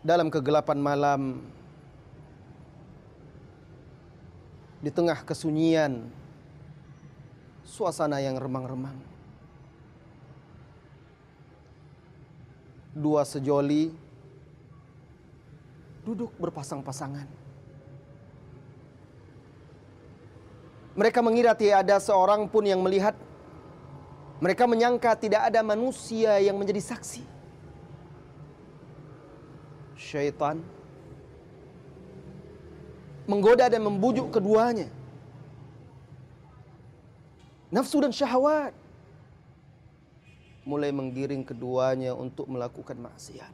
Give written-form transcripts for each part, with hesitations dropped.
dalam kegelapan malam, di tengah kesunyian, suasana yang remang-remang, dua sejoli duduk berpasang-pasangan. Mereka mengira tiada seorang pun yang melihat. Mereka menyangka tidak ada manusia yang menjadi saksi. Syaitan menggoda dan membujuk keduanya. Nafsu dan syahwat mulai menggiring keduanya untuk melakukan maksiat.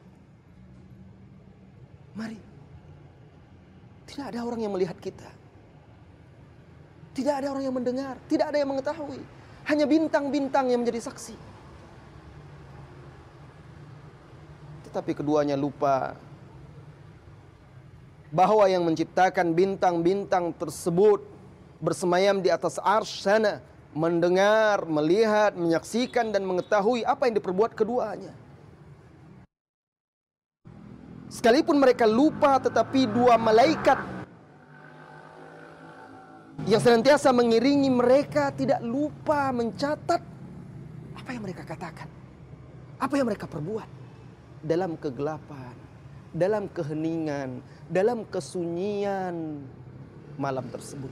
Mari, tidak ada orang yang melihat kita. Tidak ada orang yang mendengar, tidak ada yang mengetahui. Hanya bintang-bintang yang menjadi saksi. Tetapi keduanya lupa bahwa yang menciptakan bintang-bintang tersebut bersemayam di atas arsy sana, mendengar, melihat, menyaksikan dan mengetahui apa yang diperbuat keduanya. Sekalipun mereka lupa, tetapi dua malaikat yang senantiasa mengiringi mereka tidak lupa mencatat apa yang mereka katakan, apa yang mereka perbuat dalam kegelapan, dalam keheningan, dalam kesunyian malam tersebut.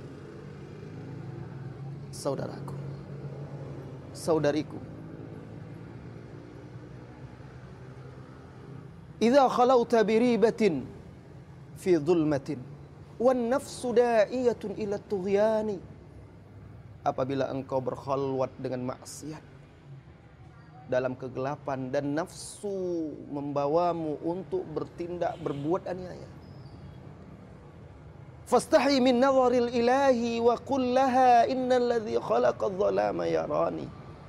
Saudaraku, saudariku, idza khalauta biribatin fi dhulmatin wan nafsu da'iyatun ila tughyani, apabila engkau berkhalwat dengan maksiat dalam kegelapan dan nafsu membawamu untuk bertindak berbuat aniaya, fastahi min nazaril ilahi wa qul laha innal ladzi khalaqadz zalama yarani.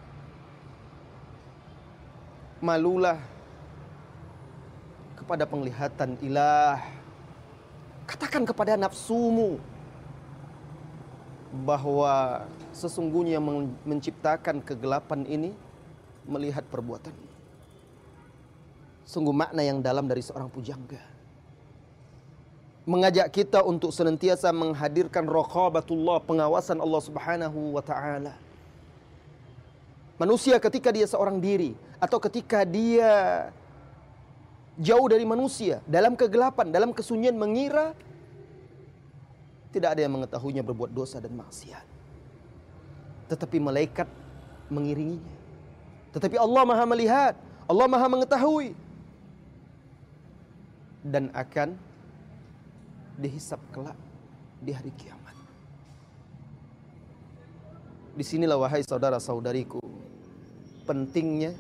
Malulah kepada penglihatan ilah. Katakan kepada nafsumu bahwa sesungguhnya yang menciptakan kegelapan ini melihat perbuatanmu. Sungguh makna yang dalam dari seorang pujangga. Mengajak kita untuk senantiasa menghadirkan raqabatullah, pengawasan Allah Subhanahu wa taala. Manusia ketika dia seorang diri atau ketika dia jauh dari manusia, dalam kegelapan, dalam kesunyian, mengira tidak ada yang mengetahuinya berbuat dosa dan maksiat. Tetapi malaikat mengiringinya. Tetapi Allah Maha melihat, Allah Maha mengetahui. Dan akan dihisab kelak di hari kiamat. Disinilah wahai saudara-saudariku, pentingnya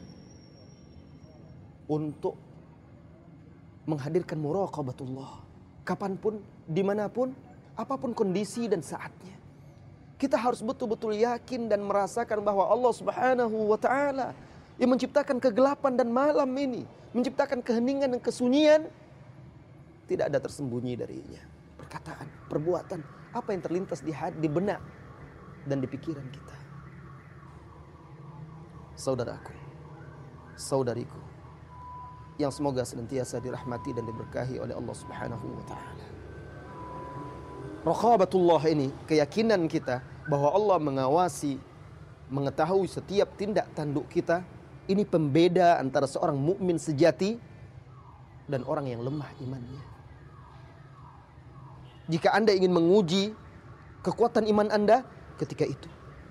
untuk menghadirkan muraqabatullah. Kapanpun, dimanapun, apapun kondisi dan saatnya. Kita harus betul-betul yakin dan merasakan bahwa Allah Subhanahu wa ta'ala yang menciptakan kegelapan dan malam ini, menciptakan keheningan dan kesunyian, tidak ada tersembunyi darinya. Perkataan, perbuatan, apa yang terlintas di hati, di benak dan di pikiran kita. Saudaraku, saudariku, yang semoga senantiasa dirahmati dan diberkahi oleh Allah Subhanahu wa taala. Raqabatullah ini, keyakinan kita bahwa Allah mengawasi, mengetahui setiap tindak tanduk kita, ini pembeda antara seorang mukmin sejati dan orang yang lemah imannya. Jika Anda ingin menguji kekuatan iman Anda ketika itu,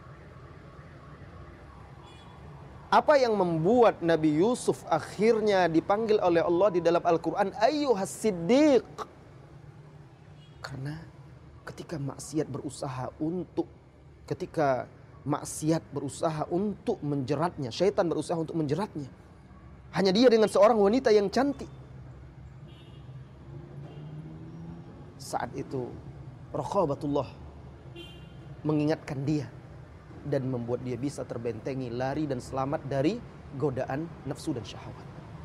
apa yang membuat Nabi Yusuf akhirnya dipanggil oleh Allah di dalam Al-Quran ayyuhas siddiq? Karena ketika maksiat berusaha untuk menjeratnya, syaitan berusaha untuk menjeratnya, hanya dia dengan seorang wanita yang cantik. Saat itu raqabatullah mengingatkan dia dan membuat dia bisa terbentengi, lari dan selamat dari godaan nafsu dan syahwat.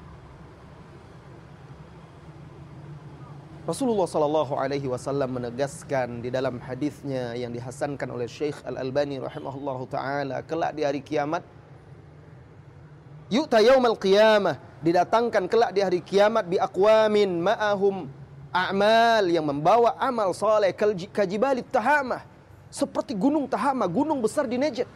Rasulullah sallallahu alaihi wasallam menegaskan di dalam hadisnya yang dihasankan oleh Syekh Al-Albani rahimahullahu taala, kelak di hari kiamat, yu'ta yaumal qiyamah didatangkan kelak di hari kiamat bi aqwamin ma'ahum a'mal, yang membawa amal saleh kajibalit tahamah, seperti gunung Tahama, gunung besar di Najd.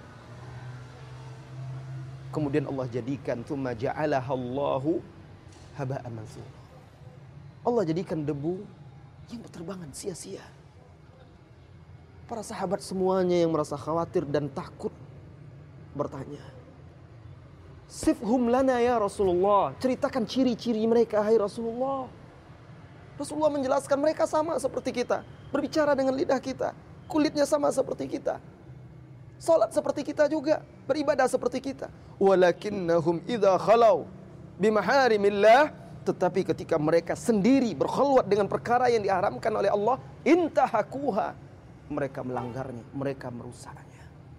Kemudian Allah jadikan tsumma ja'alahallahu haba'an mansura. Allah jadikan debu yang berterbangan sia-sia. Para sahabat semuanya yang merasa khawatir dan takut bertanya, "Sifhum lana ya Rasulullah." Ceritakan ciri-ciri mereka, hai Rasulullah. Rasulullah menjelaskan mereka sama seperti kita, berbicara dengan lidah kita, kulitnya sama seperti kita, salat seperti kita juga, beribadah seperti kita. Walakinnahum idza khalau bimaharimillah, tetapi ketika mereka sendiri berkhulwat dengan perkara yang diharamkan oleh Allah, intahakuha, mereka melanggarnya, mereka merusaknya.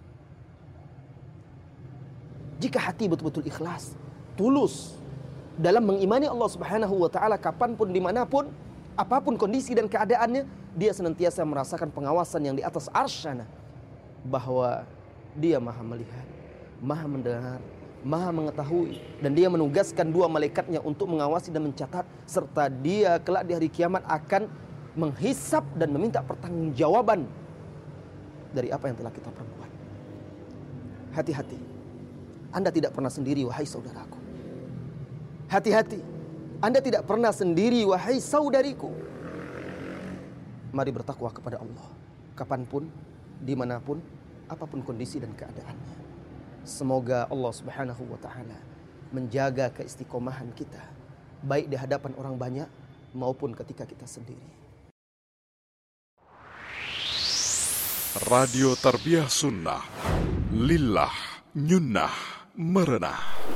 Jika hati betul-betul ikhlas, tulus dalam mengimani Allah Subhanahu wa taala, kapanpun, dimanapun, apapun kondisi dan keadaannya, dia senantiasa merasakan pengawasan yang di atas arsyana, bahwa dia maha melihat, maha mendengar, maha mengetahui, dan dia menugaskan 2 malaikatnya untuk mengawasi dan mencatat, serta dia kelak di hari kiamat akan menghisap dan meminta pertanggungjawaban dari apa yang telah kita perbuat. Hati-hati, Anda tidak pernah sendiri wahai saudaraku. Hati-hati, Anda tidak pernah sendiri wahai saudariku. Mari bertakwa kepada Allah, kapanpun, dimanapun, apapun kondisi dan keadaannya. Semoga Allah Subhanahu wa ta'ala menjaga keistiqomahan kita, baik di hadapan orang banyak maupun ketika kita sendiri. Radio Tarbiyah Sunnah, lillah, nyunnah, merenah.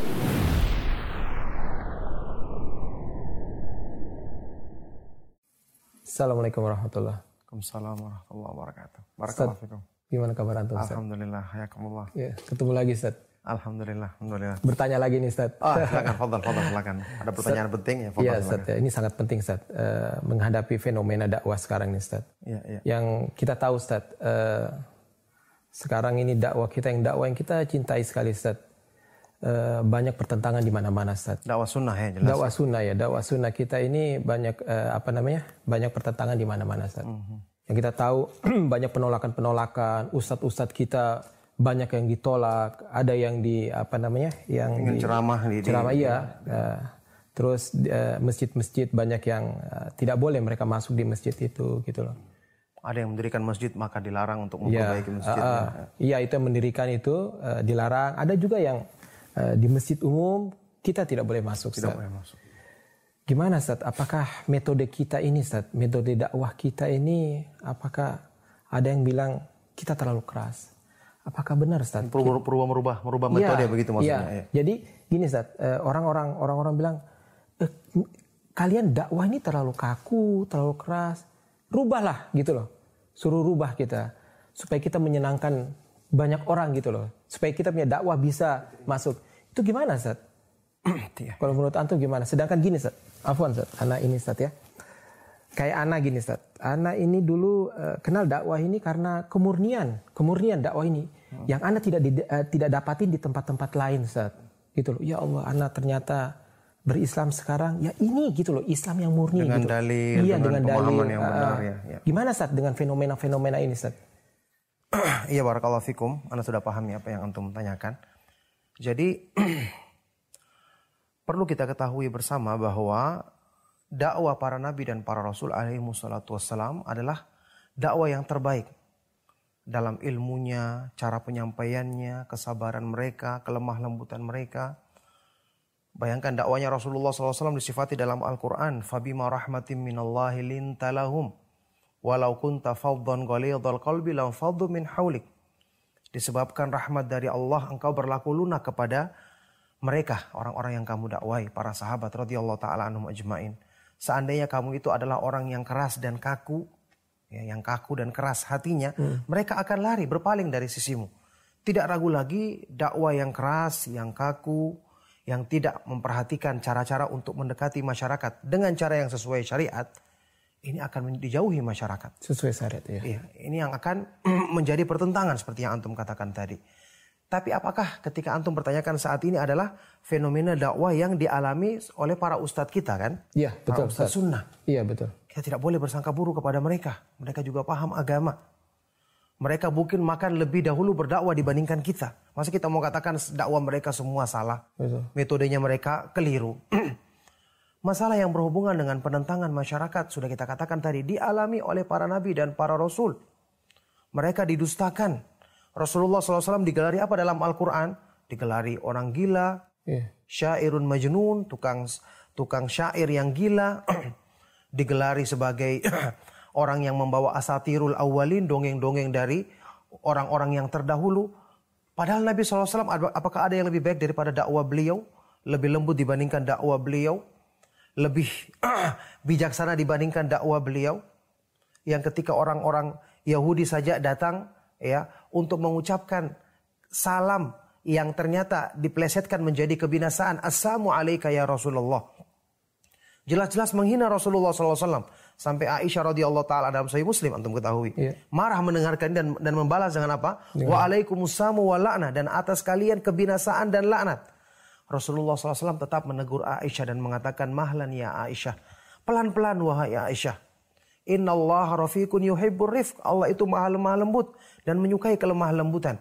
Assalamualaikum warahmatullahi wabarakatuh. Waalaikumsalam warahmatullahi wabarakatuh. Barakallahu fikum. Gimana kabar antum, Ustaz? Alhamdulillah, hayakumullah. Ya, ketemu lagi, Ustaz. Alhamdulillah. Bertanya lagi nih, Ustaz. Silakan, fadhal, silakan. Ada pertanyaan penting ya, fadhal. Iya, Ustaz. Ya, ini sangat penting, Ustaz. Menghadapi fenomena dakwah sekarang nih, Ustaz. Iya. Yang kita tahu, Ustaz, sekarang ini dakwah yang kita cintai sekali, Ustaz. Banyak pertentangan di mana-mana, Ustaz. Dakwah sunnah ya, jelas. Dakwah sunnah kita ini banyak banyak pertentangan di mana-mana, Ustaz. Yang kita tahu banyak penolakan, ustadz kita banyak yang ditolak, ada yang ceramah iya. Terus masjid-masjid banyak yang tidak boleh mereka masuk di masjid itu, gitu loh. Ada yang mendirikan masjid maka dilarang untuk memperbaiki masjidnya. Iya, itu yang mendirikan itu dilarang. Ada juga yang di masjid umum kita tidak boleh masuk. Tidak boleh masuk. Gimana, Ustaz? Apakah metode kita ini, Ustaz, metode dakwah kita ini, apakah ada yang bilang kita terlalu keras? Apakah benar, Ustaz? Merubah metode begitu maksudnya. Iya. Jadi gini, Ustaz, orang-orang bilang kalian dakwah ini terlalu kaku, terlalu keras. Rubahlah gitu loh. Suruh rubah kita supaya kita menyenangkan banyak orang gitu loh. Supaya kita punya dakwah bisa masuk. Itu gimana, Ustaz? Kalau menurut antum gimana? Sedangkan gini, Ustaz. Afwan, Ustaz. Ana ini, Ustaz, ya. Kayak Ana gini, Ustaz. Ana ini dulu kenal dakwah ini karena kemurnian dakwah ini yang Ana tidak dapatin di tempat-tempat lain, Ustaz. Gitu loh. Ya Allah, Ana ternyata berislam sekarang ya ini gitu loh, Islam yang murni dengan gitu. Dalil, iya, dengan pemahaman yang benar ya. Gimana, Ustaz, dengan fenomena-fenomena ini, Ustaz? Iya, barakallahu fikum. Ana sudah pahami apa yang antum tanyakan. Jadi perlu kita ketahui bersama bahwa dakwah para nabi dan para rasul alaihi wassalatu wassalam adalah dakwah yang terbaik dalam ilmunya, cara penyampaiannya, kesabaran mereka, kelemah lembutan mereka. Bayangkan dakwanya Rasulullah SAW disifati dalam Al-Quran, fabima rahmatin minallahi lintalahum walau kunta faddan ghalidhal qalbi lam faddu min haulik. Disebabkan rahmat dari Allah, engkau berlaku lunak kepada mereka, orang-orang yang kamu dakwai, para sahabat radhiyallahu taala anhum ajmain. Seandainya kamu itu adalah orang yang keras dan kaku, ya, yang kaku dan keras hatinya, mereka akan lari berpaling dari sisimu. Tidak ragu lagi dakwah yang keras, yang kaku, yang tidak memperhatikan cara-cara untuk mendekati masyarakat dengan cara yang sesuai syariat, ini akan dijauhi masyarakat. Sesuai syariat, ya. Iya, ini yang akan menjadi pertentangan seperti yang antum katakan tadi. Tapi apakah ketika antum pertanyakan saat ini adalah fenomena dakwah yang dialami oleh para ustadz kita kan? Iya, betul. Para ustadz sunnah. Iya, betul. Kita tidak boleh bersangka buruk kepada mereka. Mereka juga paham agama. Mereka mungkin makan lebih dahulu berdakwah dibandingkan kita. Masa kita mau katakan dakwah mereka semua salah? Betul. Metodenya mereka keliru. Masalah yang berhubungan dengan penentangan masyarakat sudah kita katakan tadi dialami oleh para nabi dan para rasul. Mereka didustakan. Rasulullah SAW digelari apa dalam Al-Quran? Digelari orang gila, syairun majnun, tukang syair yang gila. Digelari sebagai orang yang membawa asatirul awalin, dongeng-dongeng dari orang-orang yang terdahulu. Padahal Nabi SAW, apakah ada yang lebih baik daripada dakwah beliau? Lebih lembut dibandingkan dakwah beliau? Lebih bijaksana dibandingkan dakwah beliau? Yang ketika orang-orang Yahudi saja datang ya untuk mengucapkan salam yang ternyata diplesetkan menjadi kebinasaan. Assalamu alayka ya Rasulullah. Jelas-jelas menghina Rasulullah SAW. Sampai Aisyah radhiyallahu taala dalam Sahih Muslim antum ketahui. Marah mendengarkan dan membalas dengan apa? Waalaikumsalam wa la'nah, dan atas kalian kebinasaan dan laknat. Rasulullah SAW tetap menegur Aisyah dan mengatakan, mahlan ya Aisyah. Pelan-pelan wahai Aisyah. Innallaha rafiqun yuhibbur rifq. Allah itu maha lemah lembut dan menyukai kelemah lembutan.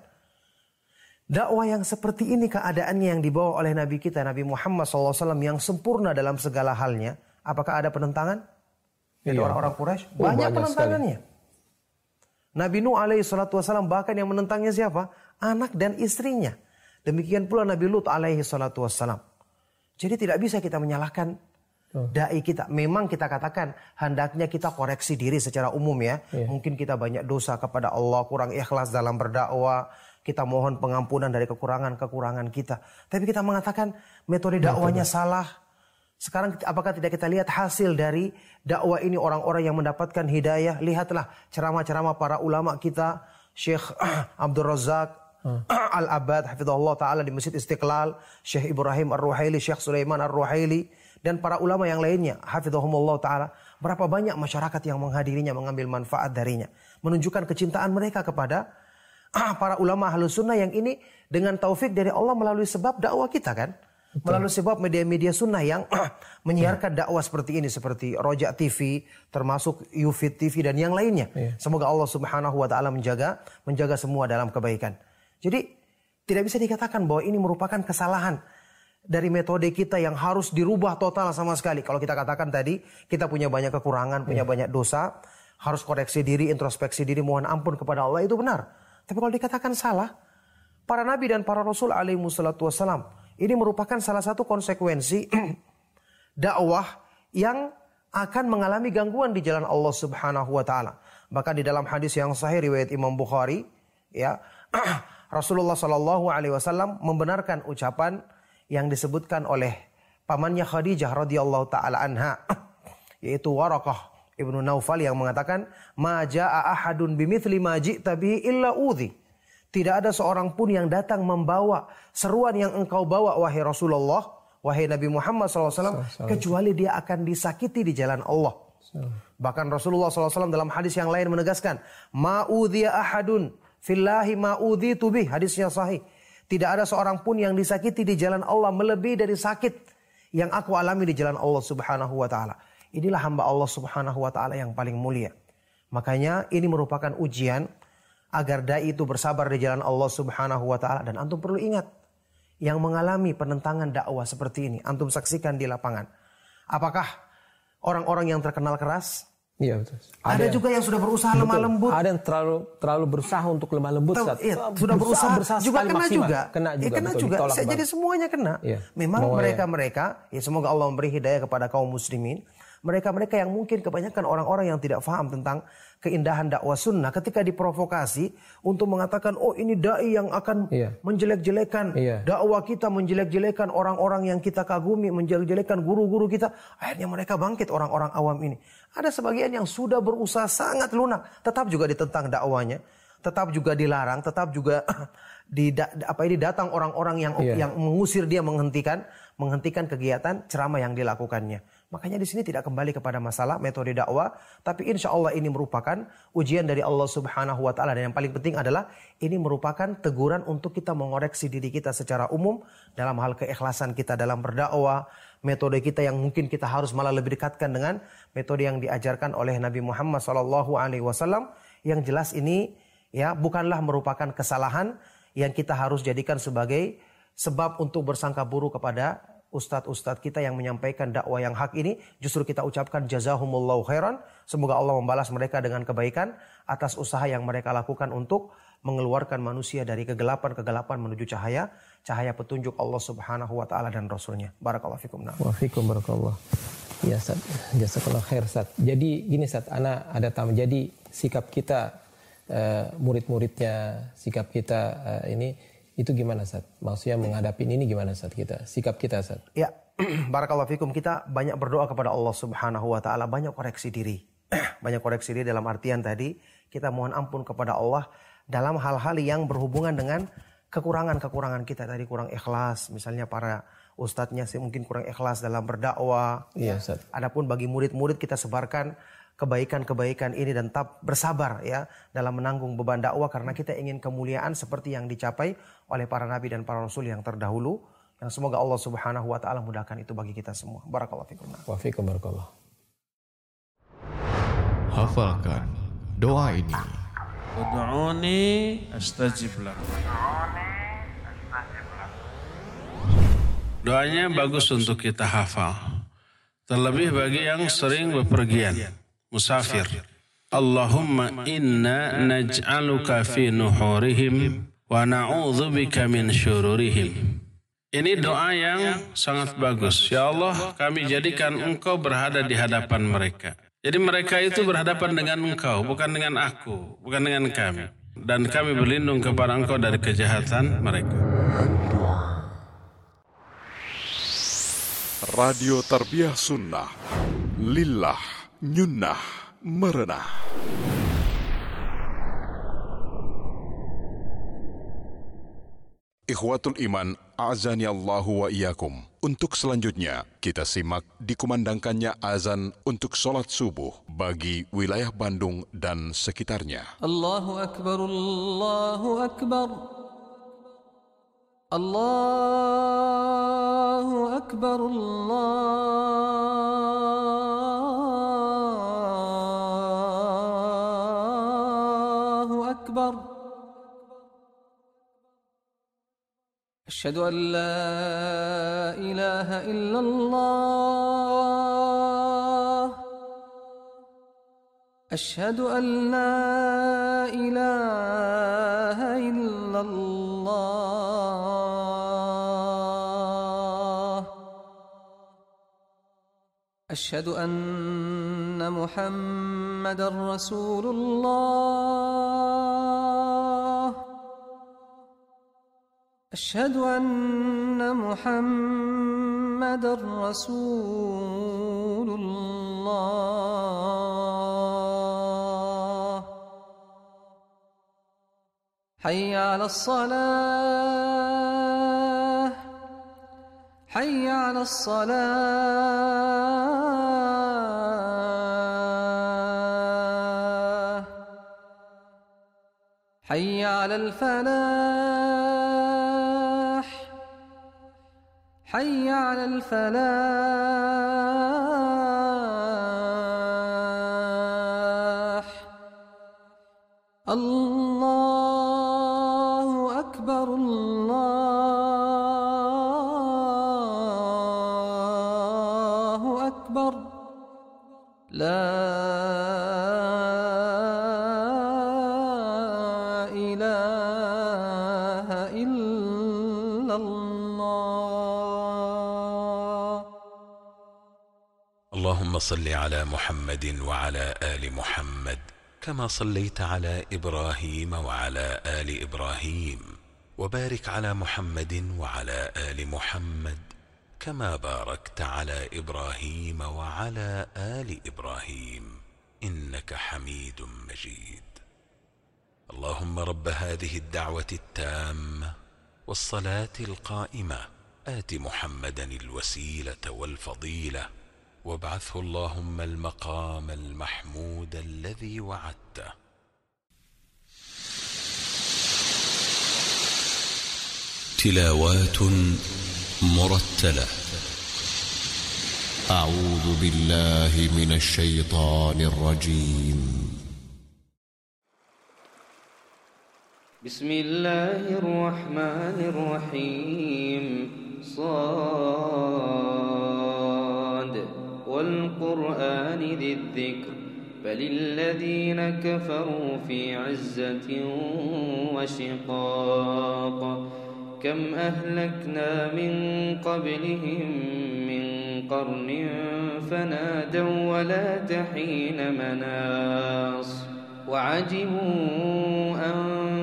Dakwah yang seperti ini keadaannya yang dibawa oleh Nabi kita, Nabi Muhammad SAW yang sempurna dalam segala halnya. Apakah ada penentangan? Dari orang-orang Quraisy? Banyak penentangannya. Sekali. Nabi Nuh alaihi salatu wassalam bahkan yang menentangnya siapa? Anak dan istrinya. Demikian pula Nabi Lut alaihi salatu wassalam. Jadi tidak bisa kita menyalahkan dai kita. Memang kita katakan hendaknya kita koreksi diri secara umum ya. Mungkin kita banyak dosa kepada Allah, kurang ikhlas dalam berdakwah. Kita mohon pengampunan dari kekurangan-kekurangan kita. Tapi kita mengatakan metode dakwahnya salah. Sekarang apakah tidak kita lihat hasil dari dakwah ini orang-orang yang mendapatkan hidayah? Lihatlah ceramah-ceramah para ulama kita. Syekh Abdul Razak Al-Abad hafizahullah ta'ala di Masjid Istiqlal. Syekh Ibrahim Ar-Ruhaili, Syekh Sulaiman Ar-Ruhaili. Dan para ulama yang lainnya, hafizahumullah ta'ala. Berapa banyak masyarakat yang menghadirinya, mengambil manfaat darinya. Menunjukkan kecintaan mereka kepada para ulama Ahlus Sunnah yang ini dengan taufik dari Allah melalui sebab dakwah kita kan. Betul. Melalui sebab media-media sunnah yang menyiarkan dakwah seperti ini. Seperti Rojak TV, termasuk Yufid TV dan yang lainnya. Semoga Allah subhanahu wa ta'ala menjaga semua dalam kebaikan. Jadi tidak bisa dikatakan bahwa ini merupakan kesalahan dari metode kita yang harus dirubah total sama sekali. Kalau kita katakan tadi, kita punya banyak kekurangan, punya banyak dosa, harus koreksi diri, introspeksi diri, mohon ampun kepada Allah, itu benar. Tapi kalau dikatakan salah, para nabi dan para rasul alaihi wassalatu wassalam, ini merupakan salah satu konsekuensi dakwah yang akan mengalami gangguan di jalan Allah subhanahu wa ta'ala. Bahkan di dalam hadis yang sahih riwayat Imam Bukhari, ya, Rasulullah sallallahu alaihi wasallam membenarkan ucapan yang disebutkan oleh pamannya Khadijah radhiyallahu taala anha, yaitu Waraqah Ibnu Naufal yang mengatakan, "Ma jaa ahadun bimithli ma ji'ta bihi illa udhi." Tidak ada seorang pun yang datang membawa seruan yang engkau bawa wahai Rasulullah, wahai Nabi Muhammad SAW, kecuali dia akan disakiti di jalan Allah. Bahkan Rasulullah SAW dalam hadis yang lain menegaskan, "Ma udhiya ahadun fillahi ma udhitu bih." Hadisnya sahih. Tidak ada seorang pun yang disakiti di jalan Allah melebihi dari sakit yang aku alami di jalan Allah subhanahu wa ta'ala. Inilah hamba Allah subhanahu wa ta'ala yang paling mulia. Makanya ini merupakan ujian agar dai itu bersabar di jalan Allah subhanahu wa ta'ala. Dan antum perlu ingat, yang mengalami penentangan dakwah seperti ini, antum saksikan di lapangan. Apakah orang-orang yang terkenal keras? Iya betul. Ada juga yang sudah berusaha lemah lembut. Ada yang terlalu berusaha untuk lemah lembut. Sudah berusaha juga kena juga. Kena juga. Jadi semuanya kena. Memang mereka, ya semoga Allah memberi hidayah kepada kaum muslimin. Mereka-mereka yang mungkin kebanyakan orang-orang yang tidak paham tentang keindahan dakwah sunnah, ketika diprovokasi untuk mengatakan, oh ini dai yang akan menjelek-jelekan dakwah kita, menjelek-jelekan orang-orang yang kita kagumi, menjelek-jelekan guru-guru kita. Akhirnya mereka bangkit, orang-orang awam ini. Ada sebagian yang sudah berusaha sangat lunak, tetap juga ditentang dakwanya, tetap juga dilarang, tetap juga datang orang-orang yang mengusir dia, menghentikan kegiatan ceramah yang dilakukannya. Makanya di sini tidak kembali kepada masalah metode dakwah, tapi insya Allah ini merupakan ujian dari Allah Subhanahu wa Ta'ala. Dan yang paling penting adalah ini merupakan teguran untuk kita mengoreksi diri kita secara umum dalam hal keikhlasan kita dalam berdakwah, metode kita yang mungkin kita harus malah lebih dekatkan dengan metode yang diajarkan oleh Nabi Muhammad SAW. Yang jelas ini ya bukanlah merupakan kesalahan yang kita harus jadikan sebagai sebab untuk bersangka buruk kepada ustadz-ustadz kita yang menyampaikan dakwah yang hak ini. Justru kita ucapkan jazahumullahu khairan. Semoga Allah membalas mereka dengan kebaikan atas usaha yang mereka lakukan untuk mengeluarkan manusia dari kegelapan-kegelapan menuju cahaya petunjuk Allah Subhanahu wa Ta'ala dan Rasulnya. Barakallahu fikum. Wa fikum barakallah. Ya Ustaz, jazakallahu khair Ustaz. Jadi gini Ustaz, ana ada tamu. Jadi sikap kita murid-muridnya, sikap kita ini itu gimana Ustaz? Maksudnya menghadapi ini gimana Ustaz kita? Sikap kita Ustaz? Ya, barakallahu fikum. Kita banyak berdoa kepada Allah Subhanahu wa Ta'ala, banyak koreksi diri. Banyak koreksi diri dalam artian tadi kita mohon ampun kepada Allah dalam hal-hal yang berhubungan dengan kekurangan-kekurangan kita. Tadi kurang ikhlas, misalnya para ustadznya sih mungkin kurang ikhlas dalam berdakwah. Iya Ustaz. Adapun bagi murid-murid kita sebarkan kebaikan-kebaikan ini dan tetap bersabar ya dalam menanggung beban dakwah, karena kita ingin kemuliaan seperti yang dicapai oleh para nabi dan para rasul yang terdahulu, yang semoga Allah Subhanahu wa Ta'ala mudahkan itu bagi kita semua. Barakallahu fikum. Wa fikum barakallah. Hafalkan doa ini. Ud'uni astajib lakum. Doanya bagus untuk kita hafal. Terlebih bagi yang sering bepergian, musafir. Allahumma inna naj'aluka fi nuhurihim wa na'udzubika min syururihim. Ini doa yang sangat bagus. Ya Allah, kami jadikan Engkau berada di hadapan mereka. Jadi mereka itu berhadapan dengan Engkau, bukan dengan aku, bukan dengan kami. Dan kami berlindung kepada Engkau dari kejahatan mereka. Radio Tarbiyah Sunnah, lillah, nyunnah, merenah. Ikhwatul iman, a'zani Allahu wa iyyakum. Untuk selanjutnya, kita simak dikumandangkannya azan untuk sholat subuh bagi wilayah Bandung dan sekitarnya. Allahu Akbar, Allahu Akbar. Allahu Akbar, Allahu Akbar. أشهد أن لا إله إلا الله أشهد أن لا إله إلا الله أشهد أن محمدا رسول الله أشهد أن محمدا رسول الله حي على الصلاة حي على الصلاة حي على الفلاح حي على الفلاح الله أكبر الله أكبر لا إله إلا الله. اللهم صل على محمد وعلى آل محمد كما صليت على إبراهيم وعلى آل إبراهيم، وبارك على محمد وعلى آل محمد كما باركت على إبراهيم وعلى آل إبراهيم إنك حميد مجيد. اللهم رب هذه الدعوة التامة والصلاة القائمة آت محمدا الوسيلة والفضيلة وابعثه اللهم المقام المحمود الذي وعدته. تلاوات مرتلة. أعوذ بالله من الشيطان الرجيم. بسم الله الرحمن الرحيم. صاد والقرآن ذي الذكر بل الذين كفروا في عزة وشقاق كم أهلكنا من قبلهم من قرن فنادوا ولا تحين مناص وعجبوا أن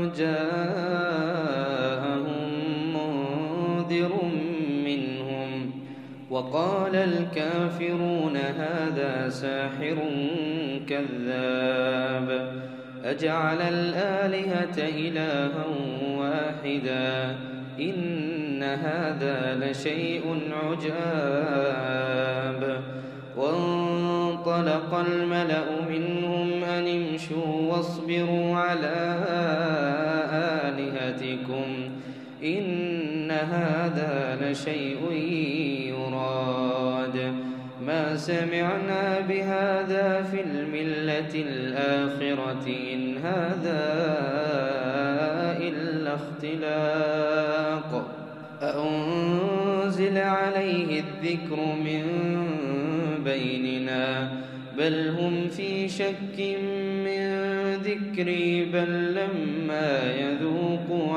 جاءهم منذر منهم وقال الكافرون هذا ساحر كذاب أجعل الآلهة إلها واحدا إن هذا لشيء عجاب وانطلق الملأ منهم أن امشوا واصبروا على آلهتكم إن هذا لشيء يراد ما سمعنا بهذا في الملة الآخرة إن هذا إلا اختلاق أأنزل عليه الذكر من بيننا بل هم في شك من ذكري بل لما يذوقوا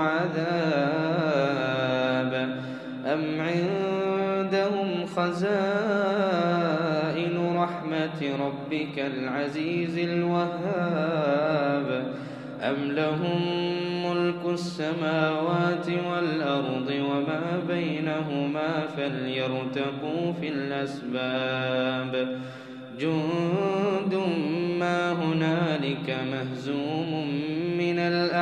عذاب أم عندهم خزائن رحمة ربك العزيز الوهاب أم لهم ملك السماوات والأرض وما بينهما فليرتقوا في الأسباب جند ما هنالك مهزوم من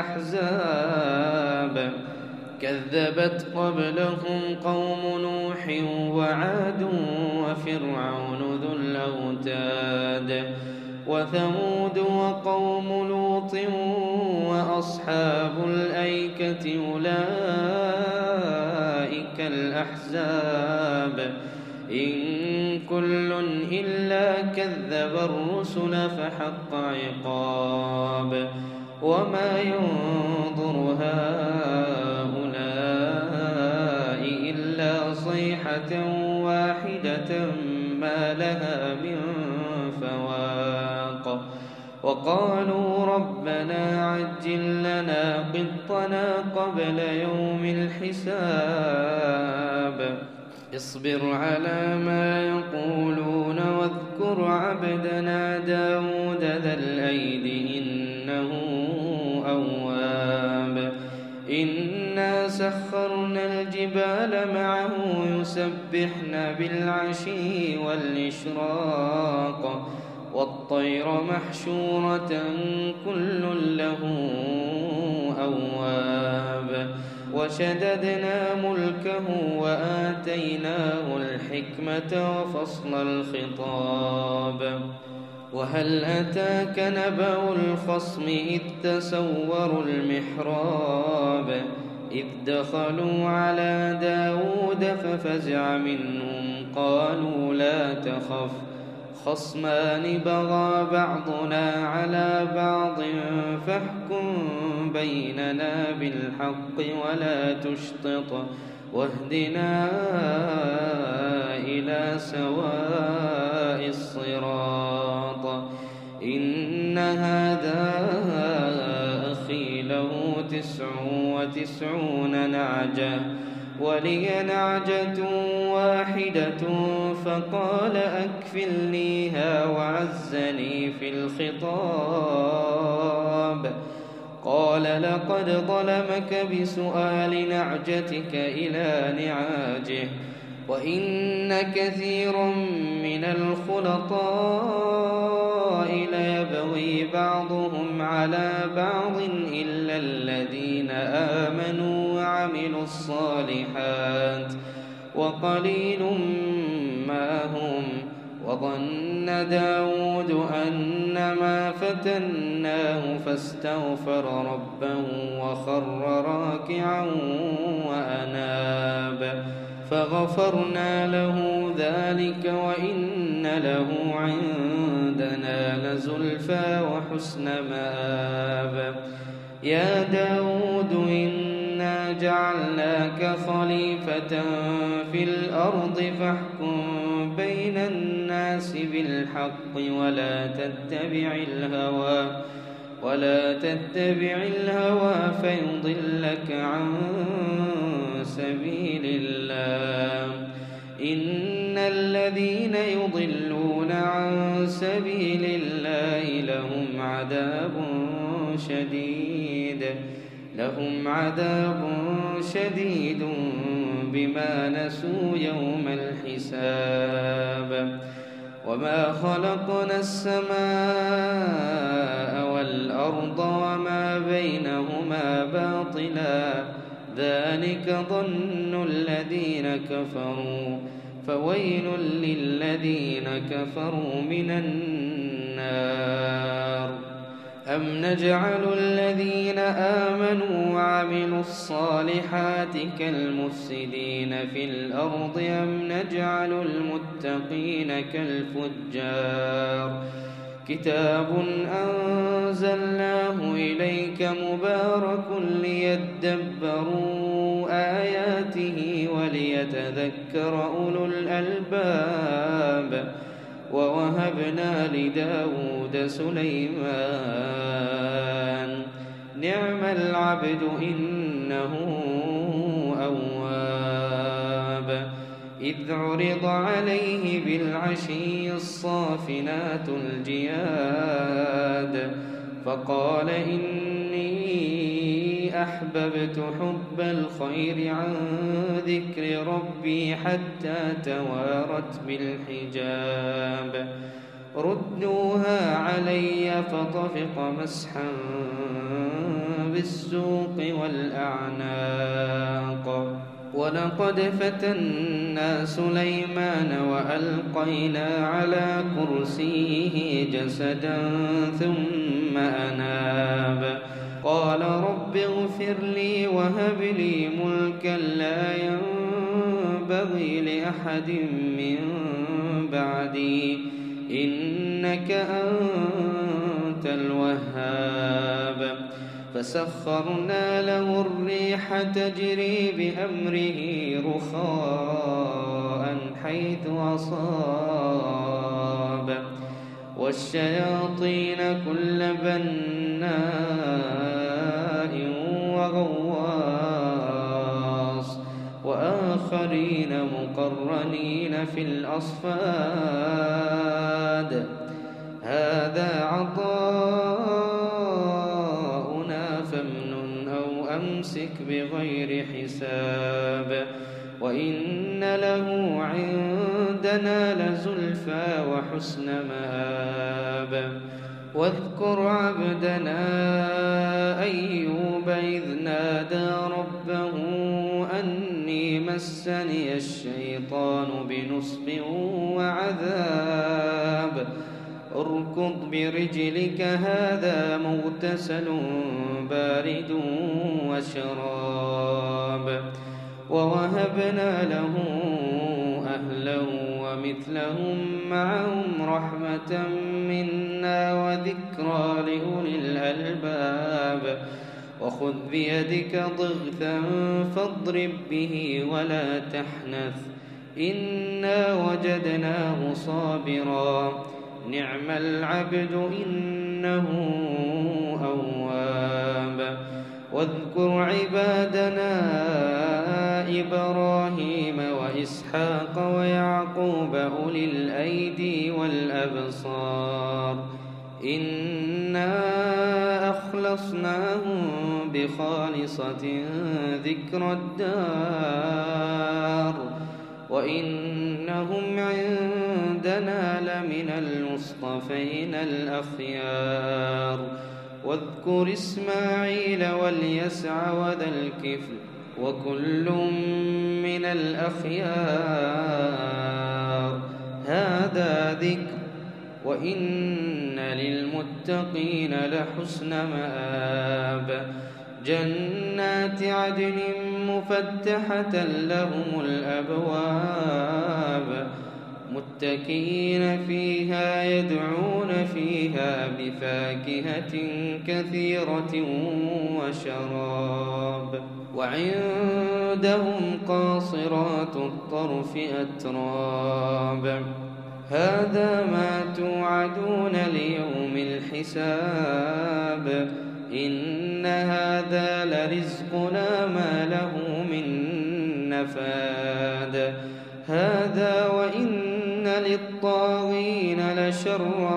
الأحزاب كذبت قبلهم قوم نوح وعاد وفرعون ذو الأوتاد وثمود وقوم لوط وأصحاب الأيكة أولئك الأحزاب إن كل إلا كذب الرسل فحق عقاب وما ينظر هؤلاء إلا صيحة واحدة ما لها من فواق وقالوا ربنا عجل لنا قطنا قبل يوم الحساب اصبر على ما يقولون واذكر عبدنا داود ذا الأيد إنه أواب إنا سخرنا الجبال معه يسبحن بالعشي والإشراق والطير محشورة كل له أواب وشددنا ملكه وآتيناه الحكمة وفصل الخطاب وهل أتاك نبأ الخصم إذ تسوروا المحراب إذ دخلوا على داود ففزع منهم قالوا لا تخف خصمان بغى بعضنا على بعض فاحكم بيننا بالحق ولا تشطط واهدنا إلى سواء الصراط إن هذا أخي له 99 نعجة ولي نعجة واحدة فقال أكفلنيها وعزني في الخطاب قال لقد ظلمك بسؤال نعجتك إلى نعاجه وإن كثيرا من الخلطاء ليبغي بعضهم على بعض إلا الذين آمنوا وعملوا الصالحات وقليل ما هم فظن داود أنما فتناه فاستغفر ربه وخر راكعا وأناب فغفرنا له ذلك وإن له عندنا لزلفى وحسن مآب يا داود إنا جعلناك خليفة في الأرض فاحكم بين الناس بالحق ولا تتبع الهوى فيضلك عن سبيل الله إن الذين يضلون عن سبيل الله لهم عذاب شديد بما نسوا يوم الحساب وما خلقنا السماء والأرض وما بينهما باطلا ذلك ظن الذين كفروا فويل للذين كفروا من النار أم نجعل الذين آمنوا وعملوا الصالحات كالمفسدين في الأرض أم نجعل المتقين كالفجار كتاب أنزلناه إليك مبارك ليدبروا آياته وليتذكر أولو الألباب ووهبنا لداود سليمان نعم العبد إنه أواب إذ عرض عليه بالعشي الصافنات الجياد فقال إني أحببت حب الخير عن ذكر ربي حتى توارت بالحجاب ردوها علي فطفق مسحا بالسوق والأعناق ولقد فتنا سليمان وألقينا على كرسيه جسدا ثم أناب قال رب اغفر لي وهب لي ملكا لا ينبغي لأحد من بعدي إنك أنت الوهاب فسخرنا له الريح تجري بأمره رخاء حيث أصاب والشياطين كل بناء وغواص وآخرين مقرنين في الأصفاد هذا عطاؤنا فامنن أو أمسك بغير حساب وإن له عندنا لزلفى وحسن مآب واذكر عبدنا أيوب إذ نادى ربه أني مسني الشيطان بنصب وعذاب اركض برجلك هذا مغتسل بارد وشراب ووهبنا له أهله ومثلهم معهم رحمة منا وذكرى لأولي الألباب وخذ بيدك ضغثا فاضرب به ولا تحنث إنا وجدناه صابرا نعم العبد إنه أواب واذكر عبادنا إبراهيم وإسحاق ويعقوب أولي الأيدي والأبصار إنا أخلصناهم بخالصة ذكر الدار وإنهم عندنا لمن المصطفين الأخيار واذكر إسماعيل واليسع وذا الكفل وكل من الأخيار هذا ذكر وإن للمتقين لحسن مآب جنات عدن مفتحة لهم الأبواب متكئين فيها يدعون فيها بفاكهة كثيرة وشراب وعندهم قاصرات الطرف أتراب هذا ما توعدون ليوم الحساب إن هذا لرزقنا ما له من نفاد هذا وإن للطاغين لشر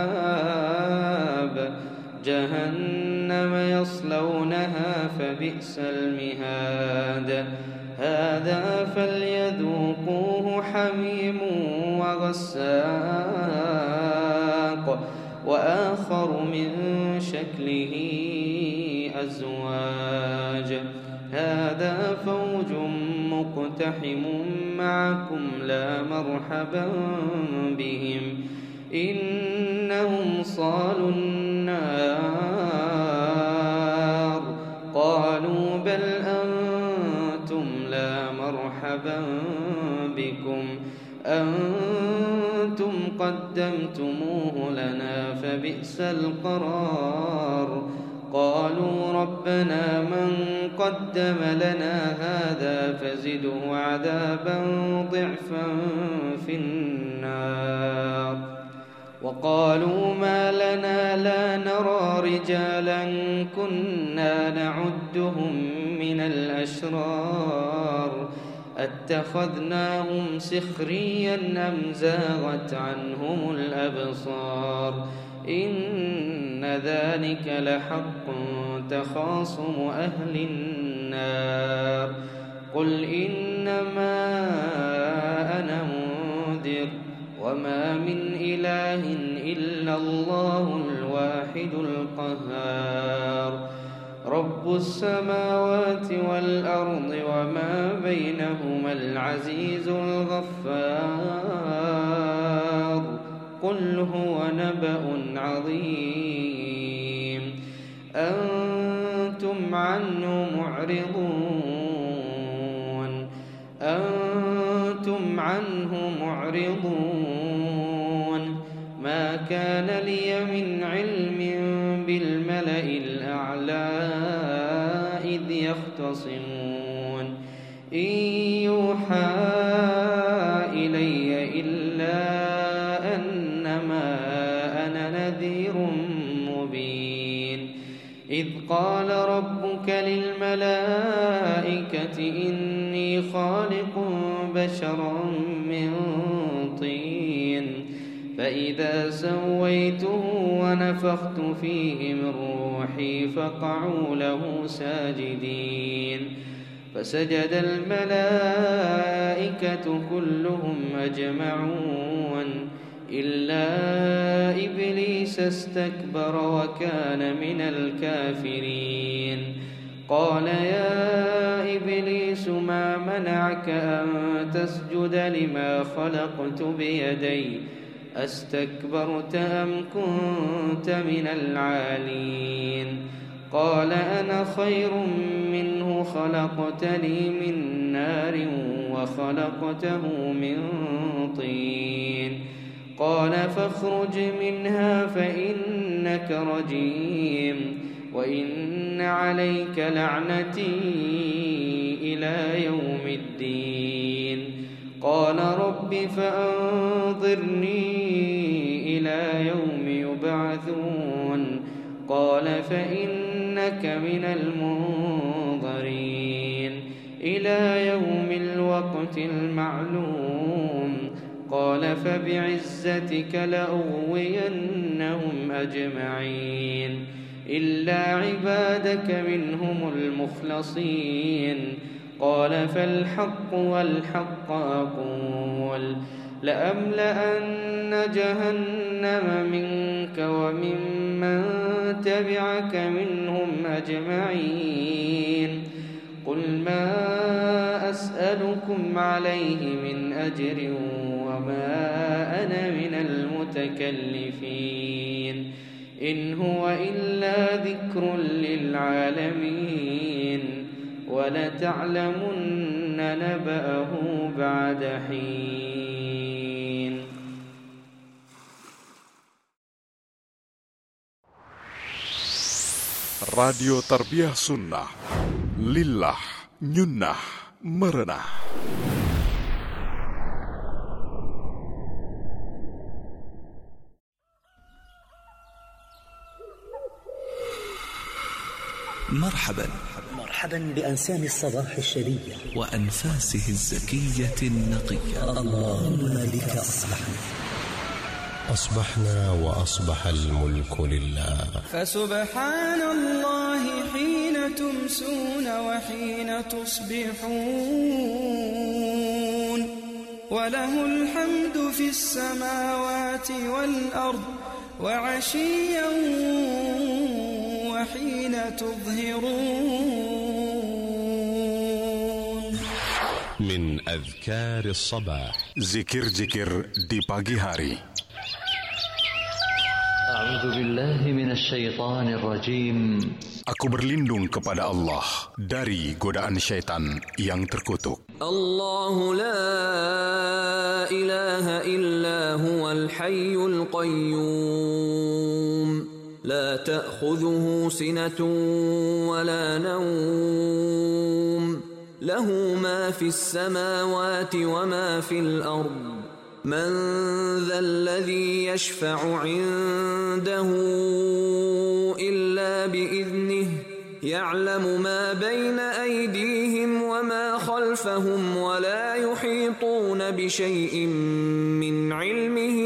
مآب جهنم يصلونها فبئس المهاد هذا فليذوقوه حميم وغساق وآخر من شكله أزواج هذا فوج مقتحم معكم لا مرحبا بهم إنهم صالوا النار قالوا بل أنتم لا مرحبا بكم أنتم قدمتموه لنا فبئس القرار قالوا ربنا من قدم لنا هذا فزده عذابا ضعفا في النار وقالوا ما لنا لا نرى رجالا كنا نعدهم من الأشرار أتخذناهم سخريا أم زاغت عنهم الأبصار إن ذلك لحق تخاصم أهل النار قل إنما أنا منذر وما من إله إلا الله الواحد القهار رب السماوات والأرض وما بينهما العزيز الغفار قل هو نبأ عظيم أنتم عنه معرضون ما كان لي من علم بالملأ الأعلى إذ يختصمون إن يوحى إلي إلا أنما أنا نذير مبين إذ قال ربك للملائكة إني خالق بشرا من طين فإذا سويته ونفخت فيه من روحي فقعوا له ساجدين فسجد الملائكة كلهم أجمعون إلا إبليس استكبر وكان من الكافرين قال يا إبليس ما منعك أن تسجد لما خلقت بيدي أستكبرت أم كنت من العالين قال أنا خير منه خلقتني من نار وخلقته من طين قال فاخرج منها فإنك رجيم وإن عليك لعنتي إلى يوم الدين قال رب فأنظرني إلى يوم يبعثون قال فإنك من المنظرين إلى يوم الوقت المعلوم قال فبعزتك لأغوينهم أجمعين إلا عبادك منهم المخلصين قال فالحق والحق أقول لأملأن جهنم منك وممن تبعك منهم أجمعين قل ما أسألكم عليه من أجر وما أنا من المتكلفين إن هو إلا ذكر للعالمين ولتعلمن نبأه بعد حين. Radio Tarbiyah Sunnah, Lillah, Nyunnah, Merenah. مرحبا بأنسام الصباح الشرية وأنفاسه الزكية النقية. اللهم بك أصبحنا وأصبح الملك لله. فسبحان الله حين تمسون وحين تصبحون وله الحمد في السماوات والأرض وعشيا وحين تظهرون. من أذكار الصباح. Zikir-zikir di pagi hari. A'udzu billahi minasyaitonir rajim. Aku berlindung kepada Allah dari godaan syaitan yang terkutuk. Allahu la ilaha illa huwal hayyul qayyum. La ta'khudhuhu sinatun wa la nawm. Lahu ma fis samawati wa ma fil ardh. من ذا الذي يشفع عنده إلا بإذنه يعلم ما بين أيديهم وما خلفهم ولا يحيطون بشيء من علمه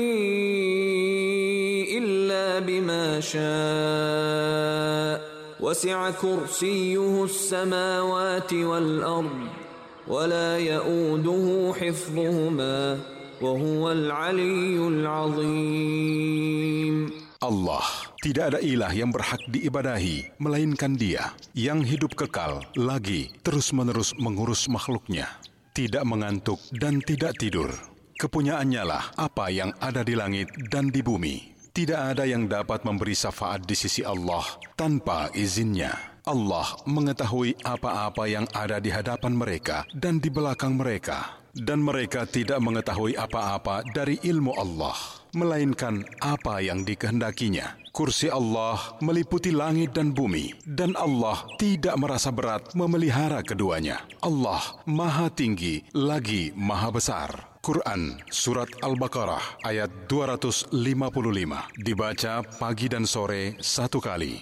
إلا بما شاء وسع كرسيه السماوات والأرض ولا يؤوده حفظهما Wahuwal Aliyyul Azim. Allah, tidak ada ilah yang berhak diibadahi melainkan Dia yang hidup kekal lagi terus-menerus mengurus makhluknya, tidak mengantuk dan tidak tidur. Kepunyaannya lah apa yang ada di langit dan di bumi. Tidak ada yang dapat memberi syafaat di sisi Allah tanpa izinnya. Allah mengetahui apa-apa yang ada di hadapan mereka dan di belakang mereka. Dan mereka tidak mengetahui apa-apa dari ilmu Allah, melainkan apa yang dikehendakinya. Kursi Allah meliputi langit dan bumi, dan Allah tidak merasa berat memelihara keduanya. Allah Maha Tinggi lagi Maha Besar. Quran Surat Al-Baqarah ayat 255, dibaca pagi dan sore 1 kali.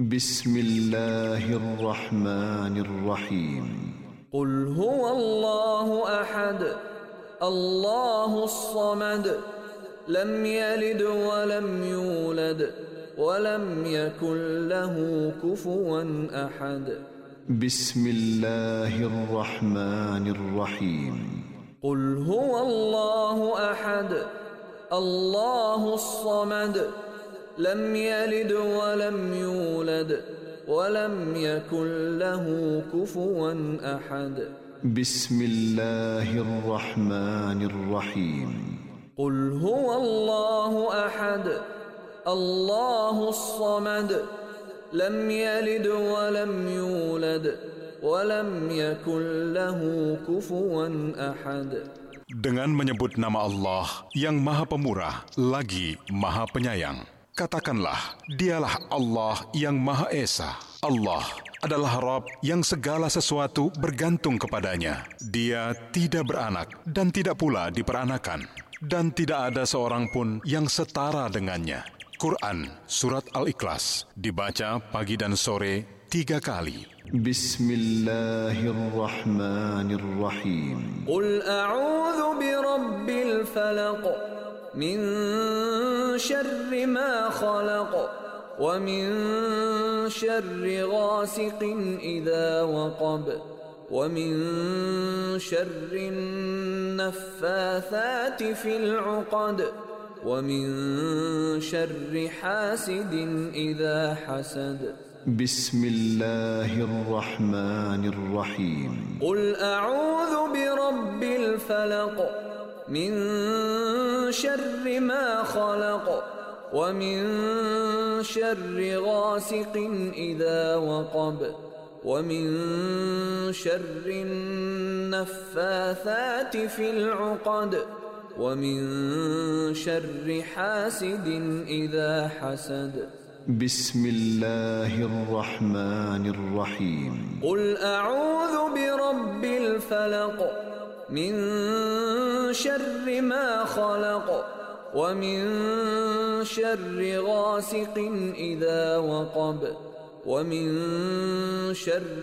Bismillahirrahmanirrahim. قل هو الله أحد الله الصمد لم يلد ولم يولد ولم يكن له كفوا أحد. بسم الله الرحمن الرحيم. قل هو الله أحد الله الصمد لم يلد ولم يولد ولم يكن له كفوا أحد. بسم الله الرحمن الرحيم. قل هو الله أحد الله الصمد لم يلد ولم يولد ولم يكن له كفوا أحد. Dengan menyebut nama Allah yang Maha Pemurah lagi Maha Penyayang, katakanlah, dialah Allah yang Maha Esa. Allah adalah Rabb yang segala sesuatu bergantung kepadanya. Dia tidak beranak dan tidak pula diperanakan. Dan tidak ada seorang pun yang setara dengannya. Quran Surat Al-Ikhlas, dibaca pagi dan sore 3 kali. Bismillahirrahmanirrahim. Qul a'udzu birabbil falaq min syarri ma khalaq wa min syarri ghasiqin idza waqab wa min syarri naffathati fil 'uqad wa min syarri hasidin idza hasad. Bismillahirrahmanirrahim. Qul a'udzu birabbil falaq من شر ما خلق ومن شر غاسق إذا وقب ومن شر النفاثات في العقد ومن شر حاسد إذا حسد بسم الله الرحمن الرحيم قل أعوذ برب الفلق من شر ما خلق ومن شر غاسق إذا وقب ومن شر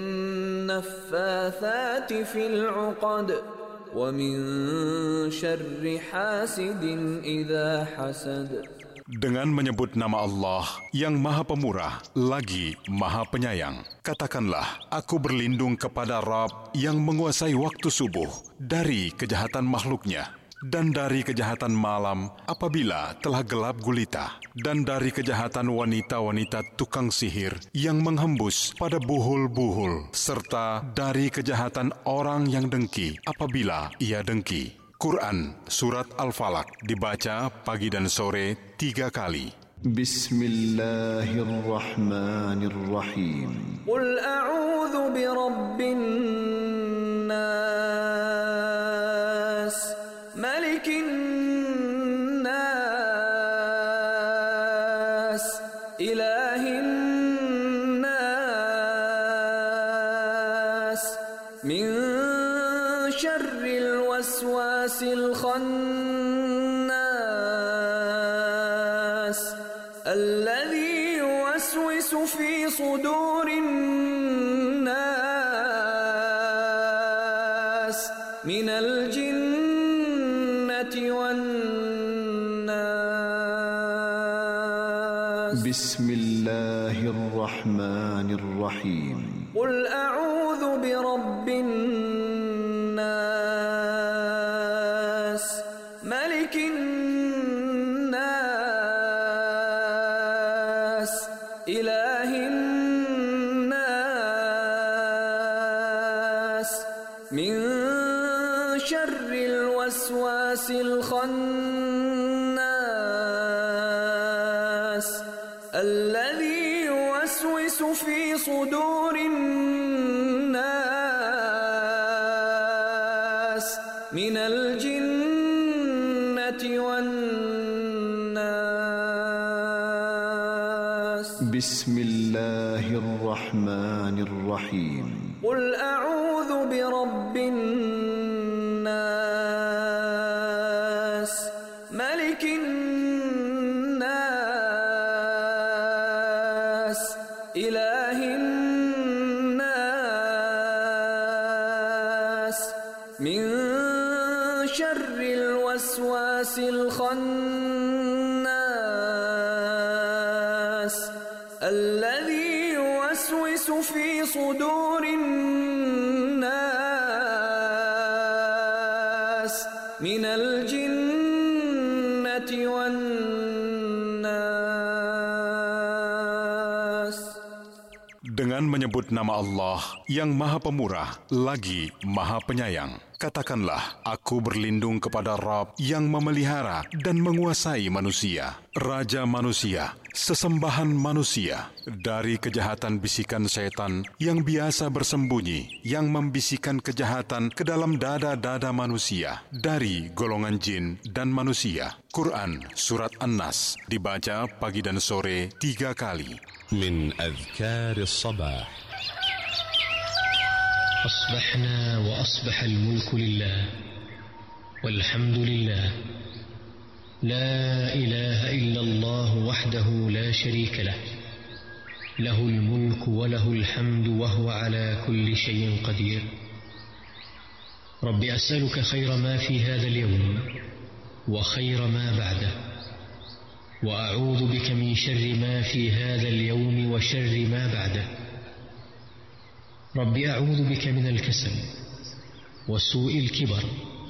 النفاثات في العقد ومن شر حاسد إذا حسد. Dengan menyebut nama Allah yang Maha Pemurah lagi Maha Penyayang, katakanlah, aku berlindung kepada Rabb yang menguasai waktu subuh dari kejahatan makhluknya, dan dari kejahatan malam apabila telah gelap gulita, dan dari kejahatan wanita-wanita tukang sihir yang menghembus pada buhul-buhul, serta dari kejahatan orang yang dengki apabila ia dengki. Quran Surat Al-Falaq dibaca pagi dan sore 3 kali. Bismillahirrahmanirrahim. Qul a'udzu birabbin nas, malikin nas, ilahin nas, min syarril waswasil khannas, alladzi yuwaswisu fi sudurin nas, minal jinnati wan nas. Bismillahirrahmanirrahim. Qul a'udzu birabbin nas, malikin nas, ilahin nas, min syarril waswasil khannas, alladzi yuwaswisu fi sudurin nas, minal jinnati wan nas. Bismillahirrahmanirrahim. Qul a'udzu birabbin nas, malikin nas, ilahin nas, min syarril waswasil khannas, alladzi yuwaswisu fi sudurin nas, minal jinnati wan nas. Dengan menyebut nama Allah yang Maha Pemurah lagi Maha Penyayang, katakanlah, aku berlindung kepada Rabb yang memelihara dan menguasai manusia, Raja manusia, sesembahan manusia, dari kejahatan bisikan setan yang biasa bersembunyi, yang membisikkan kejahatan ke dalam dada-dada manusia, dari golongan jin dan manusia. Quran Surat An-Nas dibaca pagi dan sore 3 kali. من أذكار الصباح. أصبحنا وأصبح الملك لله والحمد لله لا إله إلا الله وحده لا شريك له له الملك وله الحمد وهو على كل شيء قدير. رب أسألك خير ما في هذا اليوم وخير ما بعده، وأعوذ بك من شر ما في هذا اليوم وشر ما بعده. رب أعوذ بك من الكسل وسوء الكبر.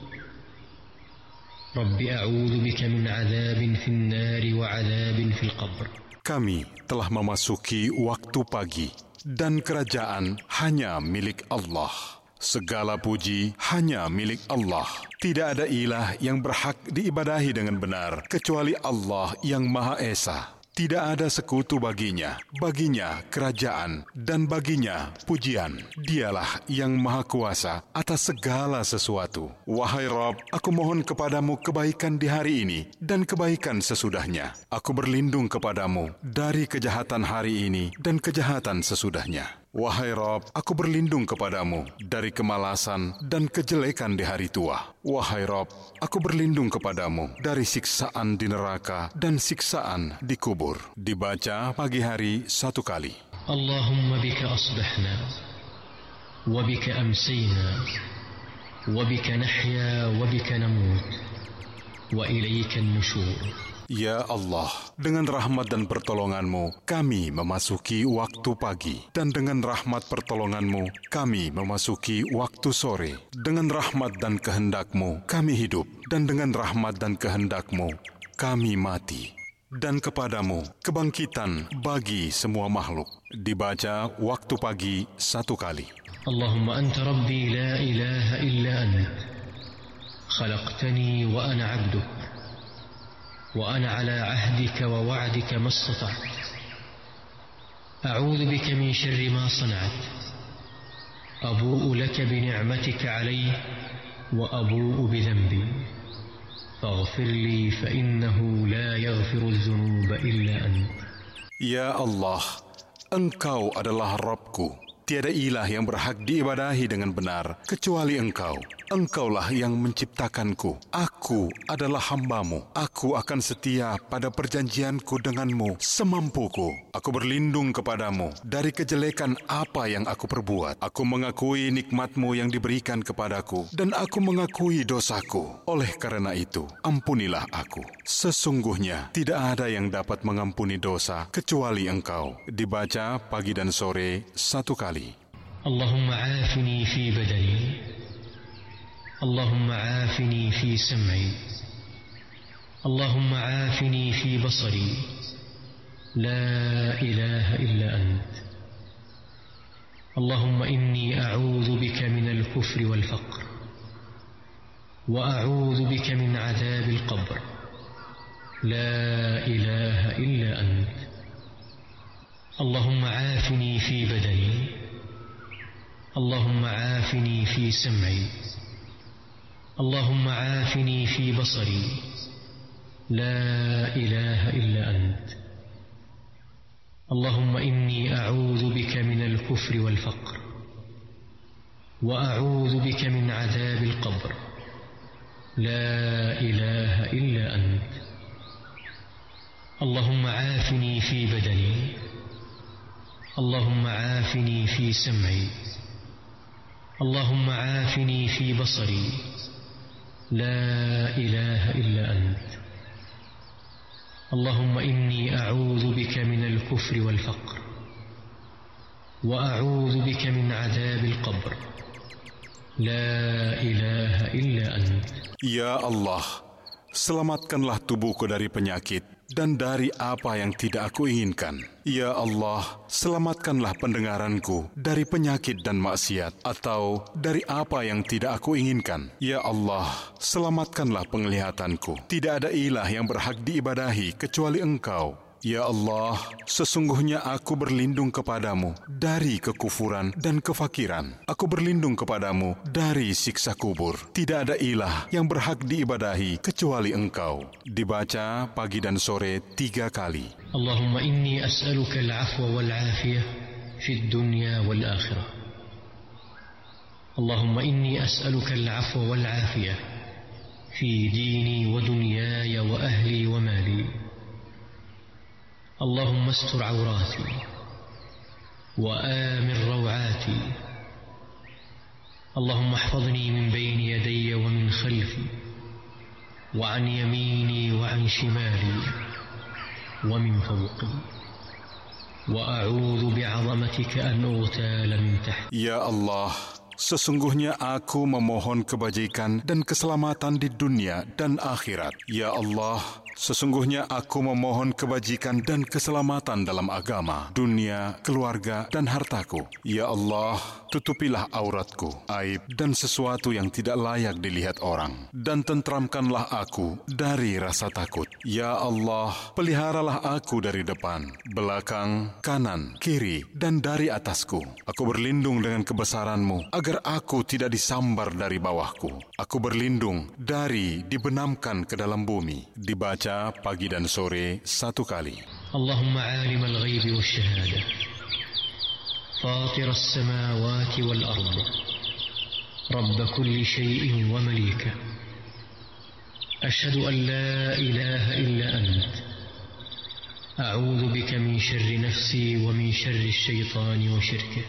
رب أعوذ بك من عذاب في النار وعذاب في القبر. Kami telah memasuki waktu pagi dan kerajaan hanya milik Allah. Segala puji hanya milik Allah. Tidak ada ilah yang berhak diibadahi dengan benar kecuali Allah yang Maha Esa. Tidak ada sekutu baginya kerajaan dan baginya pujian. Dialah yang Maha Kuasa atas segala sesuatu. Wahai Rabb, aku mohon kepadamu kebaikan di hari ini dan kebaikan sesudahnya. Aku berlindung kepadamu dari kejahatan hari ini dan kejahatan sesudahnya. Wahai Rabb, aku berlindung kepadamu dari kemalasan dan kejelekan di hari tua. Wahai Rabb, aku berlindung kepadamu dari siksaan di neraka dan siksaan di kubur. Dibaca pagi hari 1 kali. Allahumma bika asbahna, wa bika amsayna, wa bika nahya, wa bika namut, wa ilayka an-nushur. Ya Allah, dengan rahmat dan pertolongan-Mu, kami memasuki waktu pagi. Dan dengan rahmat pertolongan-Mu, kami memasuki waktu sore. Dengan rahmat dan kehendak-Mu, kami hidup. Dan dengan rahmat dan kehendak-Mu, kami mati. Dan kepadamu kebangkitan bagi semua makhluk. Dibaca waktu pagi 1 kali. Allahumma anta rabbi la ilaha illa ant. Khalaqtani wa ana 'abduk. وأنا على عهدك ووعدك ما استطعت أعوذ بك من شر ما صنعت أبوء لك بنعمتك علي وأبوء بذنبي فاغفر لي فإنه لا يغفر الذنوب إلا أنت. Ya Allah, Engkau adalah Rabbku. Tiada ilah yang berhak diibadahi dengan benar kecuali Engkau. Engkaulah yang menciptakanku. Aku adalah hamba-Mu. Aku akan setia pada perjanjianku denganmu semampuku. Aku berlindung kepadamu dari kejelekan apa yang aku perbuat. Aku mengakui nikmat-Mu yang diberikan kepadaku dan aku mengakui dosaku. Oleh karena itu, ampunilah aku. Sesungguhnya tidak ada yang dapat mengampuni dosa kecuali Engkau. Dibaca pagi dan sore 1 kali. Allahumma aafini fi badani, Allahumma aafini fi sam'i, Allahumma aafini fi basari, la ilaha illa ant. Allahumma inni a'udhu bika min al-kufri wal-faqr, wa a'udhu bika min adhab al-qabr, la ilaha illa ant. Allahumma aafini fi badani, Allahumma aafini fi sam'i, Allahumma aafini fi basari, la ilaha illa ant. Allahumma inni a'udhu bika min al-kufri wal-faqr, wa a'udhu bika min adhab al-qabr, la ilaha illa ant. Allahumma aafini fi badani, Allahumma aafini fi sam'i, Allahumma aafini fi basari, la ilaha illa ant. Allahumma inni a'udhu bika min al-kufri wal-faqr, wa a'udhu bika min adhab al-qabr, la ilaha illa ant. Ya Allah, selamatkanlah tubuhku dari penyakit dan dari apa yang tidak aku inginkan. Ya Allah, selamatkanlah pendengaranku dari penyakit dan maksiat atau dari apa yang tidak aku inginkan. Ya Allah, selamatkanlah penglihatanku. Tidak ada ilah yang berhak diibadahi kecuali Engkau. Ya Allah, sesungguhnya aku berlindung kepadamu dari kekufuran dan kefakiran. Aku berlindung kepadamu dari siksa kubur. Tidak ada ilah yang berhak diibadahi kecuali Engkau. Dibaca pagi dan sore 3 kali. Allahumma inni as'aluka al-'afwa wal-'afiyah fid dunya wal-akhirah. Allahumma inni as'aluka al-'afwa wal-'afiyah fi dini wa dunyaya wa ahli wa mali. اللهم استر عوراتي وآمن روعاتي اللهم احفظني من بين يدي ومن خلفي وعن يميني وعن شمالي ومن فوقي وأعوذ بعظمتك أن أغتال من تحتي. Ya Allah, sesungguhnya aku memohon kebajikan dan keselamatan di dunia dan akhirat. Ya Allah, sesungguhnya aku memohon kebajikan dan keselamatan dalam agama, dunia, keluarga, dan hartaku. Ya Allah, tutupilah auratku, aib, dan sesuatu yang tidak layak dilihat orang, dan tentramkanlah aku dari rasa takut. Ya Allah, peliharalah aku dari depan, belakang, kanan, kiri, dan dari atasku. Aku berlindung dengan kebesaran-Mu, agar aku tidak disambar dari bawahku. Aku berlindung dari dibenamkan ke dalam bumi. Dibaca pagi dan sore 1 kali. Allahumma alim al-ghaibi wa syahada, fatir as-samawati wal ard, rabb kulli syai'in wa malika, ashhadu an la ilaha illa ant, a'udzu bika min syarri nafsi wa min syarri asyaitani wa syirkih,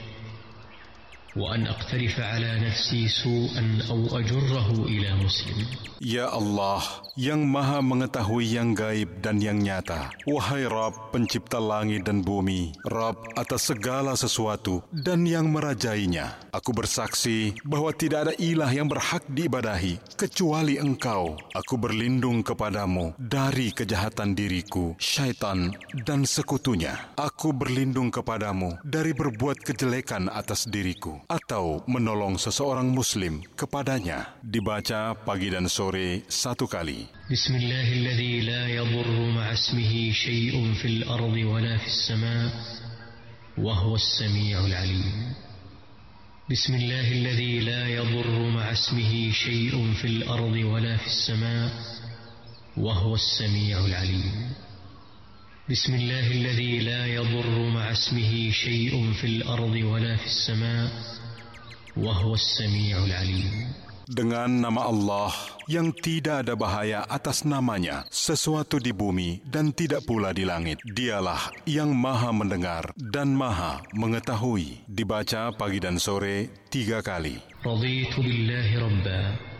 wa an aqtarifa ala nafsi su'an aw ajurrahu ila muslim. Ya Allah, yang maha mengetahui yang gaib dan yang nyata. Wahai Rabb, pencipta langit dan bumi, Rabb atas segala sesuatu dan yang merajainya. Aku bersaksi bahwa tidak ada ilah yang berhak diibadahi kecuali Engkau. Aku berlindung kepadamu dari kejahatan diriku, syaitan, dan sekutunya. Aku berlindung kepadamu dari berbuat kejelekan atas diriku atau menolong seseorang muslim kepadanya. Dibaca pagi dan sore 1 kali. Bismillahilladzi la yadurru ma'a ismihi syai'un fil ardi wala fis sama' wa huwas sami'ul 'alim. Bismillahilladzi la yadurru ma'a ismihi syai'un fil ardi wala fis sama' wa huwas sami'ul 'alim. Bismillahilladzi la yadurru ma'a ismihi syai'un fil ardi wala fis sama' wa huwas sami'ul 'alim. Dengan nama Allah yang tidak ada bahaya atas namanya sesuatu di bumi dan tidak pula di langit. Dialah yang maha mendengar dan maha mengetahui. Dibaca pagi dan sore 3 kali. Raditu billahi rabba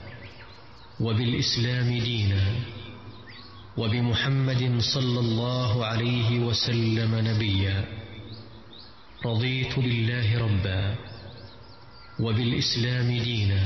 wa bil islami dina wa bi Muhammadin sallallahu alaihi wasallam nabiyya. Raditu billahi rabba wa bil islami dina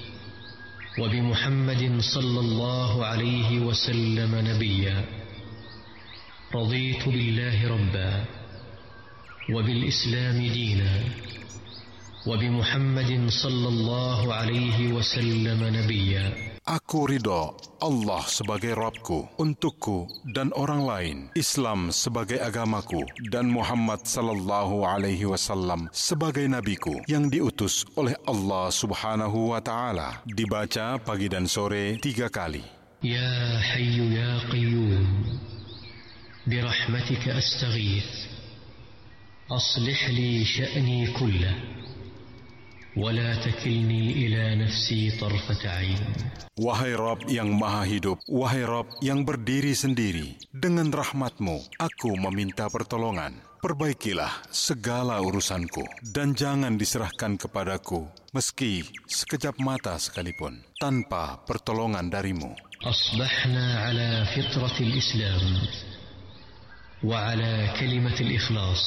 وبمحمد صلى الله عليه وسلم نبيا. رضيت بالله ربا وبالإسلام دينا وبمحمد صلى الله عليه وسلم نبيا. Aku ridho Allah sebagai Rabbku, untukku dan orang lain, Islam sebagai agamaku, dan Muhammad sallallahu alaihi wasallam sebagai nabiku yang diutus oleh Allah subhanahu wa ta'ala. Dibaca pagi dan sore 3 kali. Ya Hayyu Ya Qayyum, birahmatika astaghith, aslih li sya'ni kullah, ولا تكلني إلى نفسي طرفة عين. Wahai Rabb yang maha hidup, wahai Rabb yang berdiri sendiri, dengan rahmat-Mu aku meminta pertolongan. Perbaikilah segala urusanku dan jangan diserahkan kepadaku meski sekejap mata sekalipun tanpa pertolongan dari-Mu. Asbahna ala fitratil Islam wa ala kalimatil ikhlas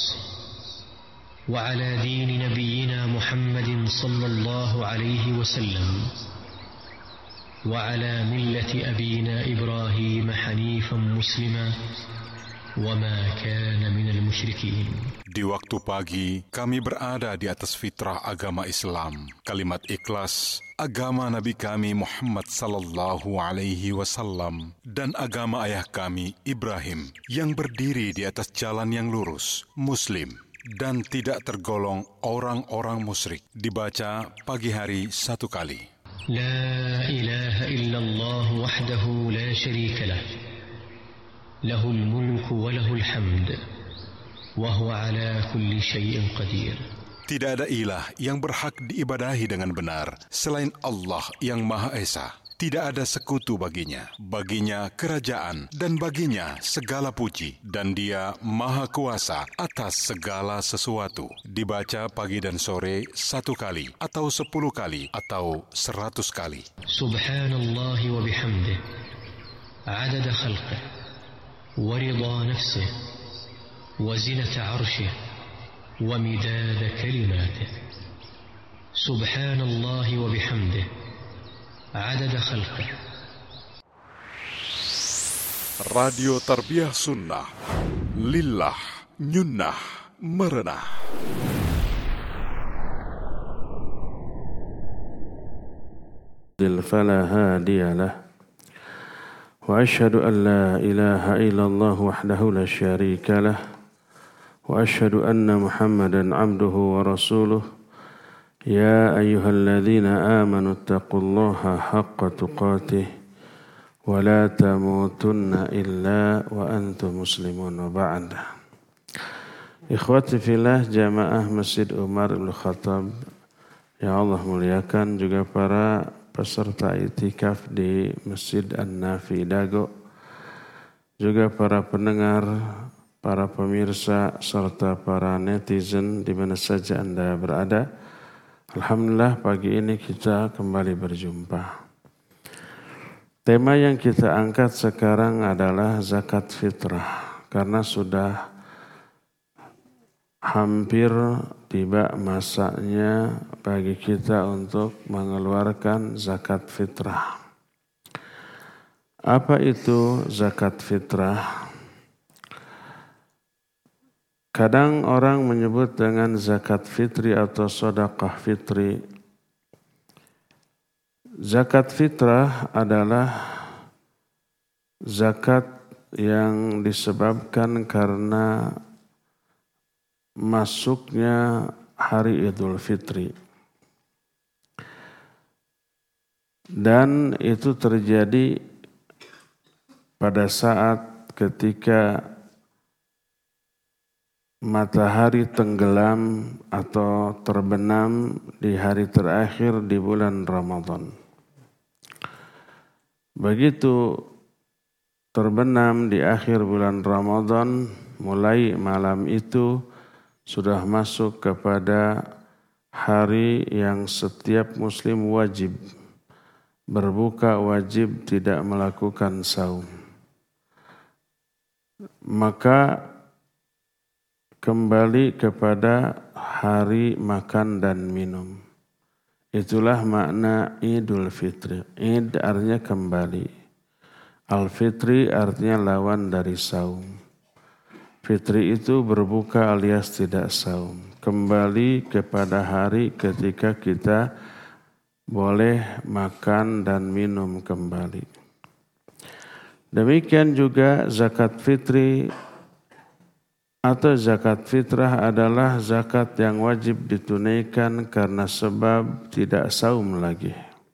وعلى دين نبينا محمد صلى الله عليه وسلم وعلى ملة أبينا إبراهيم حنيفا مسلما وما كان من المشركين. Di waktu pagi, kami berada di atas fitrah agama Islam, kalimat ikhlas, agama Nabi kami Muhammad sallallahu alaihi wasallam, dan agama ayah kami Ibrahim yang berdiri di atas jalan yang lurus, Muslim, dan tidak tergolong orang-orang musyrik. Dibaca pagi hari 1 kali. La ilaha illallah wahdahu la syarika lah, lahul mulku wa lahul hamd, wa huwa ala kulli syai'in qadir. Tidak ada ilah yang berhak diibadahi dengan benar selain Allah yang Maha Esa. Tidak ada sekutu baginya. Baginya kerajaan dan baginya segala puji. Dan Dia Maha Kuasa atas segala sesuatu. Dibaca pagi dan sore 1 kali, atau 10 kali, atau 100 kali. Subhanallah wa bihamdih, adada khalqih, wa ridha nafsih, wa zinata arshih, wa midada kalimatih. Subhanallah wa bihamdih, عدد خلقه Radio Tarbiyah Sunnah. Lillah, nyunnah, merenah. فلا هادي له وأشهد أن لا إله إلا الله وحده لا شريك له وأشهد أن محمدا عبده ورسوله يا أيها الذين آمنوا اتقوا الله حق تقاته ولا تموتن إلا وأنتم مسلمون وبعد. Ikhwati fillah jamaah Masjid Umar Ibn Khattab yang Allah muliakan, juga para peserta itikaf di Masjid An-Nafi Dago, juga para pendengar, para pemirsa, serta para netizen di mana saja Anda berada. Alhamdulillah pagi ini kita kembali berjumpa. Tema yang kita angkat sekarang adalah zakat fitrah, karena sudah hampir tiba masanya bagi kita untuk mengeluarkan zakat fitrah. Apa itu zakat fitrah? Kadang orang menyebut dengan zakat fitri atau sedekah fitri. Zakat fitrah adalah zakat yang disebabkan karena masuknya hari Idul Fitri. Dan itu terjadi pada saat ketika matahari tenggelam atau terbenam di hari terakhir di bulan Ramadan. Begitu terbenam di akhir bulan Ramadan, mulai malam itu sudah masuk kepada hari yang setiap muslim wajib berbuka, wajib tidak melakukan saum. Maka kembali kepada hari makan dan minum. Itulah makna Idul Fitri. Id artinya kembali. Al-Fitri artinya lawan dari saum. Fitri itu berbuka alias tidak saum. Kembali kepada hari ketika kita boleh makan dan minum kembali. Demikian juga zakat fitri atau zakat fitrah adalah zakat yang wajib ditunaikan karena sebab tidak saum lagi.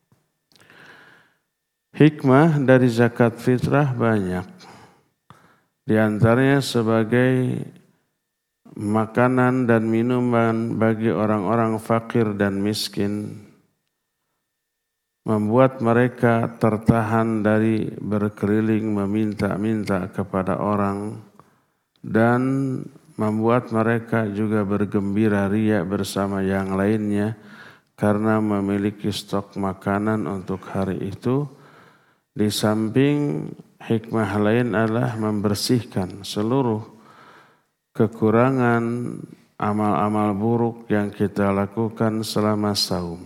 Hikmah dari zakat fitrah banyak. Di antaranya sebagai makanan dan minuman bagi orang-orang fakir dan miskin, membuat mereka tertahan dari berkeliling meminta-minta kepada orang, dan membuat mereka juga bergembira ria bersama yang lainnya karena memiliki stok makanan untuk hari itu. Di samping hikmah lain adalah membersihkan seluruh kekurangan amal-amal buruk yang kita lakukan selama saum.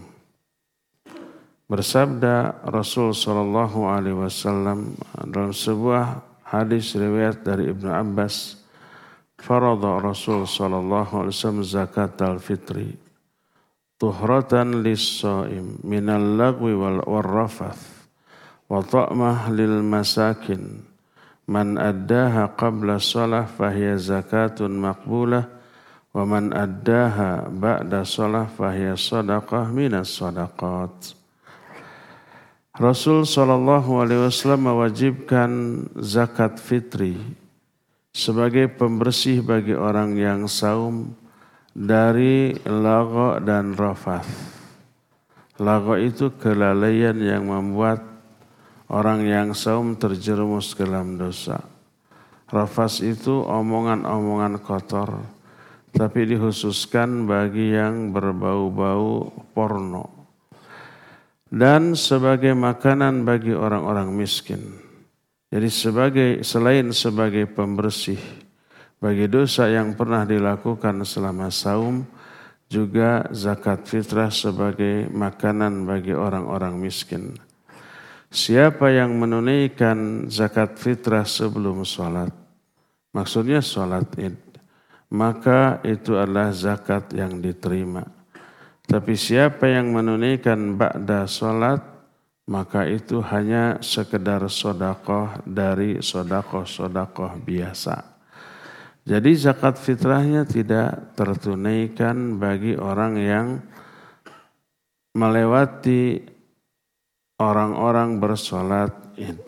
Bersabda Rasul SAW dalam sebuah hadis riwayat dari Ibnu Abbas, farada Rasul SAW zakat al-fitri tuhratan lis-shaim minal lagwi wal rafath wa ta'mah lil masakin man addaha qabla shalah fahiya zakatun maqbulah wa man addaha ba'da shalah fahiya sadaqah minas sadaqat. Rasul SAW mewajibkan zakat fitri sebagai pembersih bagi orang yang saum dari lagha dan rafath. Lagha itu kelalaian yang membuat orang yang saum terjerumus ke dalam dosa. Rafas itu omongan-omongan kotor, tapi dikhususkan bagi yang berbau-bau porno. Dan sebagai makanan bagi orang-orang miskin. Jadi selain sebagai pembersih bagi dosa yang pernah dilakukan selama saum, juga zakat fitrah sebagai makanan bagi orang-orang miskin. siapa yang menunaikan zakat fitrah sebelum sholat, maksudnya sholat id, maka itu adalah zakat yang diterima. Tapi siapa yang menunaikan ba'da sholat, maka itu hanya sekedar sedekah dari sedekah biasa. Jadi zakat fitrahnya tidak tertunaikan bagi orang yang melewati orang-orang bersolat id.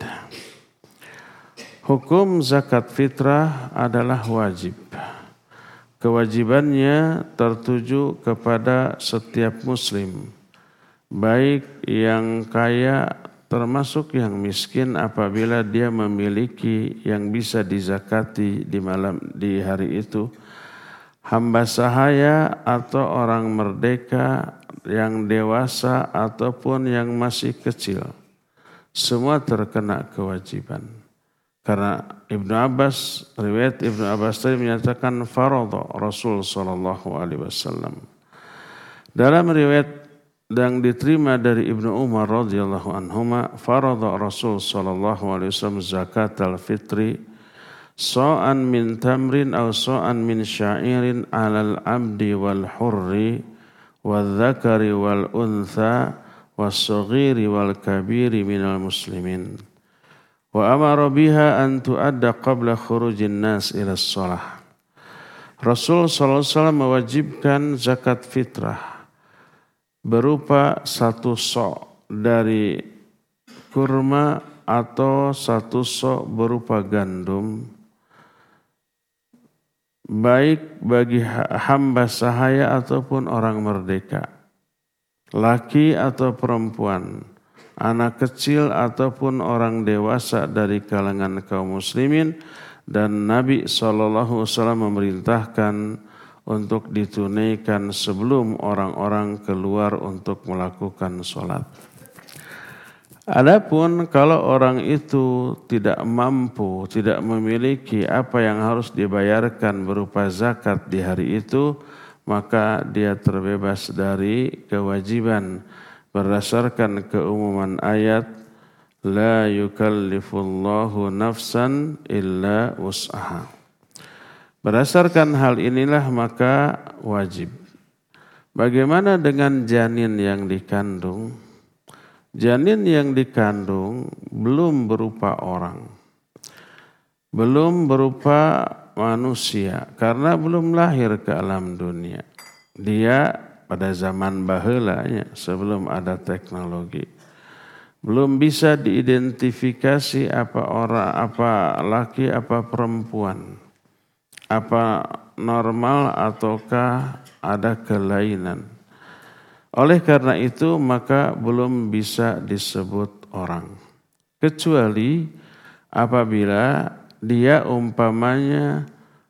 Hukum zakat fitrah adalah wajib. Kewajibannya tertuju kepada setiap muslim, baik yang kaya termasuk yang miskin apabila dia memiliki yang bisa dizakati di hari itu, hamba sahaya atau orang merdeka yang dewasa ataupun yang masih kecil, semua terkena kewajiban. Karena riwayat Ibnu Abbas tadi menyatakan faradha Rasul sallallahu alaihi wasallam. Dalam riwayat yang diterima dari Ibnu Umar radhiyallahu anhuma, faradha Rasul sallallahu alaihi wasallam zakatal fitri sa'an min tamrin aw sa'an min sya'irin 'alal 'abdi wal hurri wal dzakari wal untha was saghiri wal kabiri minal muslimin. Wa amara biha an tu'adda qabla khurujin nas ila shalah. Rasul sallallahu alaihi wasallam mewajibkan zakat fitrah berupa 1 sok dari kurma atau 1 sok berupa gandum, baik bagi hamba sahaya ataupun orang merdeka, laki atau perempuan, anak kecil ataupun orang dewasa dari kalangan kaum muslimin, dan Nabi SAW memerintahkan untuk ditunaikan sebelum orang-orang keluar untuk melakukan sholat. Adapun kalau orang itu tidak mampu, tidak memiliki apa yang harus dibayarkan berupa zakat di hari itu, maka dia terbebas dari kewajiban berdasarkan keumuman ayat la yukallifullahu nafsan illa wus'aha. Berdasarkan hal inilah maka wajib. Bagaimana dengan janin yang dikandung? Janin yang dikandung belum berupa orang, belum berupa manusia karena belum lahir ke alam dunia. Dia pada zaman baheulanya sebelum ada teknologi belum bisa diidentifikasi apa orang, apa laki, apa perempuan, apa normal ataukah ada kelainan. Oleh karena itu maka belum bisa disebut orang. Kecuali apabila dia umpamanya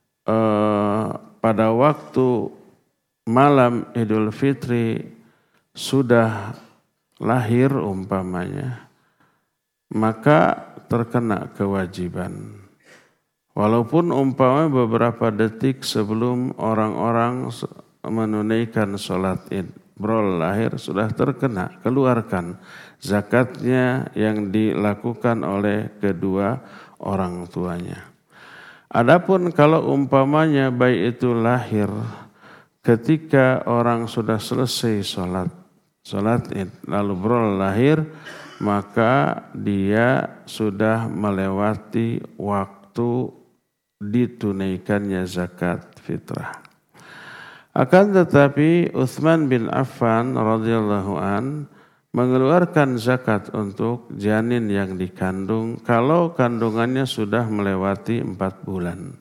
pada waktu malam Idul Fitri sudah lahir umpamanya, maka terkena kewajiban. Walaupun umpamanya beberapa detik sebelum orang-orang menunaikan sholat id, lahir sudah terkena, keluarkan zakatnya yang dilakukan oleh kedua orang tuanya. Adapun kalau umpamanya bayi itu lahir ketika orang sudah selesai sholat id lalu lahir, maka dia sudah melewati waktu ditunaikannya zakat fitrah. Akan tetapi Utsman bin Affan radhiyallahu an mengeluarkan zakat untuk janin yang dikandung kalau kandungannya sudah melewati 4 bulan.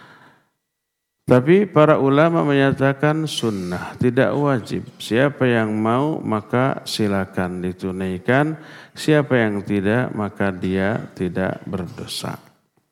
Tapi para ulama menyatakan sunnah, tidak wajib. Siapa yang mau maka silakan ditunaikan, siapa yang tidak maka dia tidak berdosa.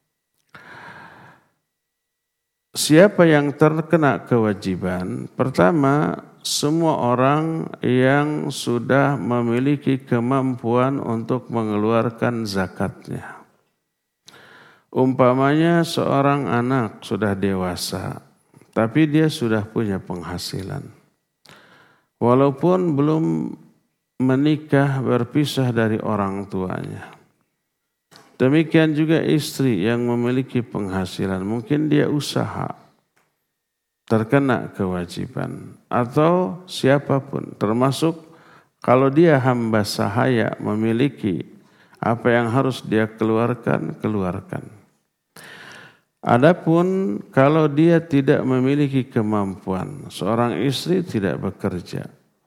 Siapa yang terkena kewajiban? Pertama, semua orang yang sudah memiliki kemampuan untuk mengeluarkan zakatnya. Umpamanya seorang anak sudah dewasa, tapi dia sudah punya penghasilan. Walaupun belum menikah berpisah dari orang tuanya. Demikian juga istri yang memiliki penghasilan, mungkin dia usaha, terkena kewajiban. Atau siapapun, termasuk kalau dia hamba sahaya memiliki apa yang harus dia keluarkan. Adapun kalau dia tidak memiliki kemampuan, seorang istri tidak bekerja,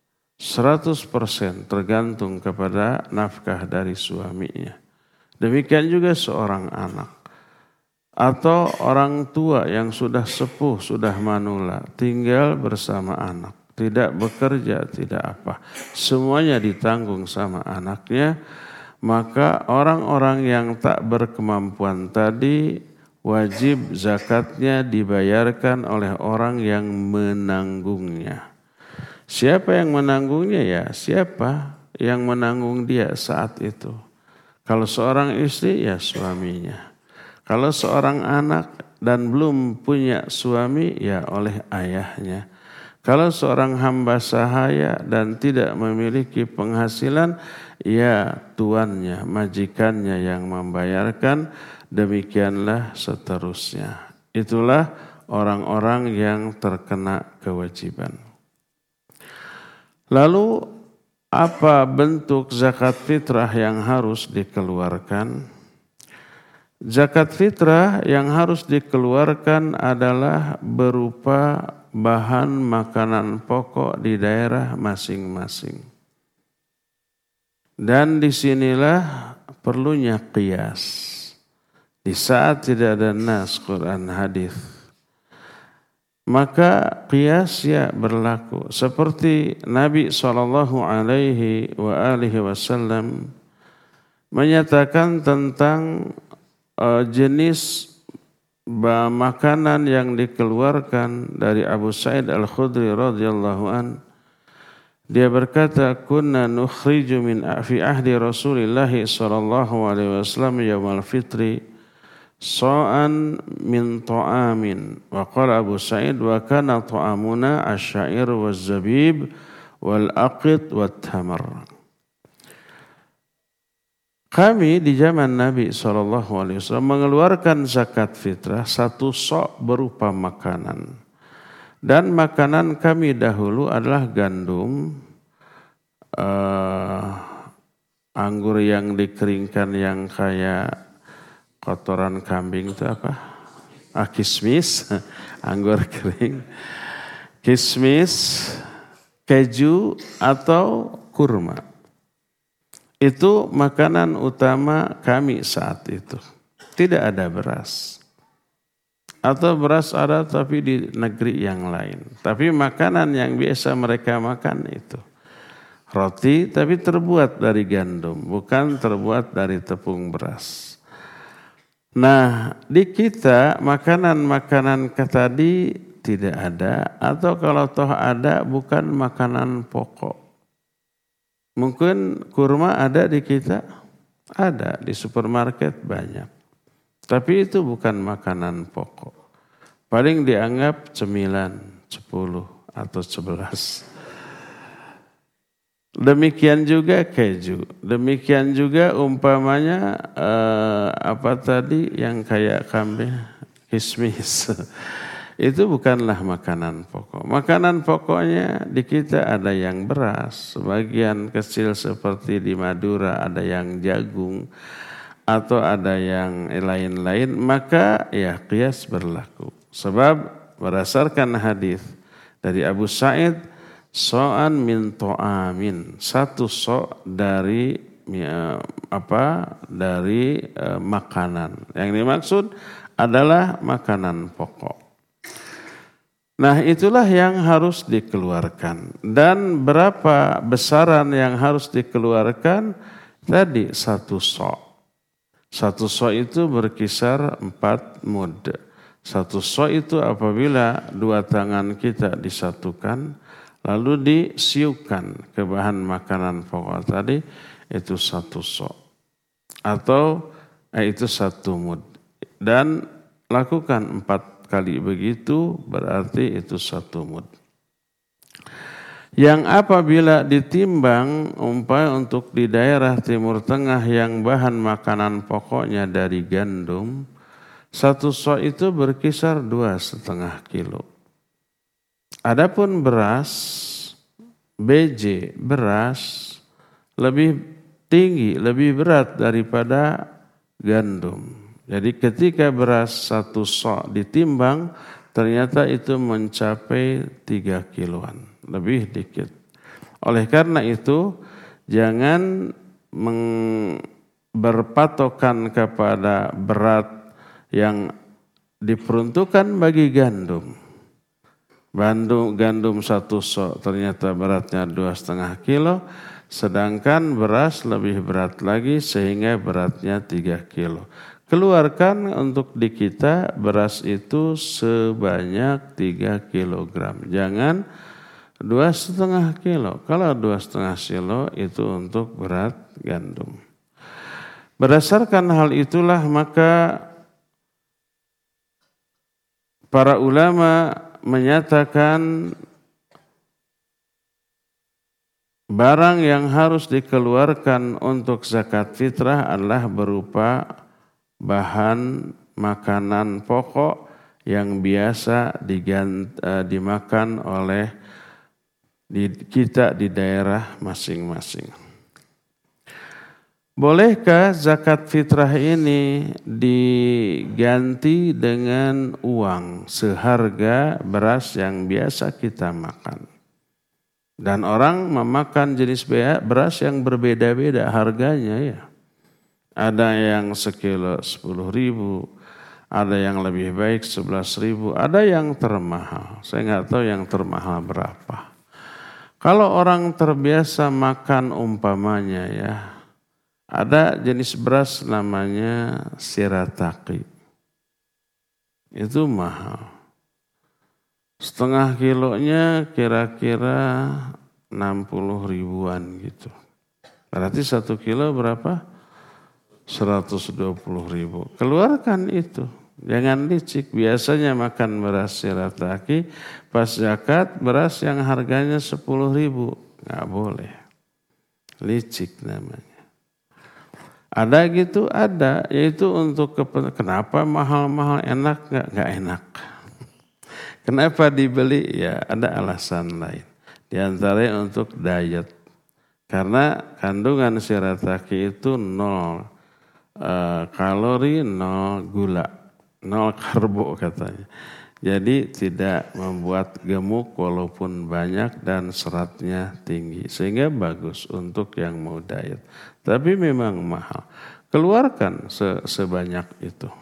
100% tergantung kepada nafkah dari suaminya. Demikian juga seorang anak atau orang tua yang sudah sepuh, sudah manula, tinggal bersama anak, tidak bekerja, tidak apa, semuanya ditanggung sama anaknya. Maka orang-orang yang tak berkemampuan tadi wajib zakatnya dibayarkan oleh orang yang menanggungnya. Siapa yang menanggungnya? Ya, siapa yang menanggung dia saat itu. Kalau seorang istri, ya suaminya. Kalau seorang anak dan belum punya suami, ya oleh ayahnya. Kalau seorang hamba sahaya dan tidak memiliki penghasilan, ya tuannya, majikannya yang membayarkan. Demikianlah seterusnya. Itulah orang-orang yang terkena kewajiban. Lalu apa bentuk zakat fitrah yang harus dikeluarkan? Zakat fitrah yang harus dikeluarkan adalah berupa bahan makanan pokok di daerah masing-masing. Dan disinilah perlunya qiyas. Di saat tidak ada nas Quran hadis, maka qiyas ya berlaku. Seperti Nabi SAW menyatakan tentang jenis makanan yang dikeluarkan dari Abu Sa'id Al-Khudri radhiyallahu an. Dia berkata, "Kunna nukhriju min fi ahdi Rasulillah sallallahu alaihi wasallam yaumal fitri sa'an min ta'amin." Wa qala Abu Sa'id, "Wa kana ta'amuna asy-sya'ir waz-zabib wal aqit wat tamar." Kami di zaman Nabi SAW mengeluarkan zakat fitrah 1 sok berupa makanan. Dan makanan kami dahulu adalah gandum, anggur yang dikeringkan yang kayak kotoran kambing itu apa? Kismis, anggur kering, kismis, keju atau kurma. Itu makanan utama kami saat itu. Tidak ada beras. Atau beras ada tapi di negeri yang lain. Tapi makanan yang biasa mereka makan itu. Roti tapi terbuat dari gandum. Bukan terbuat dari tepung beras. Nah, di kita makanan-makanan tadi tidak ada. Atau kalau toh ada bukan makanan pokok. Mungkin kurma ada di kita, ada di supermarket banyak. Tapi itu bukan makanan pokok. Paling dianggap cemilan 10 atau 11. Demikian juga keju. Demikian juga umpamanya apa tadi yang kayak kambing, kismis. Itu bukanlah makanan pokok. Makanan pokoknya di kita ada yang beras, sebagian kecil seperti di Madura ada yang jagung, atau ada yang lain-lain, maka ya qiyas berlaku. Sebab berdasarkan hadis dari Abu Sa'id, so'an min to'amin, 1 so' dari makanan. Yang dimaksud adalah makanan pokok. Nah, itulah yang harus dikeluarkan. Dan berapa besaran yang harus dikeluarkan? Tadi 1 so'. 1 so' itu berkisar 4 mud. 1 so' itu apabila 2 tangan kita disatukan, lalu disiupkan ke bahan makanan pokok tadi, itu 1 so'. Atau itu 1 mud. Dan lakukan 4 kali begitu, berarti itu 1 mud. yang apabila ditimbang umpamanya untuk di daerah Timur Tengah yang bahan makanan pokoknya dari gandum, 1 sok itu berkisar 2,5 kilo. Adapun beras, beras lebih tinggi, lebih berat daripada gandum. Jadi ketika beras 1 sok ditimbang, ternyata itu mencapai 3 kiloan, lebih dikit. Oleh karena itu, jangan berpatokan kepada berat yang diperuntukkan bagi gandum. Gandum 1 sok ternyata beratnya 2,5 kilo, sedangkan beras lebih berat lagi sehingga beratnya 3 kilo. Keluarkan untuk di kita beras itu sebanyak 3 kilogram. Jangan 2,5 kilo. Kalau 2,5 kilo itu untuk berat gandum. Berdasarkan hal itulah maka para ulama menyatakan barang yang harus dikeluarkan untuk zakat fitrah adalah berupa bahan makanan pokok yang biasa dimakan oleh kita di daerah masing-masing. Bolehkah zakat fitrah ini diganti dengan uang seharga beras yang biasa kita makan? Dan orang memakan jenis beras yang berbeda-beda harganya ya. Ada yang sekilo 10.000, ada yang lebih baik 11.000, ada yang termahal. Saya nggak tahu yang termahal berapa. Kalau orang terbiasa makan umpamanya ya, ada jenis beras namanya shirataki. Itu mahal. 1/2 kilonya kira-kira 60 ribuan gitu. Berarti 1 kilo berapa? 120.000. Keluarkan itu. Jangan licik. Biasanya makan beras shirataki, pas zakat beras yang harganya 10.000. Nggak boleh. Licik namanya. Ada gitu, ada. Yaitu untuk kenapa mahal-mahal enak, nggak enak. Kenapa dibeli? Ya ada alasan lain. Di antaranya untuk diet. Karena kandungan shirataki itu 0 kalori, 0 gula, 0 karbo katanya. Jadi tidak membuat gemuk walaupun banyak dan seratnya tinggi. Sehingga bagus untuk yang mau diet. Tapi memang mahal. Keluarkan sebanyak itu.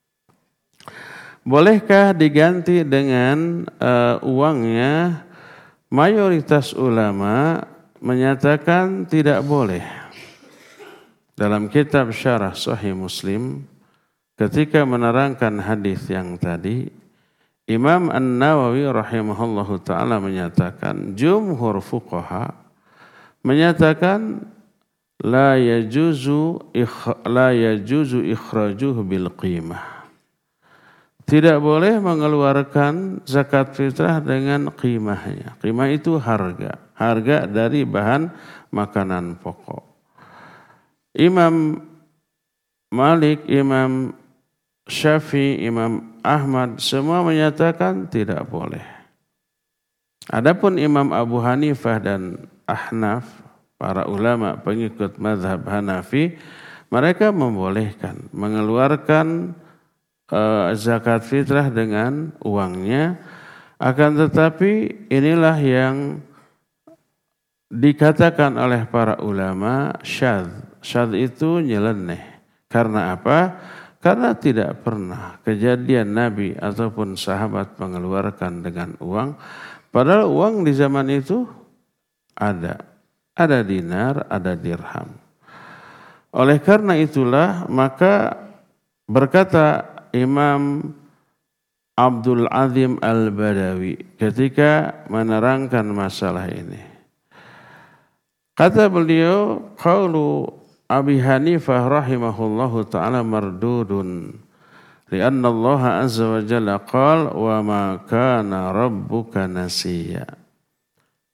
Bolehkah diganti dengan uangnya? Mayoritas ulama menyatakan tidak boleh. Dalam kitab Syarah Sahih Muslim, ketika menerangkan hadis yang tadi, Imam An-Nawawi rahimahullahu ta'ala menyatakan, jumhur fuqaha menyatakan la yajuzu ikhrajuh bil qimah. Tidak boleh mengeluarkan zakat fitrah dengan qimahnya. Qimah itu harga. Harga dari bahan makanan pokok. Imam Malik, Imam Syafi'i, Imam Ahmad semua menyatakan tidak boleh. Adapun Imam Abu Hanifah dan Ahnaf, para ulama pengikut mazhab Hanafi, mereka membolehkan mengeluarkan zakat fitrah dengan uangnya. Akan tetapi inilah yang dikatakan oleh para ulama syadz. Syadz itu nyeleneh. Karena apa? Karena tidak pernah kejadian Nabi ataupun sahabat mengeluarkan dengan uang. Padahal uang di zaman itu ada. Ada dinar, ada dirham. Oleh karena itulah maka berkata Imam Abdul Azim Al-Badawi ketika menerangkan masalah ini. Kata beliau, qaulu Abi Hanifah rahimahullahu ta'ala mardudun. Lianna Allah azza wa jalla qala wa ma kana rabbuka nasiya.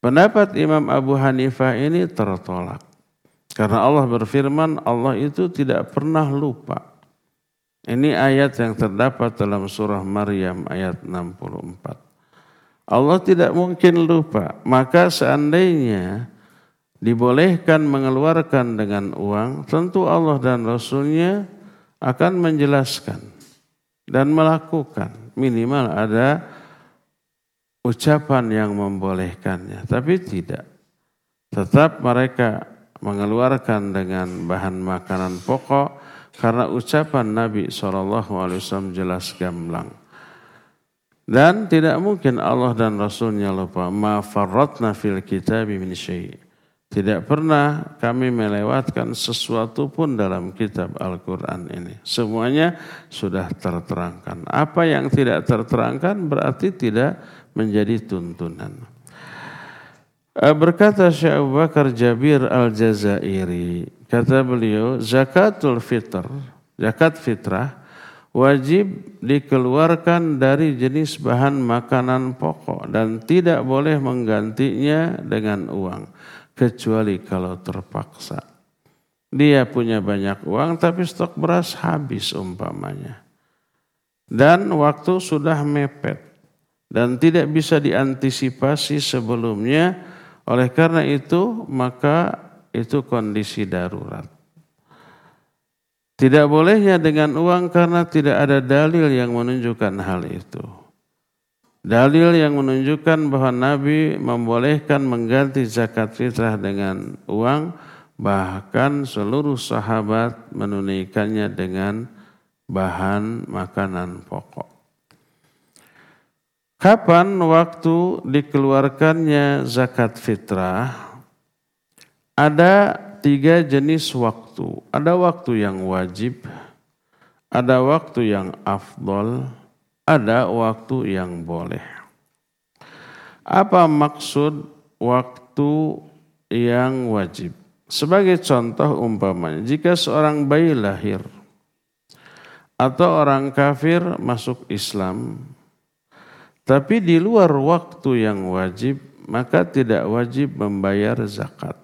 Pendapat Imam Abu Hanifah ini tertolak. Karena Allah berfirman, Allah itu tidak pernah lupa. Ini ayat yang terdapat dalam surah Maryam ayat 64. Allah tidak mungkin lupa. Maka seandainya dibolehkan mengeluarkan dengan uang, tentu Allah dan Rasulnya akan menjelaskan dan melakukan. Minimal ada ucapan yang membolehkannya. Tapi tidak. Tetap mereka mengeluarkan dengan bahan makanan pokok karena ucapan Nabi SAW jelas gamblang. Dan tidak mungkin Allah dan Rasulnya lupa. Ma farratna fil kitabi min syai'. Tidak pernah kami melewatkan sesuatu pun dalam kitab Al-Quran ini. Semuanya sudah terterangkan. Apa yang tidak terterangkan berarti tidak menjadi tuntunan. Berkata Syekh Abu Bakar Jabir Al-Jazairi, kata beliau, zakatul fitr, zakat fitrah, wajib dikeluarkan dari jenis bahan makanan pokok dan tidak boleh menggantinya dengan uang, kecuali kalau terpaksa. Dia punya banyak uang tapi stok beras habis umpamanya. Dan waktu sudah mepet dan tidak bisa diantisipasi sebelumnya. Oleh karena itu, maka itu kondisi darurat. Tidak bolehnya dengan uang karena tidak ada dalil yang menunjukkan hal itu. Dalil yang menunjukkan bahwa Nabi membolehkan mengganti zakat fitrah dengan uang, bahkan seluruh sahabat menunaikannya dengan bahan makanan pokok. Kapan waktu dikeluarkannya zakat fitrah? Ada 3 jenis waktu. Ada waktu yang wajib, ada waktu yang afdol, ada waktu yang boleh. Apa maksud waktu yang wajib? Sebagai contoh umpamanya, jika seorang bayi lahir atau orang kafir masuk Islam, tapi di luar waktu yang wajib, maka tidak wajib membayar zakat.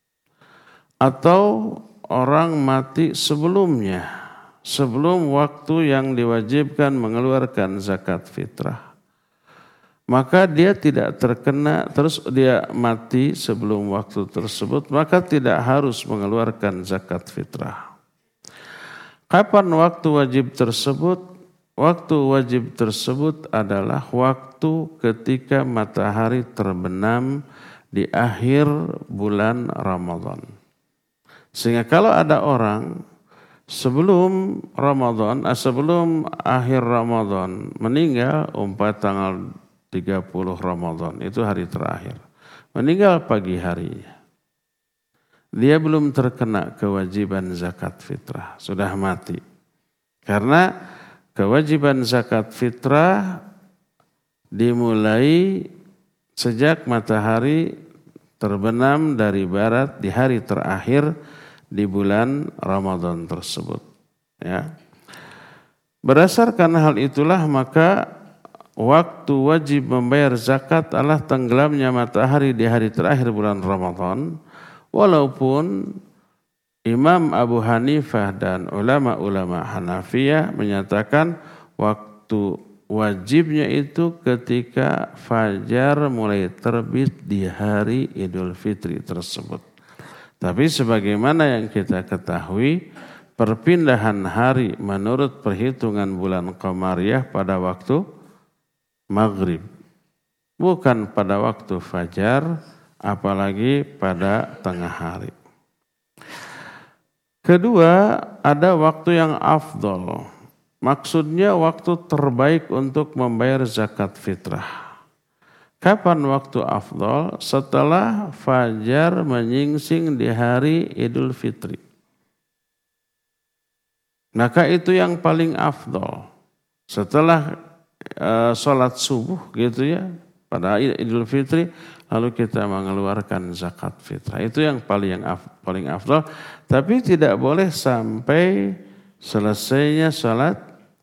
Atau orang mati sebelumnya, sebelum waktu yang diwajibkan mengeluarkan zakat fitrah, maka dia tidak terkena, terus dia mati sebelum waktu tersebut, maka tidak harus mengeluarkan zakat fitrah. Kapan waktu wajib tersebut? Waktu wajib tersebut adalah waktu ketika matahari terbenam di akhir bulan Ramadan. Sehingga kalau ada orang sebelum Ramadan, sebelum akhir Ramadan meninggal, tanggal 30 Ramadan, itu hari terakhir. Meninggal pagi harinya. Dia belum terkena kewajiban zakat fitrah, sudah mati. Karena kewajiban zakat fitrah dimulai sejak matahari terbenam dari barat di hari terakhir di bulan Ramadan tersebut. Ya. Berdasarkan hal itulah maka waktu wajib membayar zakat adalah tenggelamnya matahari di hari terakhir bulan Ramadan. Walaupun Imam Abu Hanifah dan ulama-ulama Hanafiyah menyatakan waktu wajibnya itu ketika fajar mulai terbit di hari Idul Fitri tersebut. Tapi sebagaimana yang kita ketahui, perpindahan hari menurut perhitungan bulan Qamariyah pada waktu maghrib. Bukan pada waktu fajar, apalagi pada tengah hari. Kedua, ada waktu yang afdol. Maksudnya waktu terbaik untuk membayar zakat fitrah. Kapan waktu afdol? Setelah fajar menyingsing di hari Idul Fitri. Maka itu yang paling afdol. Setelah sholat subuh gitu ya, pada Idul Fitri, lalu kita mengeluarkan zakat fitrah. Itu yang paling afdal. Tapi tidak boleh sampai selesainya salat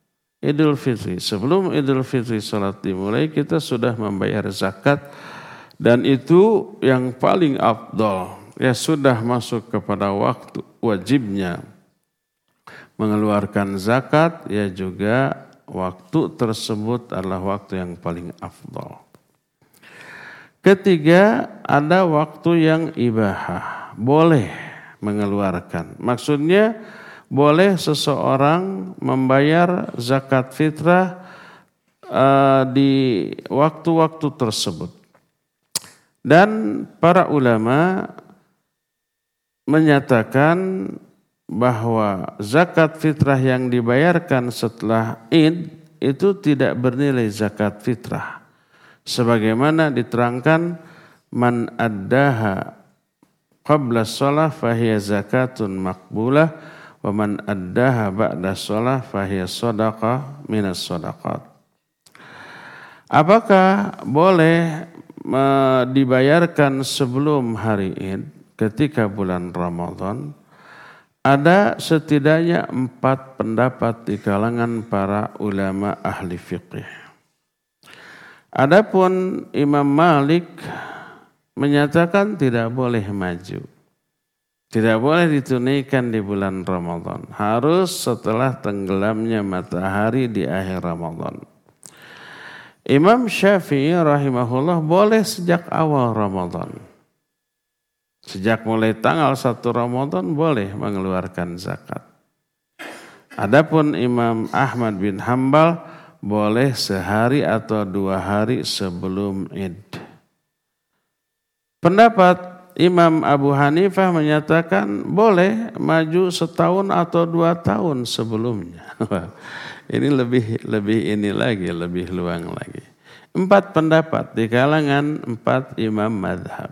Idul Fitri. Sebelum Idul Fitri salat dimulai, kita sudah membayar zakat Dan itu yang paling afdal. Ya sudah masuk kepada waktu wajibnya mengeluarkan zakat, ya juga waktu tersebut adalah waktu yang paling afdal. Ketiga, ada waktu yang ibahah, boleh mengeluarkan. Maksudnya boleh seseorang membayar zakat fitrah di waktu-waktu tersebut. Dan para ulama menyatakan bahwa zakat fitrah yang dibayarkan setelah Id itu tidak bernilai zakat fitrah. Sebagaimana diterangkan, man addaha qabla shalah fahiya zakatun maqbulah wa man addaha ba'da shalah fahiya shadaqah minas shadaqat. Apakah boleh dibayarkan sebelum hari Id ketika bulan Ramadan? Ada setidaknya 4 pendapat di kalangan para ulama ahli fiqih. Adapun Imam Malik menyatakan tidak boleh maju. Tidak boleh ditunaikan di bulan Ramadan. Harus setelah tenggelamnya matahari di akhir Ramadan. Imam Syafi'i rahimahullah boleh sejak awal Ramadan. Sejak mulai tanggal 1 Ramadan boleh mengeluarkan zakat. Adapun Imam Ahmad bin Hanbal boleh sehari atau 2 hari sebelum Id. Pendapat Imam Abu Hanifah menyatakan boleh maju setahun atau 2 tahun sebelumnya. Ini lebih luang lagi. 4 pendapat di kalangan 4 imam madhab.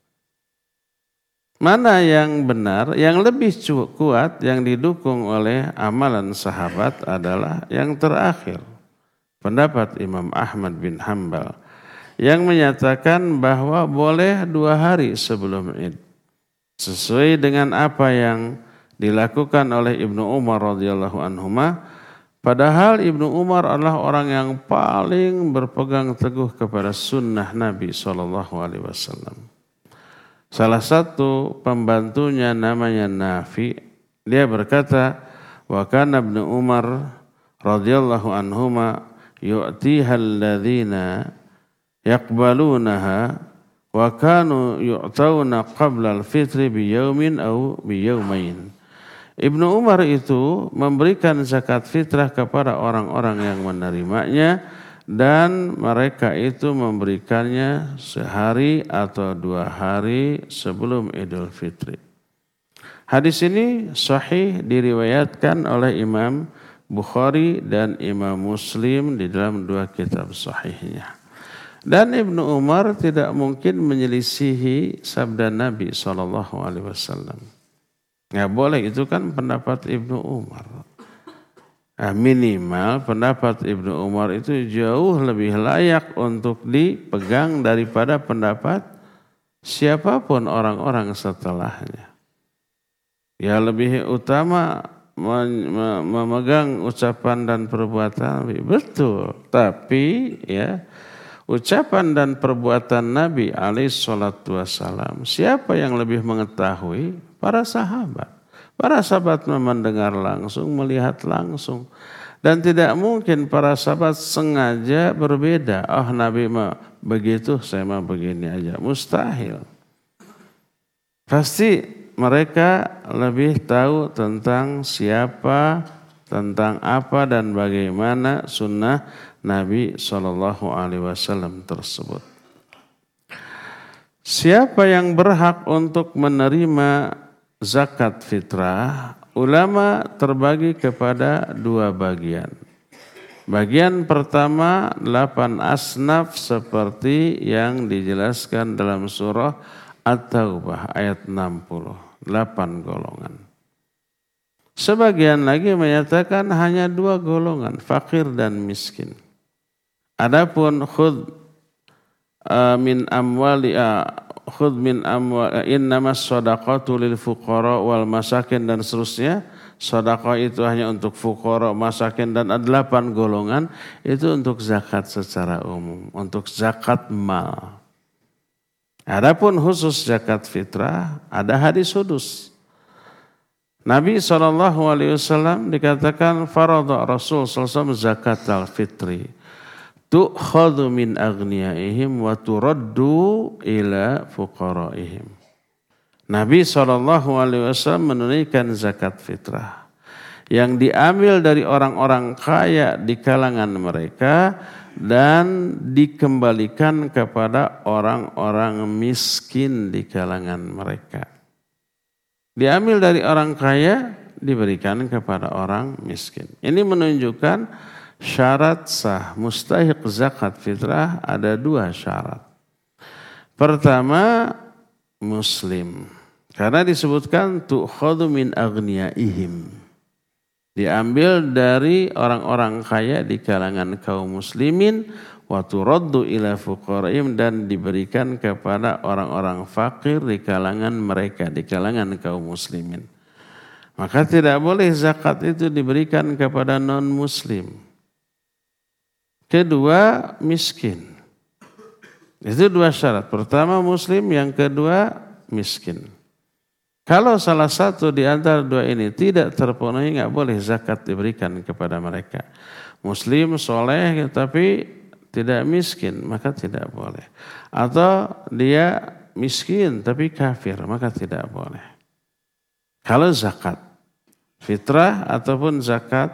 Mana yang benar, yang lebih kuat, yang didukung oleh amalan sahabat adalah yang terakhir. Pendapat Imam Ahmad bin Hanbal yang menyatakan bahwa boleh 2 hari sebelum Id. Sesuai dengan apa yang dilakukan oleh Ibnu Umar radhiyallahu anhuma. Padahal Ibnu Umar adalah orang yang paling berpegang teguh kepada sunnah Nabi SAW. Salah satu pembantunya namanya Nafi, dia berkata, wa kana Ibnu Umar radhiyallahu anhuma yu'tiha alladhina yaqbalunaha wa kanu yu'tawna qabla al-fitri biyaumin aw biyaumain. Ibnu Umar itu memberikan zakat fitrah kepada orang-orang yang menerimanya dan mereka itu memberikannya sehari atau 2 hari sebelum Idul Fitri. Hadis ini sahih diriwayatkan oleh Imam Bukhari dan Imam Muslim di dalam 2 kitab sahihnya. Dan Ibnu Umar tidak mungkin menyelisihi sabda Nabi SAW. Nggak boleh, itu kan pendapat Ibnu Umar. Minimal pendapat Ibnu Umar itu jauh lebih layak untuk dipegang daripada pendapat siapapun orang-orang setelahnya. Ya lebih utama memegang ucapan dan perbuatan Nabi. Betul, tapi ya ucapan dan perbuatan Nabi alaihissalam, siapa yang lebih mengetahui? Para sahabat. Para sahabat mendengar langsung, melihat langsung. Dan tidak mungkin para sahabat sengaja berbeda. Oh Nabi mah begitu, saya mah begini aja. Mustahil. Pasti mereka lebih tahu tentang siapa, tentang apa dan bagaimana sunnah Nabi SAW tersebut. Siapa yang berhak untuk menerima zakat fitrah? Ulama terbagi kepada 2 bagian. Bagian pertama 8 asnaf seperti yang dijelaskan dalam surah At-Taubah ayat 60. 8 golongan. Sebagian lagi menyatakan hanya 2 golongan, fakir dan miskin. Adapun khudh min amwali innamas shadaqatu lil fuqara wal masakin dan seterusnya. Sedekah itu hanya untuk fuqara, masakin dan ada 8 golongan, itu untuk zakat secara umum, untuk zakat mal. Adapun khusus zakat fitrah ada hadis sudus. Nabi SAW dikatakan faradha Rasul SAW zakat al-fitri tu'khadhu min aghniyaihim wa turaddu ila fuqaraihim. Nabi SAW menunaikan zakat fitrah yang diambil dari orang-orang kaya di kalangan mereka dan dikembalikan kepada orang-orang miskin di kalangan mereka. Diambil dari orang kaya, diberikan kepada orang miskin. Ini menunjukkan syarat sah mustahiq zakat fitrah ada 2 syarat. Pertama, muslim. Karena disebutkan tu'khadhu min aghniyaihim. Diambil dari orang-orang kaya di kalangan kaum muslimin wa turaddu ila fuqaraihim dan diberikan kepada orang-orang fakir di kalangan mereka, di kalangan kaum muslimin. Maka tidak boleh zakat itu diberikan kepada non-muslim. Kedua, miskin. Itu 2 syarat. Pertama muslim, yang kedua miskin. Kalau salah satu di antara 2 ini tidak terpenuhi, nggak boleh zakat diberikan kepada mereka. Muslim, soleh, tapi tidak miskin, maka tidak boleh. Atau dia miskin tapi kafir, maka tidak boleh. Kalau zakat fitrah ataupun zakat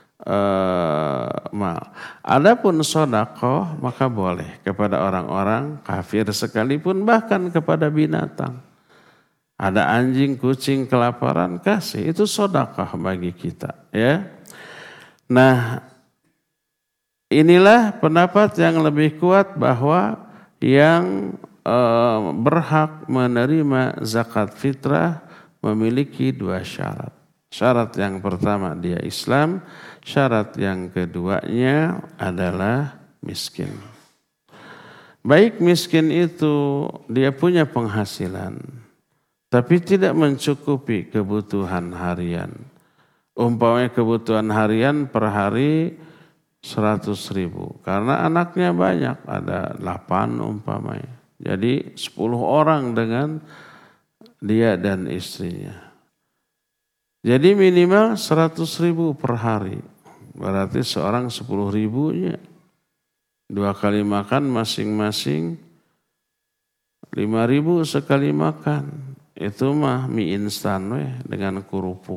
mal. Adapun sedekah maka boleh kepada orang-orang kafir sekalipun, bahkan kepada binatang. Ada anjing, kucing kelaparan, kasih, itu sedekah bagi kita, ya. Nah, inilah pendapat yang lebih kuat bahwa yang berhak menerima zakat fitrah memiliki 2 syarat. Syarat yang pertama dia Islam, syarat yang keduanya adalah miskin. Baik miskin itu dia punya penghasilan, tapi tidak mencukupi kebutuhan harian. Umpamanya kebutuhan harian per hari 100.000. Karena anaknya banyak, ada 8 umpamanya. Jadi 10 orang dengan dia dan istrinya. Jadi minimal 100.000 per hari. Berarti seorang 10.000-nya. 2 kali makan masing-masing 5.000 sekali makan. Itu mah mie instan dengan kerupuk.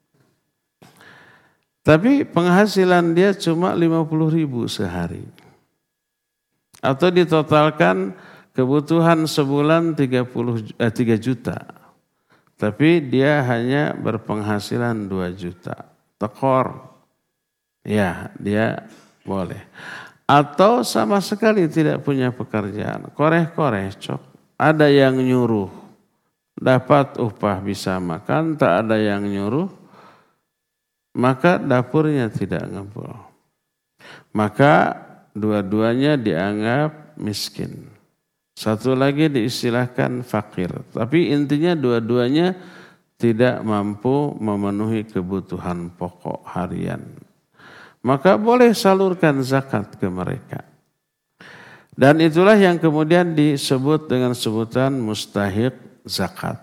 Tapi penghasilan dia cuma 50.000 sehari. Atau ditotalkan kebutuhan sebulan 3 juta. Tapi dia hanya berpenghasilan 2 juta. Tekor. Ya, dia boleh. Atau sama sekali tidak punya pekerjaan. Koreh-koreh cok. Ada yang nyuruh. Dapat upah bisa makan, tak ada yang nyuruh, maka dapurnya tidak ngebul. Maka dua-duanya dianggap miskin. Satu lagi diistilahkan fakir. Tapi intinya dua-duanya tidak mampu memenuhi kebutuhan pokok harian. Maka boleh salurkan zakat ke mereka. Dan itulah yang kemudian disebut dengan sebutan mustahiq zakat.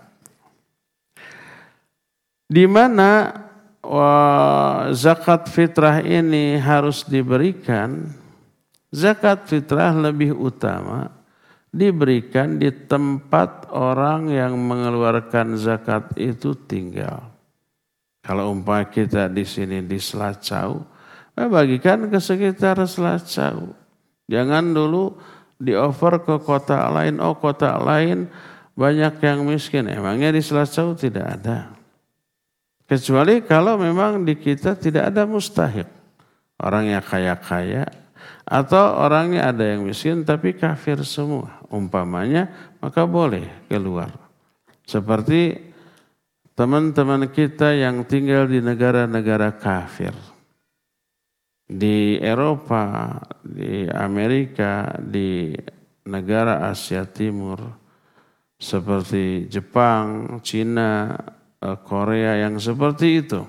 Di mana zakat fitrah ini harus diberikan, zakat fitrah lebih utama diberikan di tempat orang yang mengeluarkan zakat itu tinggal. Kalau umpama kita di sini di Selacau, bagikan ke sekitar Selacau. Jangan dulu di-offer ke kota lain, kota lain banyak yang miskin. Emangnya di Selacau tidak ada. Kecuali kalau memang di kita tidak ada mustahik. Orangnya kaya-kaya atau orangnya ada yang miskin tapi kafir semua. Umpamanya maka boleh keluar. Seperti teman-teman kita yang tinggal di negara-negara kafir. Di Eropa, di Amerika, di negara Asia Timur, seperti Jepang, Cina, Korea yang seperti itu.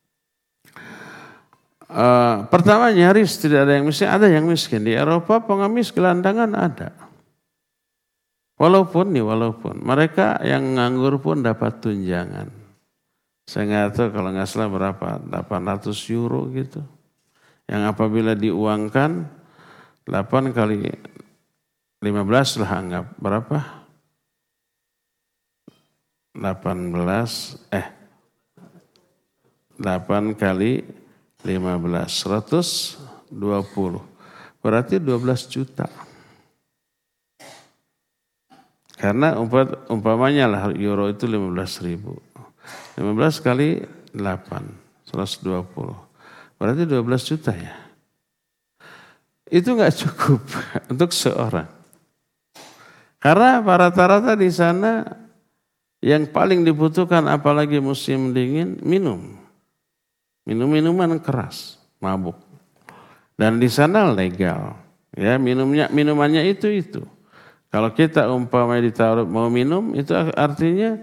Pertama nyaris tidak ada yang miskin, ada yang miskin. Di Eropa pengemis gelandangan ada. Walaupun mereka yang nganggur pun dapat tunjangan. Saya nggak tahu kalau nggak salah berapa, 800 euro gitu. Yang apabila diuangkan 8 kali 15 lah anggap berapa? 8 kali 15, 120. Berarti 12 juta. Karena umpamanya lah euro itu 15.000. 15 kali 8, 120. Berarti 12 juta ya. Itu nggak cukup untuk seorang. Karena rata-rata di sana yang paling dibutuhkan apalagi musim dingin, minuman keras, mabuk. Dan di sana legal. Ya, minumannya itu. Kalau kita umpamanya ditaruh mau minum, itu artinya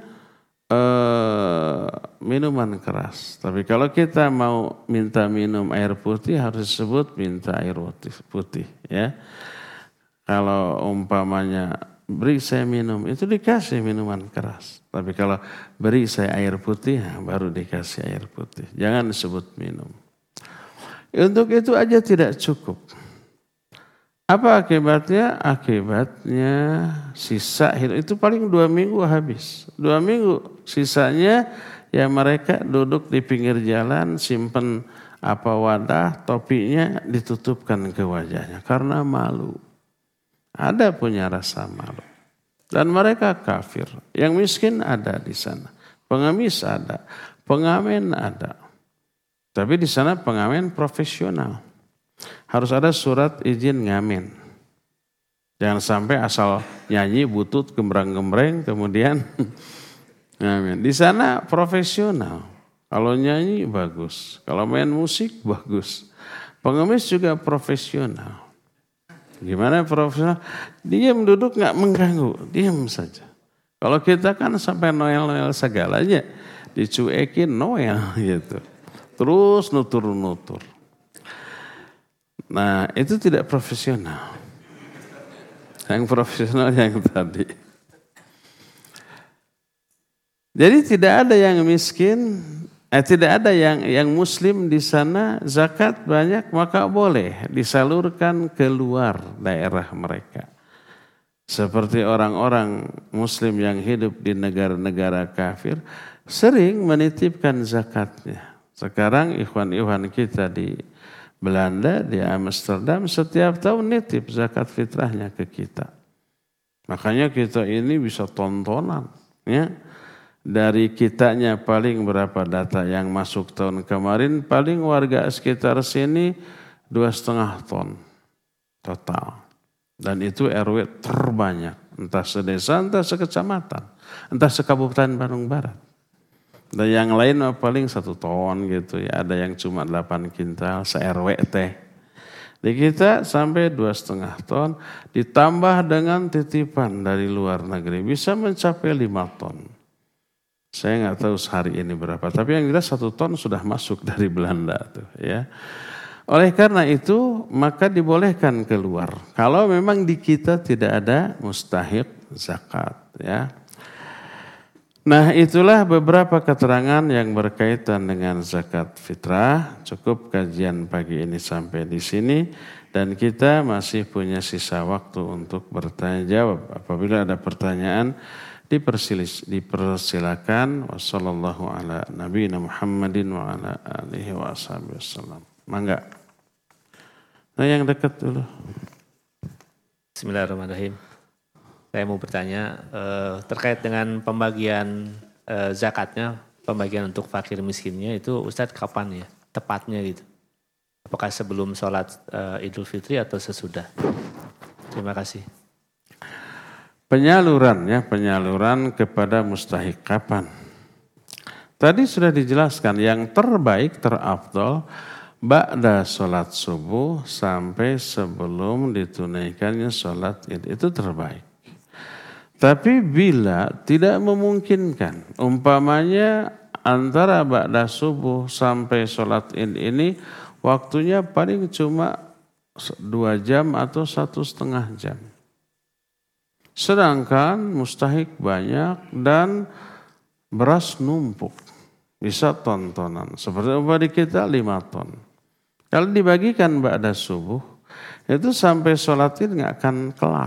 minuman keras. Tapi kalau kita mau minta minum air putih, harus disebut minta air putih. Ya. Kalau umpamanya beri saya minum, itu dikasih minuman keras. Tapi kalau beri saya air putih, baru dikasih air putih. Jangan disebut minum. Untuk itu aja tidak cukup. Apa akibatnya? Akibatnya sisa hidup itu paling 2 minggu habis. 2 minggu sisanya ya mereka duduk di pinggir jalan, simpen wadah, topinya ditutupkan ke wajahnya karena malu. Ada punya rasa malu. Dan mereka kafir. Yang miskin ada di sana. Pengemis ada. Pengamen ada. Tapi di sana pengamen profesional. Harus ada surat izin ngamen. Jangan sampai asal nyanyi butut gembrang-gembreng kemudian ngamen. Di sana profesional. Kalau nyanyi bagus. Kalau main musik bagus. Pengemis juga profesional. Gimana profesional? Diam duduk nggak mengganggu. Diam saja. Kalau kita kan sampai Noel segalanya. Dicuekin Noel gitu. Terus nutur-nutur. Nah itu tidak profesional. Yang profesional yang tadi. Jadi tidak ada yang miskin, tidak ada yang muslim di sana, zakat banyak maka boleh disalurkan keluar daerah mereka. Seperti orang-orang muslim yang hidup di negara-negara kafir sering menitipkan zakatnya. Sekarang ikhwan-ikhwan kita di Belanda, di Amsterdam setiap tahun nitip zakat fitrahnya ke kita. Makanya kita ini bisa tontonan. Ya. Dari kitanya paling berapa data yang masuk tahun kemarin, paling warga sekitar sini 2,5 ton total. Dan itu RW terbanyak. Entah sedesa, entah sekecamatan, entah sekabupaten Bandung Barat. Dan yang lain paling 1 ton gitu ya. Ada yang cuma 8 kintal se-RW teh. Di kita sampai 2,5 ton. Ditambah dengan titipan dari luar negeri. Bisa mencapai 5 ton. Saya nggak tahu sehari ini berapa. Tapi yang jelas 1 ton sudah masuk dari Belanda tuh ya. Oleh karena itu maka dibolehkan keluar. Kalau memang di kita tidak ada mustahik zakat ya. Nah itulah beberapa keterangan yang berkaitan dengan zakat fitrah. Cukup kajian pagi ini sampai di sini. Dan kita masih punya sisa waktu untuk bertanya jawab. Apabila ada pertanyaan dipersilakan. Wassallallahu ala nabiyina Muhammadin wa ala alihi wa ashabihi wassalam. Mangga. Nah yang dekat dulu. Bismillahirrahmanirrahim. Saya mau bertanya terkait dengan pembagian zakatnya, pembagian untuk fakir miskinnya itu Ustadz kapan ya tepatnya gitu? Apakah sebelum sholat Idul Fitri atau sesudah? Terima kasih. Penyaluran kepada mustahik kapan? Tadi sudah dijelaskan yang terbaik, terafdol ba'da sholat subuh sampai sebelum ditunaikannya sholat Id, itu terbaik. Tapi bila tidak memungkinkan, umpamanya antara ba'da subuh sampai sholat Id ini waktunya paling cuma 2 jam atau 1,5 jam. Sedangkan mustahik banyak dan beras numpuk. Bisa ton-tonan. Seperti upah di kita 5 ton. Kalau dibagikan ba'da subuh, itu sampai sholat id nggak akan kelar.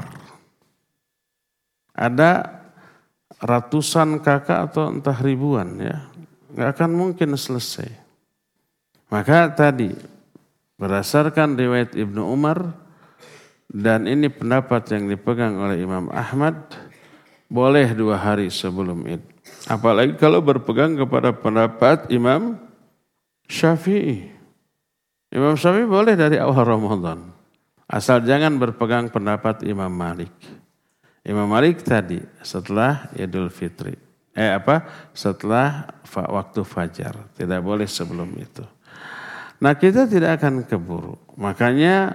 Ada ratusan kakak atau entah ribuan ya. Nggak akan mungkin selesai. Maka tadi, berdasarkan riwayat Ibnu Umar, dan ini pendapat yang dipegang oleh Imam Ahmad, boleh 2 hari sebelum Id. Apalagi kalau berpegang kepada pendapat Imam Syafi'i. Imam Syafi'i boleh dari awal Ramadan. Asal jangan berpegang pendapat Imam Malik. Imam Malik tadi setelah Idul Fitri. Setelah waktu fajar. Tidak boleh sebelum itu. Nah kita tidak akan keburu. Makanya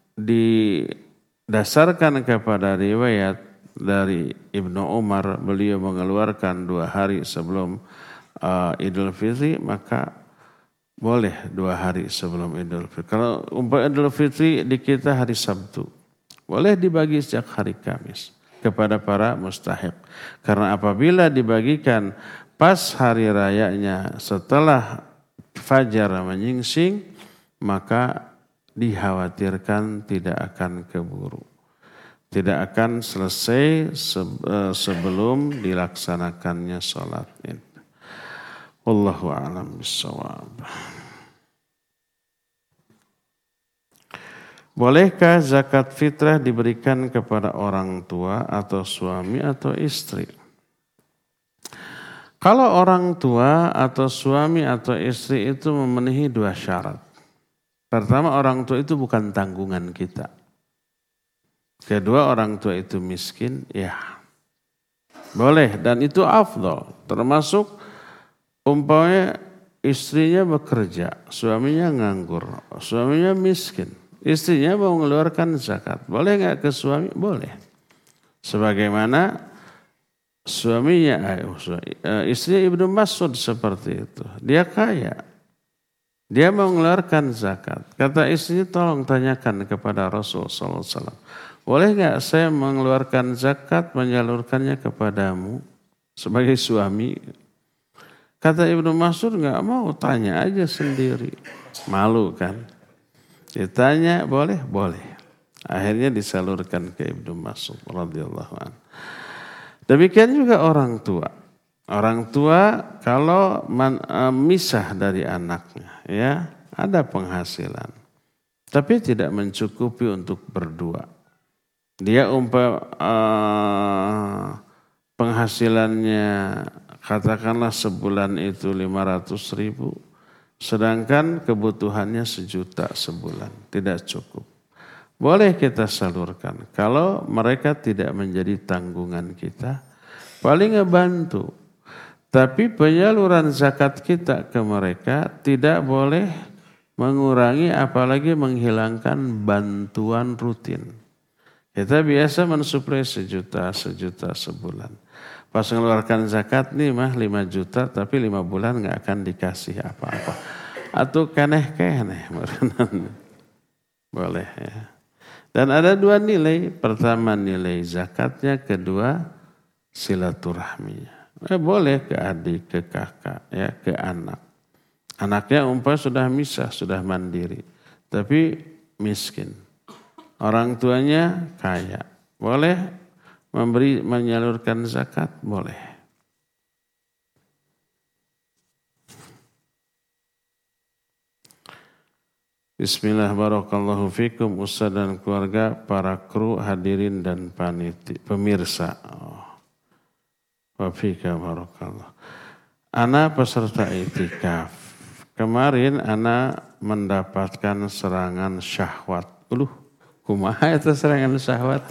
didasarkan kepada riwayat dari Ibnu Umar, beliau mengeluarkan 2 hari sebelum Idul Fitri, maka boleh 2 hari sebelum Idul Fitri. Kalau Idul Fitri di kita hari Sabtu, boleh dibagi sejak hari Kamis kepada para mustahik. Karena apabila dibagikan pas hari rayanya setelah fajar menyingsing, maka dikhawatirkan tidak akan keburu. Tidak akan selesai sebelum dilaksanakannya sholat Id. Wallahu a'lam bishawab. Bolehkah zakat fitrah diberikan kepada orang tua atau suami atau istri? Kalau orang tua atau suami atau istri itu memenuhi 2 syarat. Pertama, orang tua itu bukan tanggungan kita. Kedua, orang tua itu miskin, ya boleh dan itu afdal. Termasuk umpamanya istrinya bekerja, suaminya nganggur, suaminya miskin. Istrinya mau mengeluarkan zakat. Boleh nggak ke suami? Boleh. Sebagaimana suaminya, istrinya Ibnu Mas'ud seperti itu. Dia kaya. Dia mau mengeluarkan zakat. Kata istrinya, tolong tanyakan kepada Rasul SAW. Boleh nggak saya mengeluarkan zakat, menyalurkannya kepadamu sebagai suami? Kata Ibnu Mas'ud, nggak mau, tanya aja sendiri. Malu kan? Ditanya boleh? Boleh. Akhirnya disalurkan ke Ibnu Mas'ud radhiyallahu anhu. Demikian juga orang tua. Orang tua kalau misah dari anaknya, ya ada penghasilan, tapi tidak mencukupi untuk berdua. Dia penghasilannya katakanlah sebulan itu 500.000. Sedangkan kebutuhannya 1 juta sebulan, tidak cukup. Boleh kita salurkan. Kalau mereka tidak menjadi tanggungan kita, paling ngebantu. Tapi penyaluran zakat kita ke mereka tidak boleh mengurangi apalagi menghilangkan bantuan rutin. Kita biasa mensuplai 1 juta sebulan. Pas mengeluarkan zakat nih 5 juta tapi 5 bulan gak akan dikasih apa-apa. Atau keneh-keneh. Boleh ya. Dan ada 2 nilai. Pertama nilai zakatnya, kedua silaturahminya. Boleh ke adik, ke kakak, ya, ke anak. Anaknya sudah misah, sudah mandiri. Tapi miskin. Orang tuanya kaya. Boleh menyalurkan zakat, boleh. Bismillah, barakallahu fikum, Ustaz dan keluarga, para kru, hadirin dan pemirsa. Wa fika barakallah. Ana peserta iktikaf. Kemarin ana mendapatkan serangan syahwat. Kumaha itu serangan syahwat?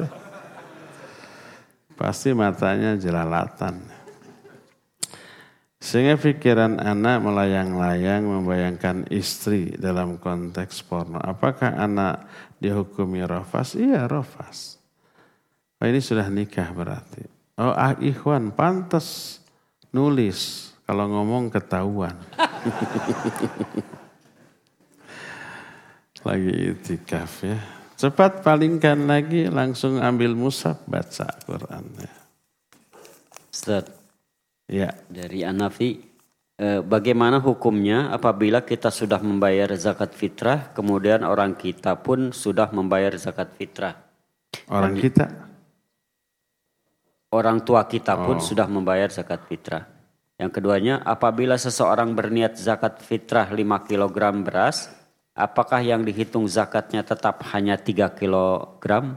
Pasti matanya jelalatan. Sehingga pikiran anak melayang-layang membayangkan istri dalam konteks porno. Apakah anak dihukumi rafas? Iya, rafas. Oh, ini sudah nikah berarti. Oh, ikhwan pantas nulis kalau ngomong ketahuan. Lagi iktikaf ya. Cepat palingkan lagi, langsung ambil mushaf, baca Quran. Ustaz, ya. Dari Anafi, bagaimana hukumnya apabila kita sudah membayar zakat fitrah, kemudian orang kita pun sudah membayar zakat fitrah? Orang kita? Orang tua kita pun sudah membayar zakat fitrah. Yang keduanya, apabila seseorang berniat zakat fitrah 5 kg beras, apakah yang dihitung zakatnya tetap hanya 3 kg?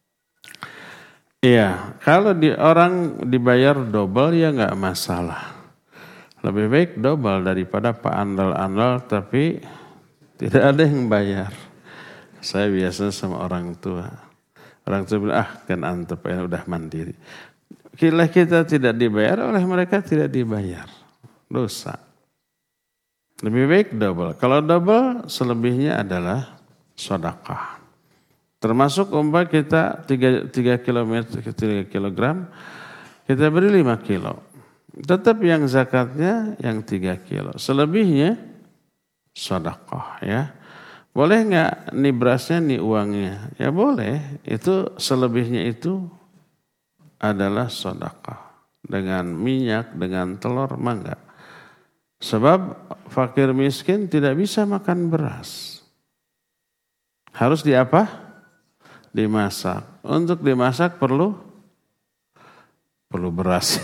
Iya, kalau orang dibayar double ya nggak masalah. Lebih baik double daripada Pak andal-andal tapi tidak ada yang bayar. Saya biasa sama orang tua. Orang tua bilang, kan antep ya udah mandiri. Kita tidak dibayar, oleh mereka tidak dibayar. Dosa. Lebih baik double. Kalau double, selebihnya adalah sedekah. Termasuk umpah kita 3 kg, kita beri 5 kilo. Tetap yang zakatnya yang 3 kilo. Selebihnya sedekah ya. Boleh nggak nih berasnya nih uangnya? Ya boleh. Itu selebihnya itu adalah sedekah. Dengan minyak, dengan telur, mangga. Sebab fakir miskin tidak bisa makan beras. Harus diapa? Dimasak. Untuk dimasak perlu beras.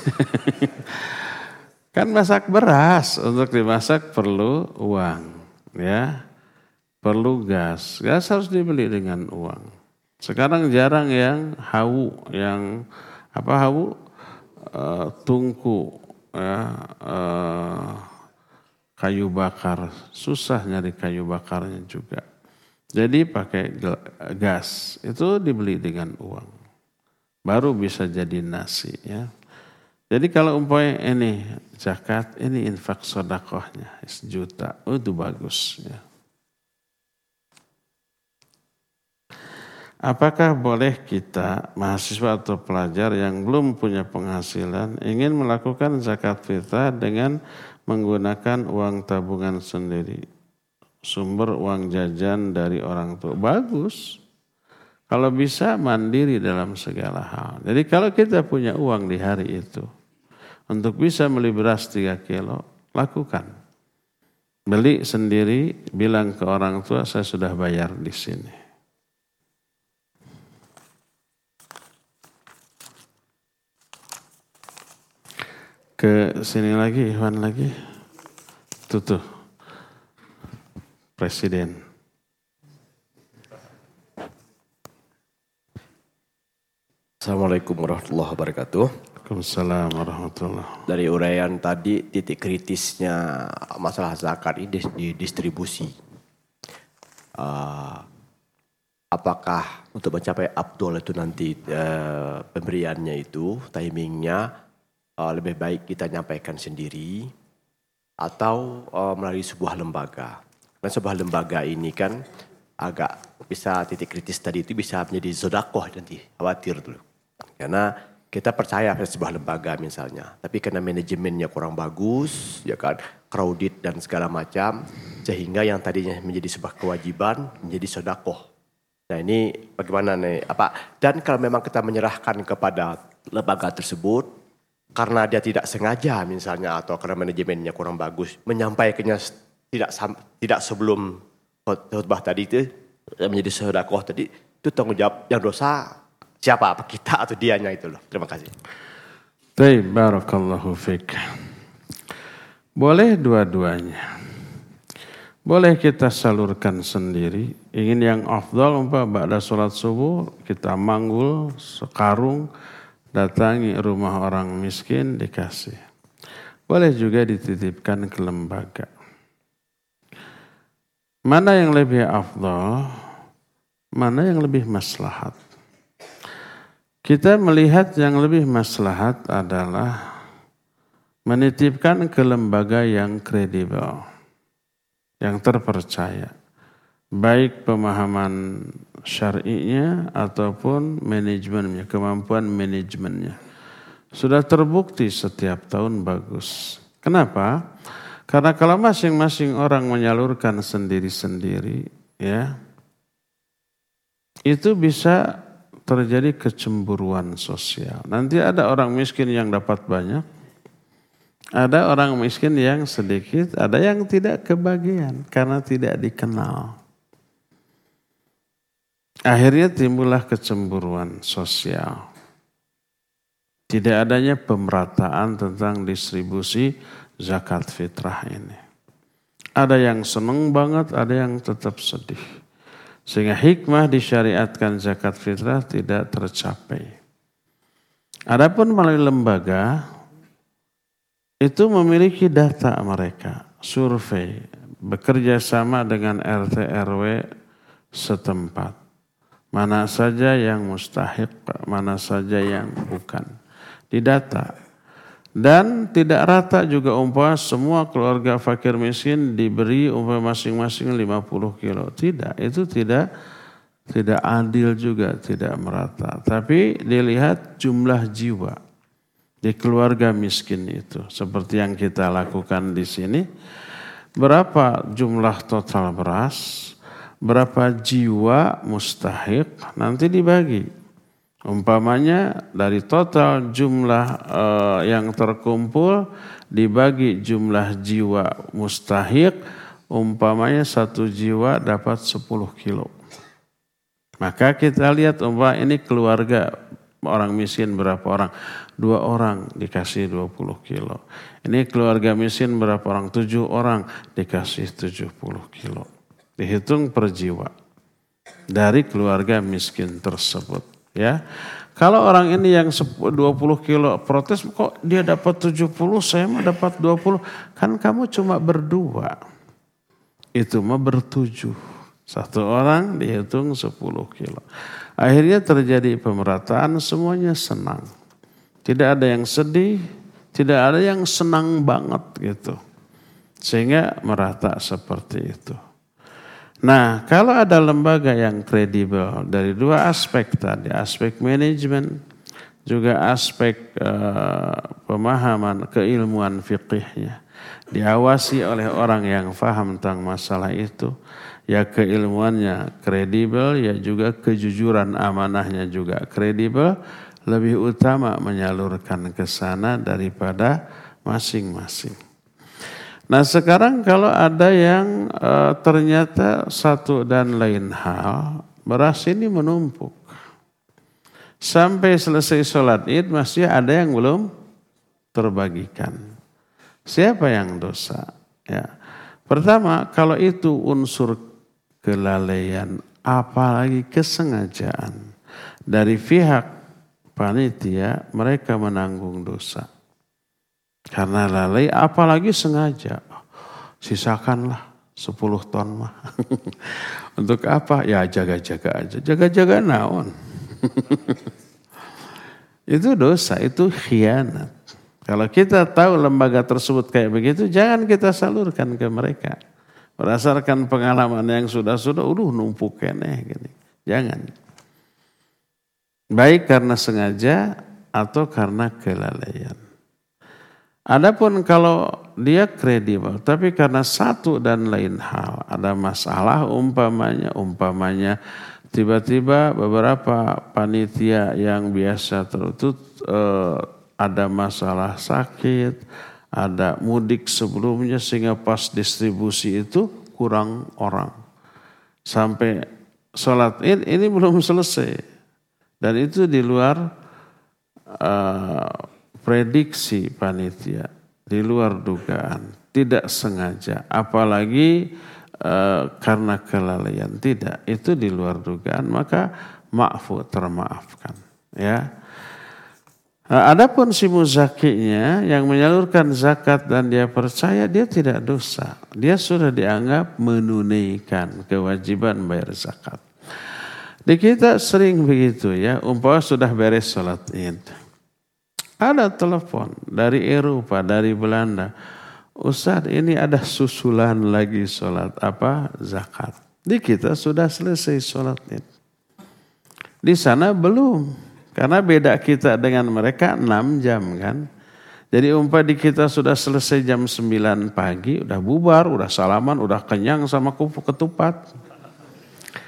Kan masak beras. Untuk dimasak perlu uang. Ya. Perlu gas. Gas harus dibeli dengan uang. Sekarang jarang yang hawu, yang hawu? Tungku, ya, kayu bakar. Susah nyari kayu bakarnya juga. Jadi pakai gas. Itu dibeli dengan uang. Baru bisa jadi nasi ya. Jadi kalau umpamanya ini zakat, ini infak sedekahnya 1 juta. Itu bagus ya. Apakah boleh kita, mahasiswa atau pelajar yang belum punya penghasilan, ingin melakukan zakat fitrah dengan menggunakan uang tabungan sendiri? Sumber uang jajan dari orang tua. Bagus. Kalau bisa mandiri dalam segala hal. Jadi kalau kita punya uang di hari itu, untuk bisa beli beras 3 kilo, lakukan. Beli sendiri, bilang ke orang tua, saya sudah bayar di sini. Ke sini lagi, Iwan lagi. Tuh. Presiden. Assalamualaikum warahmatullahi wabarakatuh. Waalaikumsalam warahmatullahi. Dari uraian tadi, titik kritisnya masalah zakat ini di distribusi. Apakah untuk mencapai afdol itu nanti pemberiannya itu, timingnya, lebih baik kita nyampaikan sendiri atau melalui sebuah lembaga. Dan sebuah lembaga ini kan agak bisa titik kritis tadi itu bisa menjadi sedekah nanti, khawatir dulu. Karena kita percaya pada sebuah lembaga misalnya, tapi karena manajemennya kurang bagus, ya kan, crowded dan segala macam, sehingga yang tadinya menjadi sebuah kewajiban menjadi sedekah. Nah ini bagaimana nih? Dan kalau memang kita menyerahkan kepada lembaga tersebut, karena dia tidak sengaja misalnya atau karena manajemennya kurang bagus, menyampaikannya tidak sebelum khutbah tadi itu menjadi sedekah tadi, itu tanggung jawab yang dosa siapa? Apa kita atau dianya itu loh. Terima kasih. Baik, barakallahu fiik. Boleh dua-duanya. Boleh kita salurkan sendiri. Ingin yang afdal ba'da salat subuh kita manggul sekarung, datangi rumah orang miskin dikasih. Boleh juga dititipkan ke lembaga. Mana yang lebih afdal? Mana yang lebih maslahat? Kita melihat yang lebih maslahat adalah menitipkan ke lembaga yang kredibel, yang terpercaya. Baik pemahaman syar'inya ataupun manajemennya, kemampuan manajemennya. Sudah terbukti setiap tahun bagus. Kenapa? Karena kalau masing-masing orang menyalurkan sendiri-sendiri, ya, itu bisa terjadi kecemburuan sosial. Nanti ada orang miskin yang dapat banyak, ada orang miskin yang sedikit, ada yang tidak kebagian karena tidak dikenal. Akhirnya timbullah kecemburuan sosial. Tidak adanya pemerataan tentang distribusi zakat fitrah ini. Ada yang senang banget, ada yang tetap sedih. Sehingga hikmah disyariatkan zakat fitrah tidak tercapai. Adapun melalui lembaga, itu memiliki data mereka, survei, bekerja sama dengan RT RW setempat. Mana saja yang mustahik, mana saja yang bukan. Didata. Dan tidak rata juga umpama semua keluarga fakir miskin diberi umpama masing-masing 50 kilo. Tidak, itu tidak adil juga, tidak merata. Tapi dilihat jumlah jiwa di keluarga miskin itu. Seperti yang kita lakukan di sini. Berapa jumlah total beras, berapa jiwa mustahik, nanti dibagi. Umpamanya dari total jumlah yang terkumpul dibagi jumlah jiwa mustahik, umpamanya 1 jiwa dapat 10 kilo. Maka kita lihat umpama ini keluarga orang miskin berapa orang? 2 orang dikasih 20 kilo. Ini keluarga miskin berapa orang? 7 orang dikasih 70 kilo. Dihitung per jiwa dari keluarga miskin tersebut. Ya, kalau orang ini yang 20 kilo protes, kok dia dapat 70, saya mah dapat 20. Kan kamu cuma berdua. Itu mah bertujuh. 1 orang dihitung 10 kilo. Akhirnya terjadi pemerataan, semuanya senang. Tidak ada yang sedih, tidak ada yang senang banget gitu. Sehingga merata seperti itu. Nah, kalau ada lembaga yang kredibel dari 2 aspek tadi, aspek manajemen, juga aspek pemahaman keilmuan fikihnya, diawasi oleh orang yang paham tentang masalah itu, ya keilmuannya kredibel, ya juga kejujuran amanahnya juga kredibel, lebih utama menyalurkan ke sana daripada masing-masing. Nah sekarang kalau ada yang ternyata satu dan lain hal, beras ini menumpuk. Sampai selesai sholat id masih ada yang belum terbagikan. Siapa yang dosa? Ya. Pertama, kalau itu unsur kelalaian, apalagi kesengajaan dari pihak panitia, mereka menanggung dosa. Karena lalai, apalagi sengaja. Sisakanlah 10 ton mah. Untuk apa? Ya jaga-jaga aja. Jaga-jaga naon. Itu dosa, itu khianat. Kalau kita tahu lembaga tersebut kayak begitu, jangan kita salurkan ke mereka. Berdasarkan pengalaman yang sudah-sudah, numpuk keneh. Gini. Jangan. Baik karena sengaja atau karena kelalaian. Adapun kalau dia kredibel, tapi karena satu dan lain hal, ada masalah umpamanya tiba-tiba beberapa panitia yang biasa tertutup ada masalah sakit, ada mudik sebelumnya sehingga pas distribusi itu kurang orang. Sampai sholat id ini belum selesai dan itu di luar prediksi panitia, di luar dugaan, tidak sengaja, apalagi karena kelalaian, tidak, itu di luar dugaan, maka ma'fu, termaafkan. Ya. Adapun si muzakinya yang menyalurkan zakat dan dia percaya, dia tidak dosa, dia sudah dianggap menunaikan kewajiban bayar zakat. Di kita sering begitu ya, umpama sudah beres sholat id. Ada telepon dari Eropa, dari Belanda. Ustaz, ini ada susulan lagi sholat zakat. Di kita sudah selesai sholat id. Di sana belum. Karena beda kita dengan mereka 6 jam kan. Jadi di kita sudah selesai jam 9 pagi. Udah bubar, udah salaman, udah kenyang sama ketupat.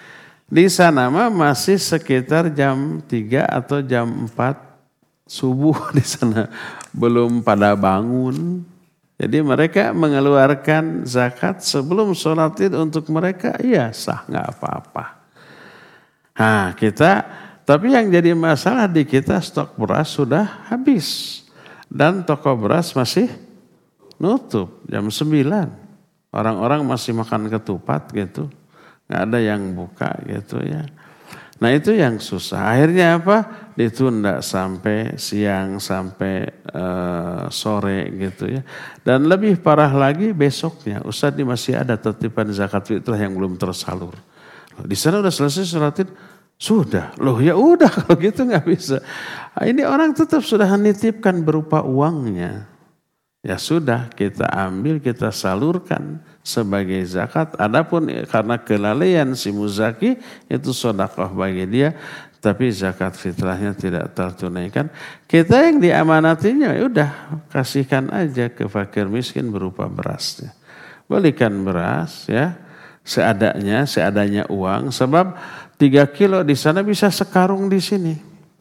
Di sana mah masih sekitar jam 3 atau jam 4 subuh di sana. Belum pada bangun. Jadi mereka mengeluarkan zakat sebelum sholat id untuk mereka, iya sah, nggak apa-apa. Nah tapi yang jadi masalah di kita stok beras sudah habis. Dan toko beras masih nutup jam 9. Orang-orang masih makan ketupat gitu. Nggak ada yang buka gitu ya. Nah itu yang susah. Akhirnya apa? Ditunda sampai siang, sampai sore gitu ya. Dan lebih parah lagi besoknya. Ustaz ini masih ada titipan zakat fitrah yang belum tersalur. Di sana udah selesai sholat id. Sudah. Loh ya udah kalau gitu nggak bisa. Nah, ini orang tetap sudah menitipkan berupa uangnya. Ya sudah kita ambil, kita salurkan sebagai zakat. Adapun karena kelalaian si muzaki itu sedekah bagi dia, tapi zakat fitrahnya tidak tertunaikan. Kita yang diamanatinya ya udah kasihkan aja ke fakir miskin berupa berasnya. Belikan beras ya seadanya uang, sebab 3 kilo di sana bisa sekarung di sini.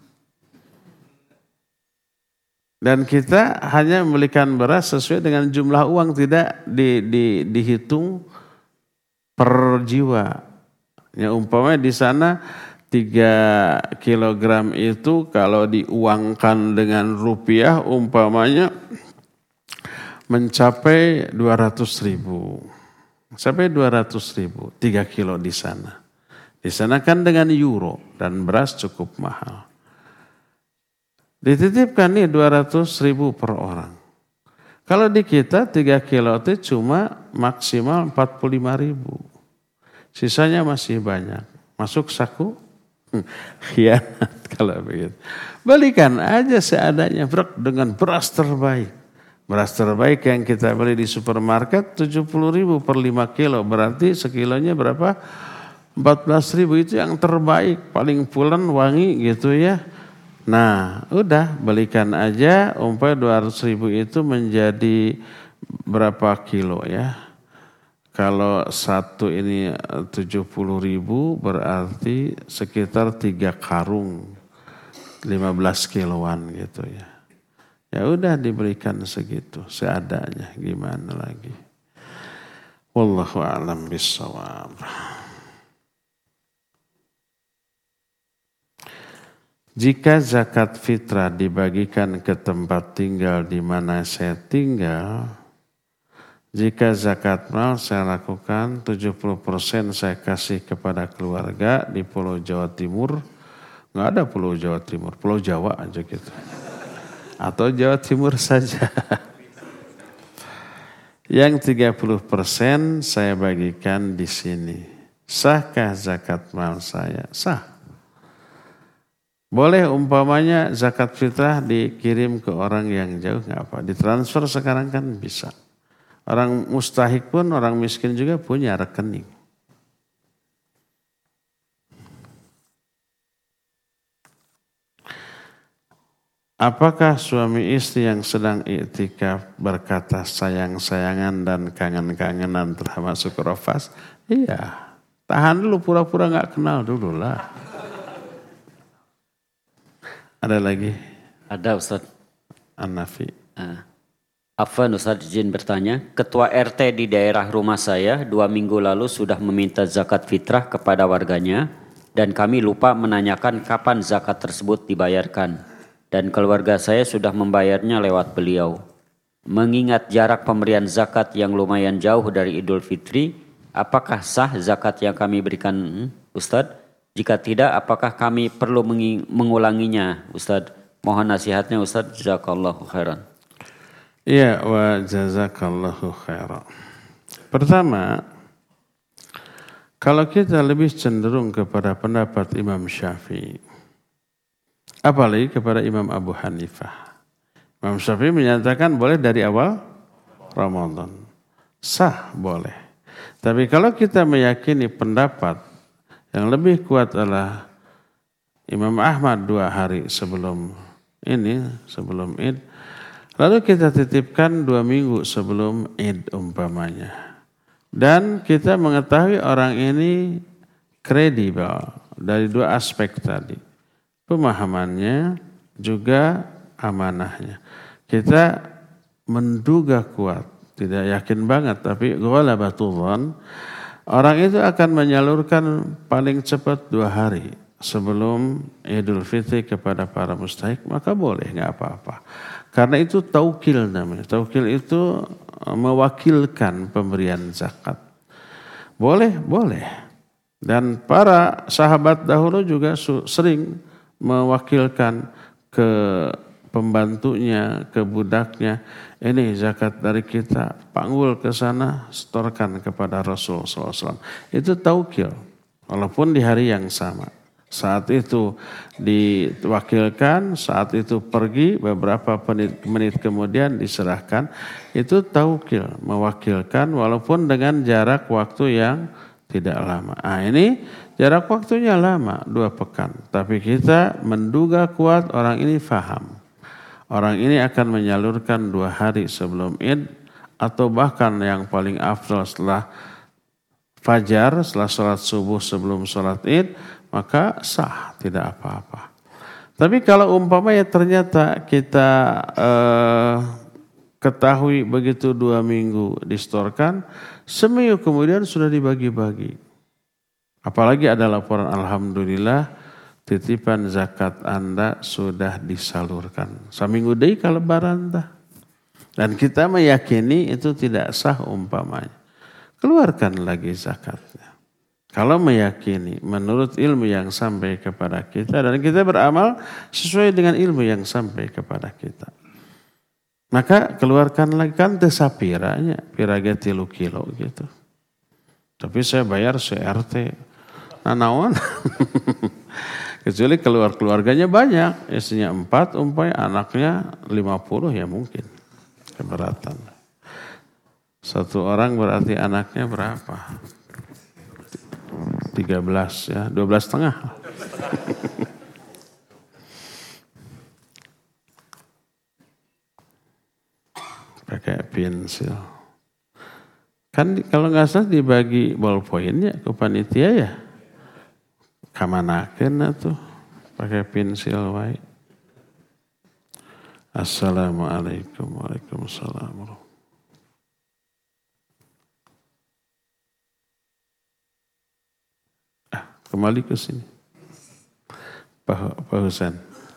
Dan kita hanya membelikan beras sesuai dengan jumlah uang, tidak dihitung per jiwa. Ya umpamanya di sana 3 kilogram itu kalau diuangkan dengan rupiah umpamanya mencapai 200.000. Sampai 200.000, 3 kilo di sana. Di sana kan dengan euro dan beras cukup mahal. Dititipkan nih 200.000 per orang. Kalau di kita 3 kilo itu cuma maksimal 45.000. Sisanya masih banyak. Masuk saku? Khianat kalau begitu. Belikan aja seadanya dengan beras terbaik. Beras terbaik yang kita beli di supermarket 70.000 per 5 kilo. Berarti sekilonya berapa? 14.000 itu yang terbaik. Paling pulen wangi gitu ya. Nah, udah belikan aja umpamanya 200.000 itu menjadi berapa kilo ya? Kalau satu ini 70.000 berarti sekitar 3 karung 15 kiloan gitu ya. Ya udah diberikan segitu seadanya, gimana lagi? Wallahu a'lam bishawab. Jika zakat fitrah dibagikan ke tempat tinggal di mana saya tinggal, jika zakat mal saya lakukan 70% saya kasih kepada keluarga di Pulau Jawa Timur, nggak ada Pulau Jawa Timur, Pulau Jawa aja gitu, atau Jawa Timur saja. Yang 30% saya bagikan di sini. Sahkah zakat mal saya? Sah. Boleh umpamanya zakat fitrah dikirim ke orang yang jauh, nggak apa, ditransfer sekarang kan bisa. Orang mustahik pun, orang miskin juga punya rekening. Apakah suami istri yang sedang iktikaf berkata sayang-sayangan dan kangen-kangenan termasuk rafas? Iya, tahan dulu, pura-pura nggak kenal dulu lah. Ada lagi? Ada Ustaz. An-Nafi. Afwan Ustaz izin bertanya. Ketua RT di daerah rumah saya 2 minggu lalu sudah meminta zakat fitrah kepada warganya. Dan kami lupa menanyakan kapan zakat tersebut dibayarkan. Dan keluarga saya sudah membayarnya lewat beliau. Mengingat jarak pemberian zakat yang lumayan jauh dari Idul Fitri. Apakah sah zakat yang kami berikan Ustaz? Jika tidak, apakah kami perlu mengulanginya, Ustaz? Mohon nasihatnya, Ustaz. Jazakallahu khairan. Iya, wa jazakallahu khairan. Pertama, kalau kita lebih cenderung kepada pendapat Imam Syafi'i, apalagi kepada Imam Abu Hanifah. Imam Syafi'i menyatakan boleh dari awal Ramadan. Sah, boleh. Tapi kalau kita meyakini pendapat yang lebih kuat adalah Imam Ahmad 2 hari sebelum Id. Lalu kita titipkan 2 minggu sebelum Id umpamanya. Dan kita mengetahui orang ini kredibel dari dua aspek tadi. Pemahamannya juga amanahnya. Kita menduga kuat, tidak yakin banget, tapi ghalabatul dzan, orang itu akan menyalurkan paling cepat 2 hari sebelum Idul Fitri kepada para mustahik, maka boleh, nggak apa-apa. Karena itu taukil namanya. Taukil itu mewakilkan pemberian zakat. Boleh, boleh. Dan para sahabat dahulu juga sering mewakilkan ke pembantunya, ke budaknya, ini zakat dari kita, panggul ke sana, setorkan kepada Rasul SAW. Itu taukil, walaupun di hari yang sama. Saat itu diwakilkan, saat itu pergi, beberapa menit kemudian diserahkan. Itu taukil, mewakilkan walaupun dengan jarak waktu yang tidak lama. Ini jarak waktunya lama, 2 pekan. Tapi kita menduga kuat orang ini faham. Orang ini akan menyalurkan 2 hari sebelum Id atau bahkan yang paling afdal setelah fajar, setelah sholat subuh sebelum sholat Id, maka sah, tidak apa-apa. Tapi kalau umpamanya ternyata kita ketahui begitu 2 minggu distorkan, seminggu kemudian sudah dibagi-bagi. Apalagi ada laporan alhamdulillah titipan zakat Anda sudah disalurkan. Seminggu deui ka lebaran tah. Dan kita meyakini itu tidak sah umpamanya. Keluarkan lagi zakatnya. Kalau meyakini menurut ilmu yang sampai kepada kita dan kita beramal sesuai dengan ilmu yang sampai kepada kita. Maka keluarkan lagi, kan teu sapiranya, piraga 3 kilo gitu. Tapi saya bayar CRT. Nah naon? Kecuali keluarganya banyak, istrinya 4, umpamanya anaknya 50 ya mungkin keberatan. 1 orang berarti anaknya berapa? 13 ya, 12,5. Pakai pensil. Kan kalau nggak salah dibagi ballpoint ya ke panitia ya. Kamanakeun atuh pakai pensil wae. Assalamualaikum warahmatullahi. Kembali ke sini. Pak Husain.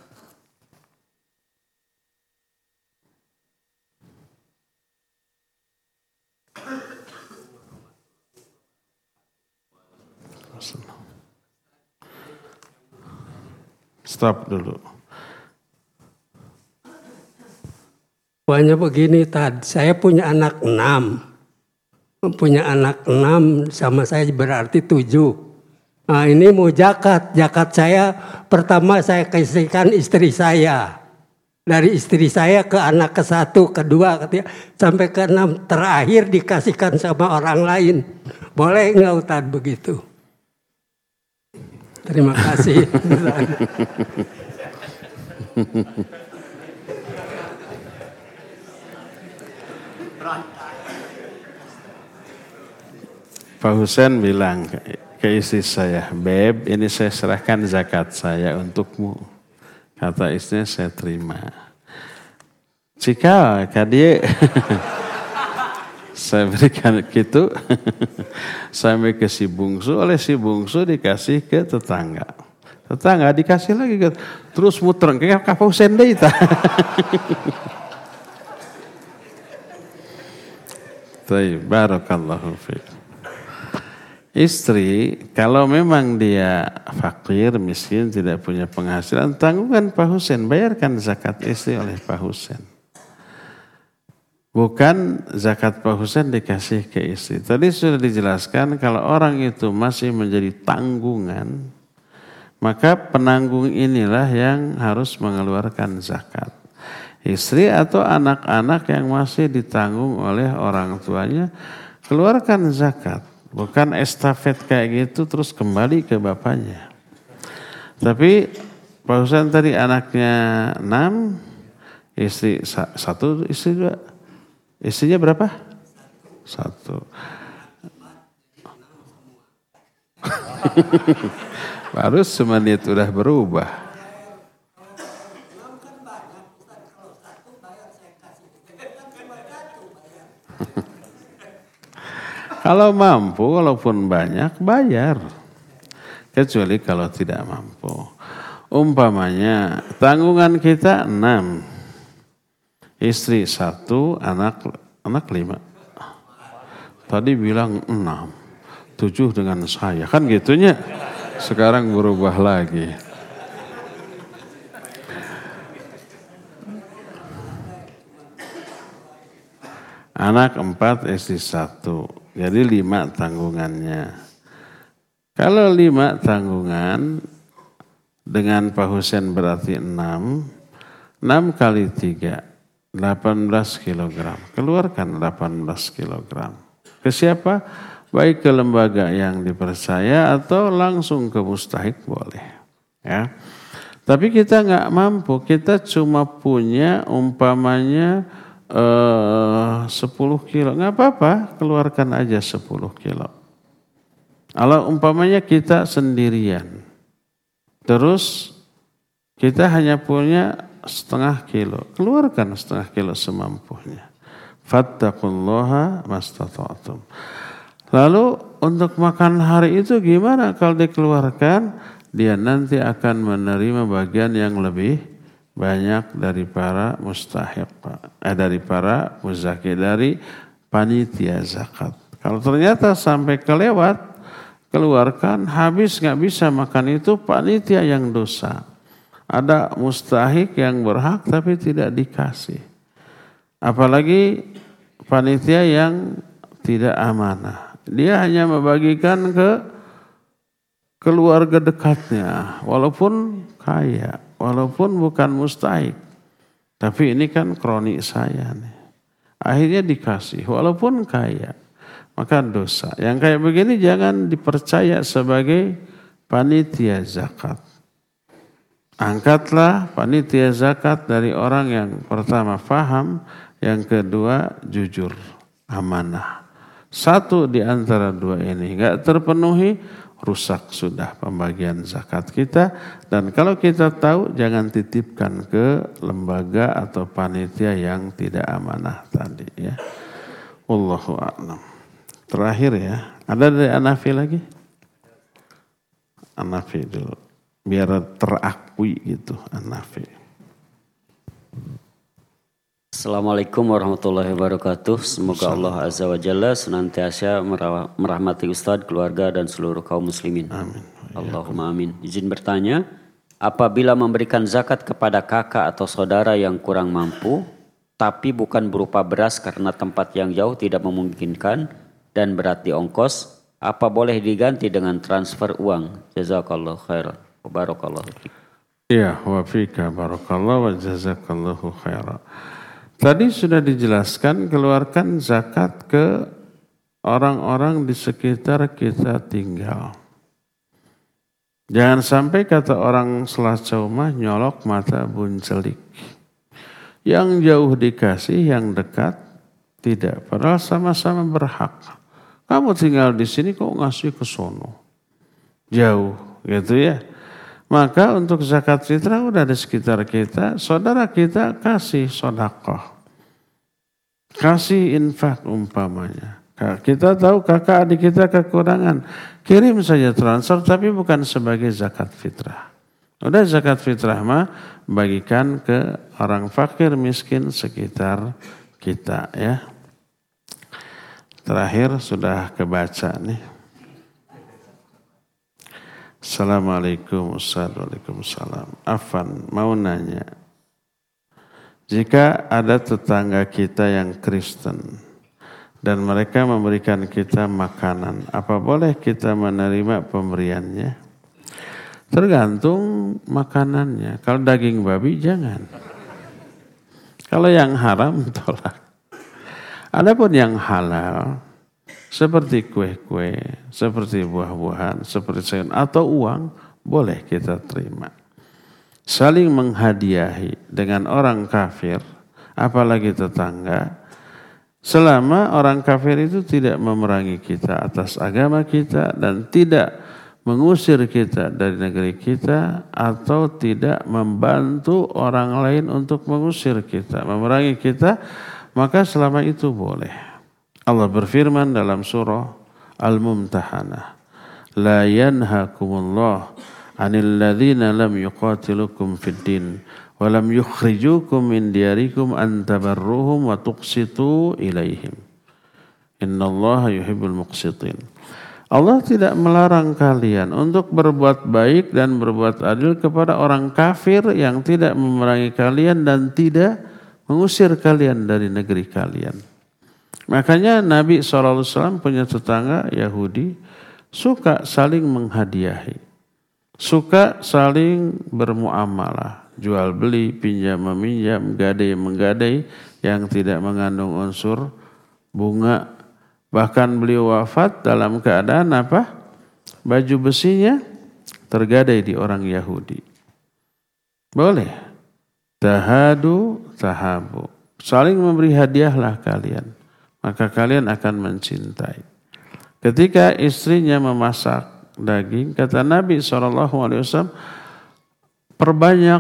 Stop dulu. Pokoknya begini Tad, saya punya anak 6. Punya anak 6 sama saya berarti 7. Nah ini mau zakat saya pertama saya kasihkan istri saya. Dari istri saya ke anak ke-1, ke-2, ke-3, sampai ke-6. Terakhir dikasihkan sama orang lain. Boleh nggak Ustaz begitu? Terima kasih. Pak Husain bilang ke istri saya, Beb, ini saya serahkan zakat saya untukmu. Kata istrinya, saya terima. Jika dia saya berikan gitu, sampai ke si bungsu, oleh si bungsu dikasih ke tetangga. Tetangga dikasih lagi, terus muter, kayak Pak Husain deh itu. Barakallahu fiik. Istri, kalau memang dia fakir, miskin, tidak punya penghasilan, tanggungan Pak Husain, bayarkan zakat istri oleh Pak Husain. Bukan zakat Pak Husain dikasih ke istri. Tadi sudah dijelaskan kalau orang itu masih menjadi tanggungan, maka penanggung inilah yang harus mengeluarkan zakat. Istri atau anak-anak yang masih ditanggung oleh orang tuanya, keluarkan zakat. Bukan estafet kayak gitu terus kembali ke bapaknya. Tapi Pak Husain tadi anaknya 6, istri 1, istri 2. Istrinya berapa? 1. Baru semenit udah berubah. Kalau mampu, walaupun banyak, bayar. Kecuali kalau tidak mampu. Umpamanya, tanggungan kita 6. Istri 1, anak 5. Tadi bilang 6. 7 dengan saya. Kan gitunya. Sekarang berubah lagi. Anak 4, istri 1. Jadi 5 tanggungannya. Kalau 5 tanggungan dengan Pak Husain berarti 6. 6 kali 3, 18 kilogram. Keluarkan 18 kilogram. Ke siapa? Baik ke lembaga yang dipercaya atau langsung ke mustahik boleh. Ya. Tapi kita nggak mampu. Kita cuma punya umpamanya 10 kilo, nggak apa-apa, keluarkan aja 10 kilo. Kalau umpamanya kita sendirian, terus kita hanya punya setengah kilo, keluarkan setengah kilo semampunya. Fattaqullaha mastata'tum. Lalu untuk makan hari itu gimana kalau dikeluarkan? Dia nanti akan menerima bagian yang lebih banyak dari para mustahiq, dari para muzaki, dari panitia zakat. Kalau ternyata sampai kelewat, keluarkan, habis nggak bisa makan itu, panitia yang dosa. Ada mustahiq yang berhak tapi tidak dikasih. Apalagi panitia yang tidak amanah. Dia hanya membagikan ke keluarga dekatnya, walaupun kaya. Walaupun bukan mustahik. Tapi ini kan kronik saya nih. Akhirnya dikasih. Walaupun kaya. Maka dosa. Yang kayak begini jangan dipercaya sebagai panitia zakat. Angkatlah panitia zakat dari orang yang pertama faham. Yang kedua jujur. Amanah. Satu di antara dua ini enggak terpenuhi, rusak sudah pembagian zakat kita. Dan kalau kita tahu, jangan titipkan ke lembaga atau panitia yang tidak amanah tadi ya. Wallahu a'lam. Terakhir ya, ada dari Hanafi lagi? Hanafi dulu, biar terakui gitu Hanafi. Assalamualaikum warahmatullahi wabarakatuh. Semoga Allah Azza wa Jalla senantiasa merahmati Ustadz, keluarga dan seluruh kaum muslimin. Amin. Allahumma amin. Izin bertanya, apabila memberikan zakat kepada kakak atau saudara yang kurang mampu, tapi bukan berupa beras karena tempat yang jauh tidak memungkinkan dan berat di ongkos, apa boleh diganti dengan transfer uang? Jazakallahu khairan. Barakallahu fiik. Iya, wa fika barakallahu wa jazakallahu khairan. Tadi sudah dijelaskan, keluarkan zakat ke orang-orang di sekitar kita tinggal. Jangan sampai kata orang Selacomah nyolok mata buncelik. Yang jauh dikasih, yang dekat tidak. Padahal sama-sama berhak. Kamu tinggal di sini kok ngasih ke sono. Jauh gitu ya. Maka untuk zakat fitrah udah di sekitar kita, saudara kita kasih sedekah. Kasih infak umpamanya. Kita tahu kakak adik kita kekurangan, kirim saja transfer tapi bukan sebagai zakat fitrah. Udah zakat fitrah mah bagikan ke orang fakir miskin sekitar kita ya. Terakhir sudah kebaca nih. Assalamualaikum Waalaikumsalam. Afan mau nanya, jika ada tetangga kita yang Kristen dan mereka memberikan kita makanan, apa boleh kita menerima pemberiannya? Tergantung makanannya. Kalau daging babi jangan. Kalau yang haram tolak. Adapun yang halal seperti kue-kue, seperti buah-buahan, seperti sayur atau uang, boleh kita terima. Saling menghadiahi dengan orang kafir, apalagi tetangga, selama orang kafir itu tidak memerangi kita atas agama kita dan tidak mengusir kita dari negeri kita atau tidak membantu orang lain untuk mengusir kita, memerangi kita, maka selama itu boleh. Allah berfirman dalam surah Al-Mumtahanah, la yanhakumullah 'anil ladzina lam yuqatilukum fid din wa lam yukhrijukum min diyarikum an tabarruhum wa tuqsitu ilaihim. Innallaha yuhibbul muqsitin. Allah tidak melarang kalian untuk berbuat baik dan berbuat adil kepada orang kafir yang tidak memerangi kalian dan tidak mengusir kalian dari negeri kalian. Makanya Nabi SAW punya tetangga Yahudi suka saling menghadiahi, suka saling bermuamalah, jual beli, pinjam meminjam, gadai menggadai yang tidak mengandung unsur bunga. Bahkan beliau wafat dalam keadaan apa? Baju besinya tergadai di orang Yahudi. Boleh. Tahadu, tahabu. Saling memberi hadiahlah kalian. Maka kalian akan mencintai. Ketika istrinya memasak daging, kata Nabi SAW, perbanyak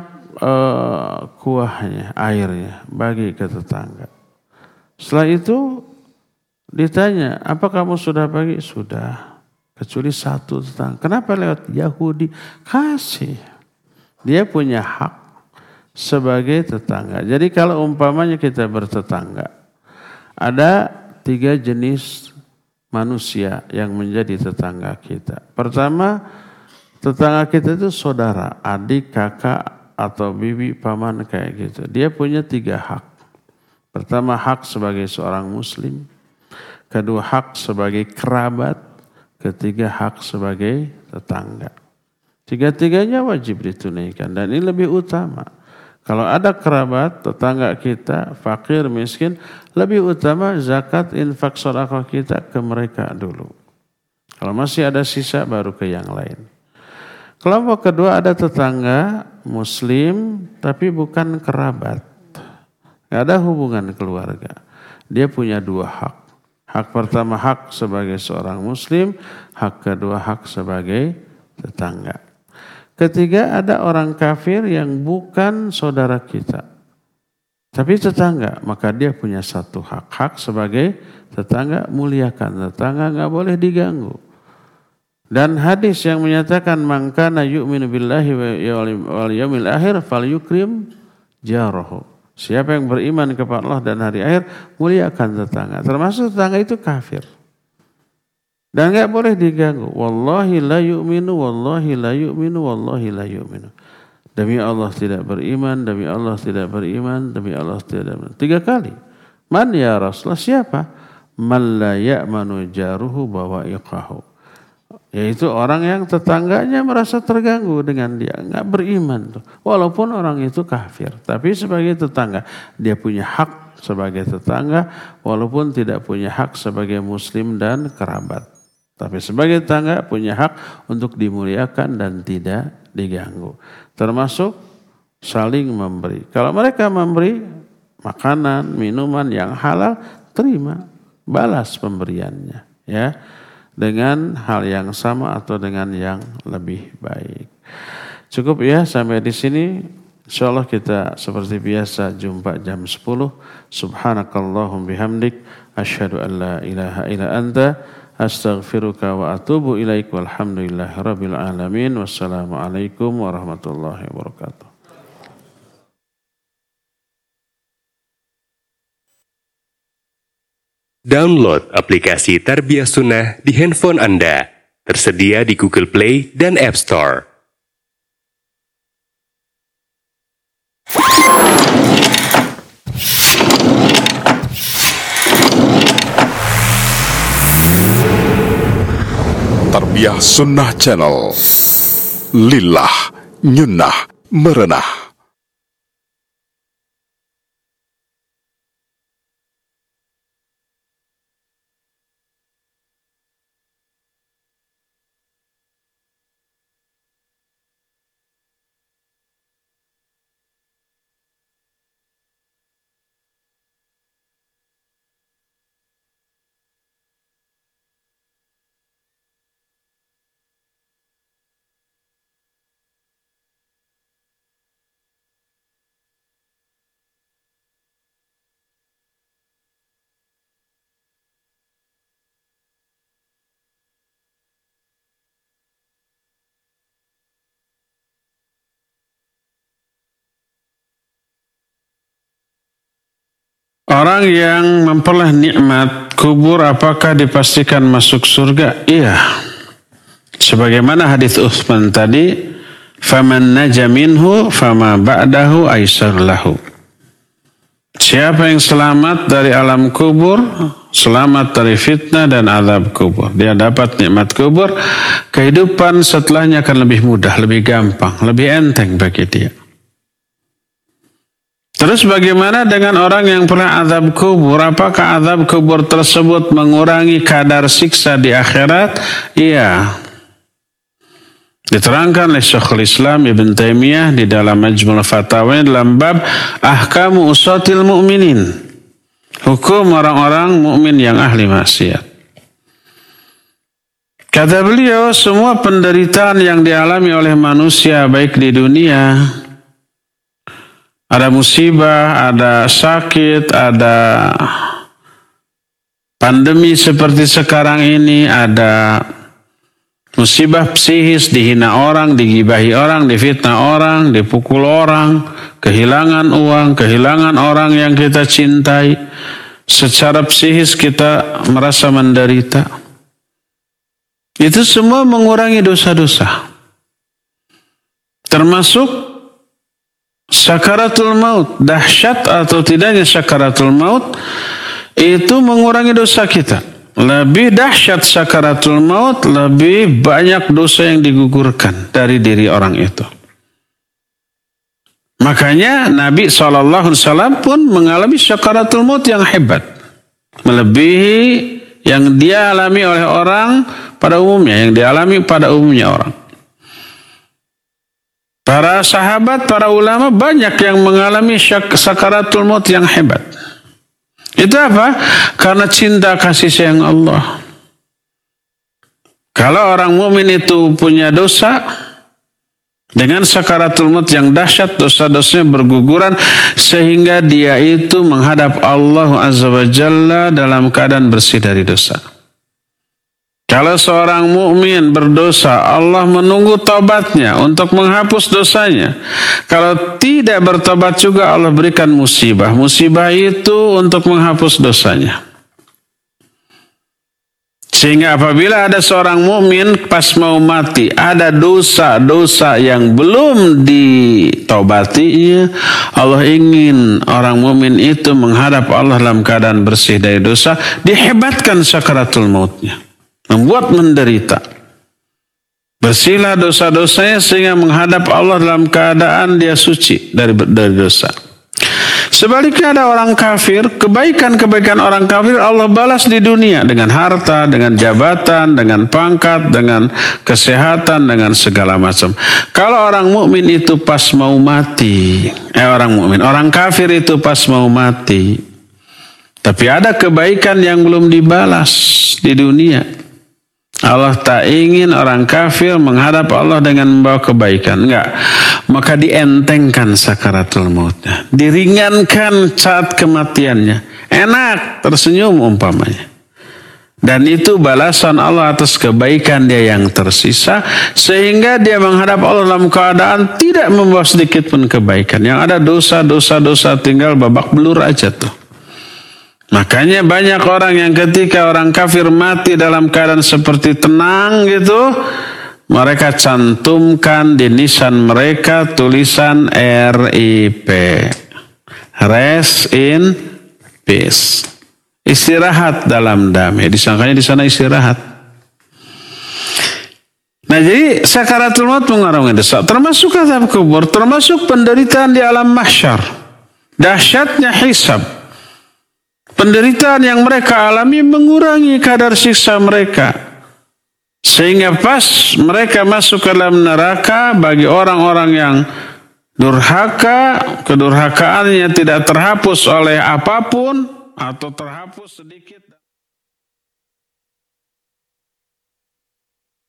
kuahnya, airnya, bagi ke tetangga. Setelah itu ditanya, apa kamu sudah bagi? Sudah. Kecuali satu tetangga. Kenapa lewat Yahudi? Kasih. Dia punya hak sebagai tetangga. Jadi kalau umpamanya kita bertetangga, ada 3 jenis manusia yang menjadi tetangga kita. Pertama, tetangga kita itu saudara, adik, kakak, atau bibi, paman kayak gitu. Dia punya 3 hak. Pertama, hak sebagai seorang muslim. Kedua, hak sebagai kerabat. Ketiga, hak sebagai tetangga. 3-tiganya wajib ditunaikan dan ini lebih utama. Kalau ada kerabat, tetangga kita, fakir, miskin, lebih utama zakat, infak, sedekah kita ke mereka dulu. Kalau masih ada sisa baru ke yang lain. Kelompok kedua ada tetangga muslim tapi bukan kerabat. Tidak ada hubungan keluarga. Dia punya 2 hak. Hak pertama hak sebagai seorang muslim, hak kedua hak sebagai tetangga. Ketiga ada orang kafir yang bukan saudara kita, tapi tetangga, maka dia punya 1 hak. Hak sebagai tetangga, muliakan tetangga, nggak boleh diganggu. Dan hadis yang menyatakan man kana yu'minu billahi wal yaumil akhir falyukrim jarahu. Siapa yang beriman kepada Allah dan hari akhir, muliakan tetangga. Termasuk tetangga itu kafir. Dan enggak boleh diganggu. Wallahi la yu'minu, wallahi la yu'minu, wallahi la yu'minu. Demi Allah tidak beriman, demi Allah tidak beriman, demi Allah tidak beriman. 3 kali. Man ya Rasulullah, siapa? Man la ya'manu jaruhu bawa'iqahu. Yaitu orang yang tetangganya merasa terganggu dengan dia, enggak beriman tuh. Walaupun orang itu kafir, tapi sebagai tetangga dia punya hak sebagai tetangga walaupun tidak punya hak sebagai muslim dan kerabat. Tapi sebagai tetangga punya hak untuk dimuliakan dan tidak diganggu. Termasuk saling memberi. Kalau mereka memberi makanan, minuman yang halal, terima, balas pemberiannya, ya. Dengan hal yang sama atau dengan yang lebih baik. Cukup ya sampai di sini. Insyaallah kita seperti biasa jumpa jam 10. Subhanakallahum bihamdik asyhadu an la ilaha illa anta astaghfiruka wa atubu ilaik walhamdulillahirabbil alamin. Wassalamualaikum warahmatullahi wabarakatuh. Download aplikasi Tarbiyah Sunnah di handphone Anda. Tersedia di Google Play dan App Store. Tarbiyah Sunnah Channel. Lillah, nyunnah, merenah. orang yang memperoleh nikmat kubur apakah dipastikan masuk surga? Iya. Sebagaimana hadis Utsman tadi, faman naja minhu fama ba'dahu aisar lahu. Siapa yang selamat dari alam kubur, selamat dari fitnah dan azab kubur, dia dapat nikmat kubur, kehidupan setelahnya akan lebih mudah, lebih gampang, lebih enteng bagi dia. Terus bagaimana dengan orang yang pernah azab kubur? Apakah azab kubur tersebut mengurangi kadar siksa di akhirat? Iya. Diterangkan oleh Syekhul Islam Ibn Taimiyah di dalam Majmu' al-Fatawa dalam bab Ahkamu Usatil Mu'minin. Hukum orang-orang mukmin yang ahli maksiat. Kata beliau, semua penderitaan yang dialami oleh manusia baik di dunia, ada musibah, ada sakit, ada pandemi seperti sekarang ini, ada musibah psikis, dihina orang, digibahi orang, difitnah orang, dipukul orang, kehilangan uang, kehilangan orang yang kita cintai. Secara psikis kita merasa menderita. Itu semua mengurangi dosa-dosa. Termasuk sakaratul maut, dahsyat atau tidaknya sakaratul maut, itu mengurangi dosa kita. Lebih dahsyat sakaratul maut, lebih banyak dosa yang digugurkan dari diri orang itu. Makanya Nabi SAW pun mengalami sakaratul maut yang hebat. Melebihi yang dia alami oleh orang pada umumnya, yang dialami pada umumnya orang. Para sahabat, para ulama banyak yang mengalami sakaratul maut yang hebat. Itu apa? Karena cinta kasih sayang Allah. Kalau orang mukmin itu punya dosa, dengan sakaratul maut yang dahsyat, dosa-dosanya berguguran sehingga dia itu menghadap Allah Azza wa Jalla dalam keadaan bersih dari dosa. Kalau seorang mukmin berdosa, Allah menunggu taubatnya untuk menghapus dosanya. Kalau tidak bertobat juga, Allah berikan musibah. Musibah itu untuk menghapus dosanya. Sehingga apabila ada seorang mukmin pas mau mati, ada dosa-dosa yang belum ditaubatinya, Allah ingin orang mukmin itu menghadap Allah dalam keadaan bersih dari dosa, dihebatkan sakaratul mautnya. Membuat menderita. Bersihlah dosa-dosanya sehingga menghadap Allah dalam keadaan dia suci dari dosa. Sebaliknya ada orang kafir, kebaikan-kebaikan orang kafir Allah balas di dunia dengan harta, dengan jabatan, dengan pangkat, dengan kesehatan, dengan segala macam. Kalau orang mukmin itu pas mau mati, orang kafir itu pas mau mati, tapi ada kebaikan yang belum dibalas di dunia. Allah tak ingin orang kafir menghadap Allah dengan membawa kebaikan. Enggak. Maka dientengkan sakaratul mautnya. Diringankan saat kematiannya. Enak, tersenyum umpamanya. Dan itu balasan Allah atas kebaikan dia yang tersisa. Sehingga dia menghadap Allah dalam keadaan tidak membawa sedikit pun kebaikan. Yang ada dosa tinggal babak belur aja tuh. Makanya banyak orang yang ketika orang kafir mati dalam keadaan seperti tenang gitu, mereka cantumkan di nisan mereka tulisan RIP, Rest in Peace, istirahat dalam damai. Disangkanya di sana istirahat. Nah jadi sakaratul maut mengarungi dosa, termasuk azab kubur, termasuk penderitaan di alam mahsyar, dahsyatnya hisab. Penderitaan yang mereka alami mengurangi kadar siksa mereka. Sehingga pas mereka masuk ke dalam neraka, bagi orang-orang yang durhaka, kedurhakaannya tidak terhapus oleh apapun atau terhapus sedikit.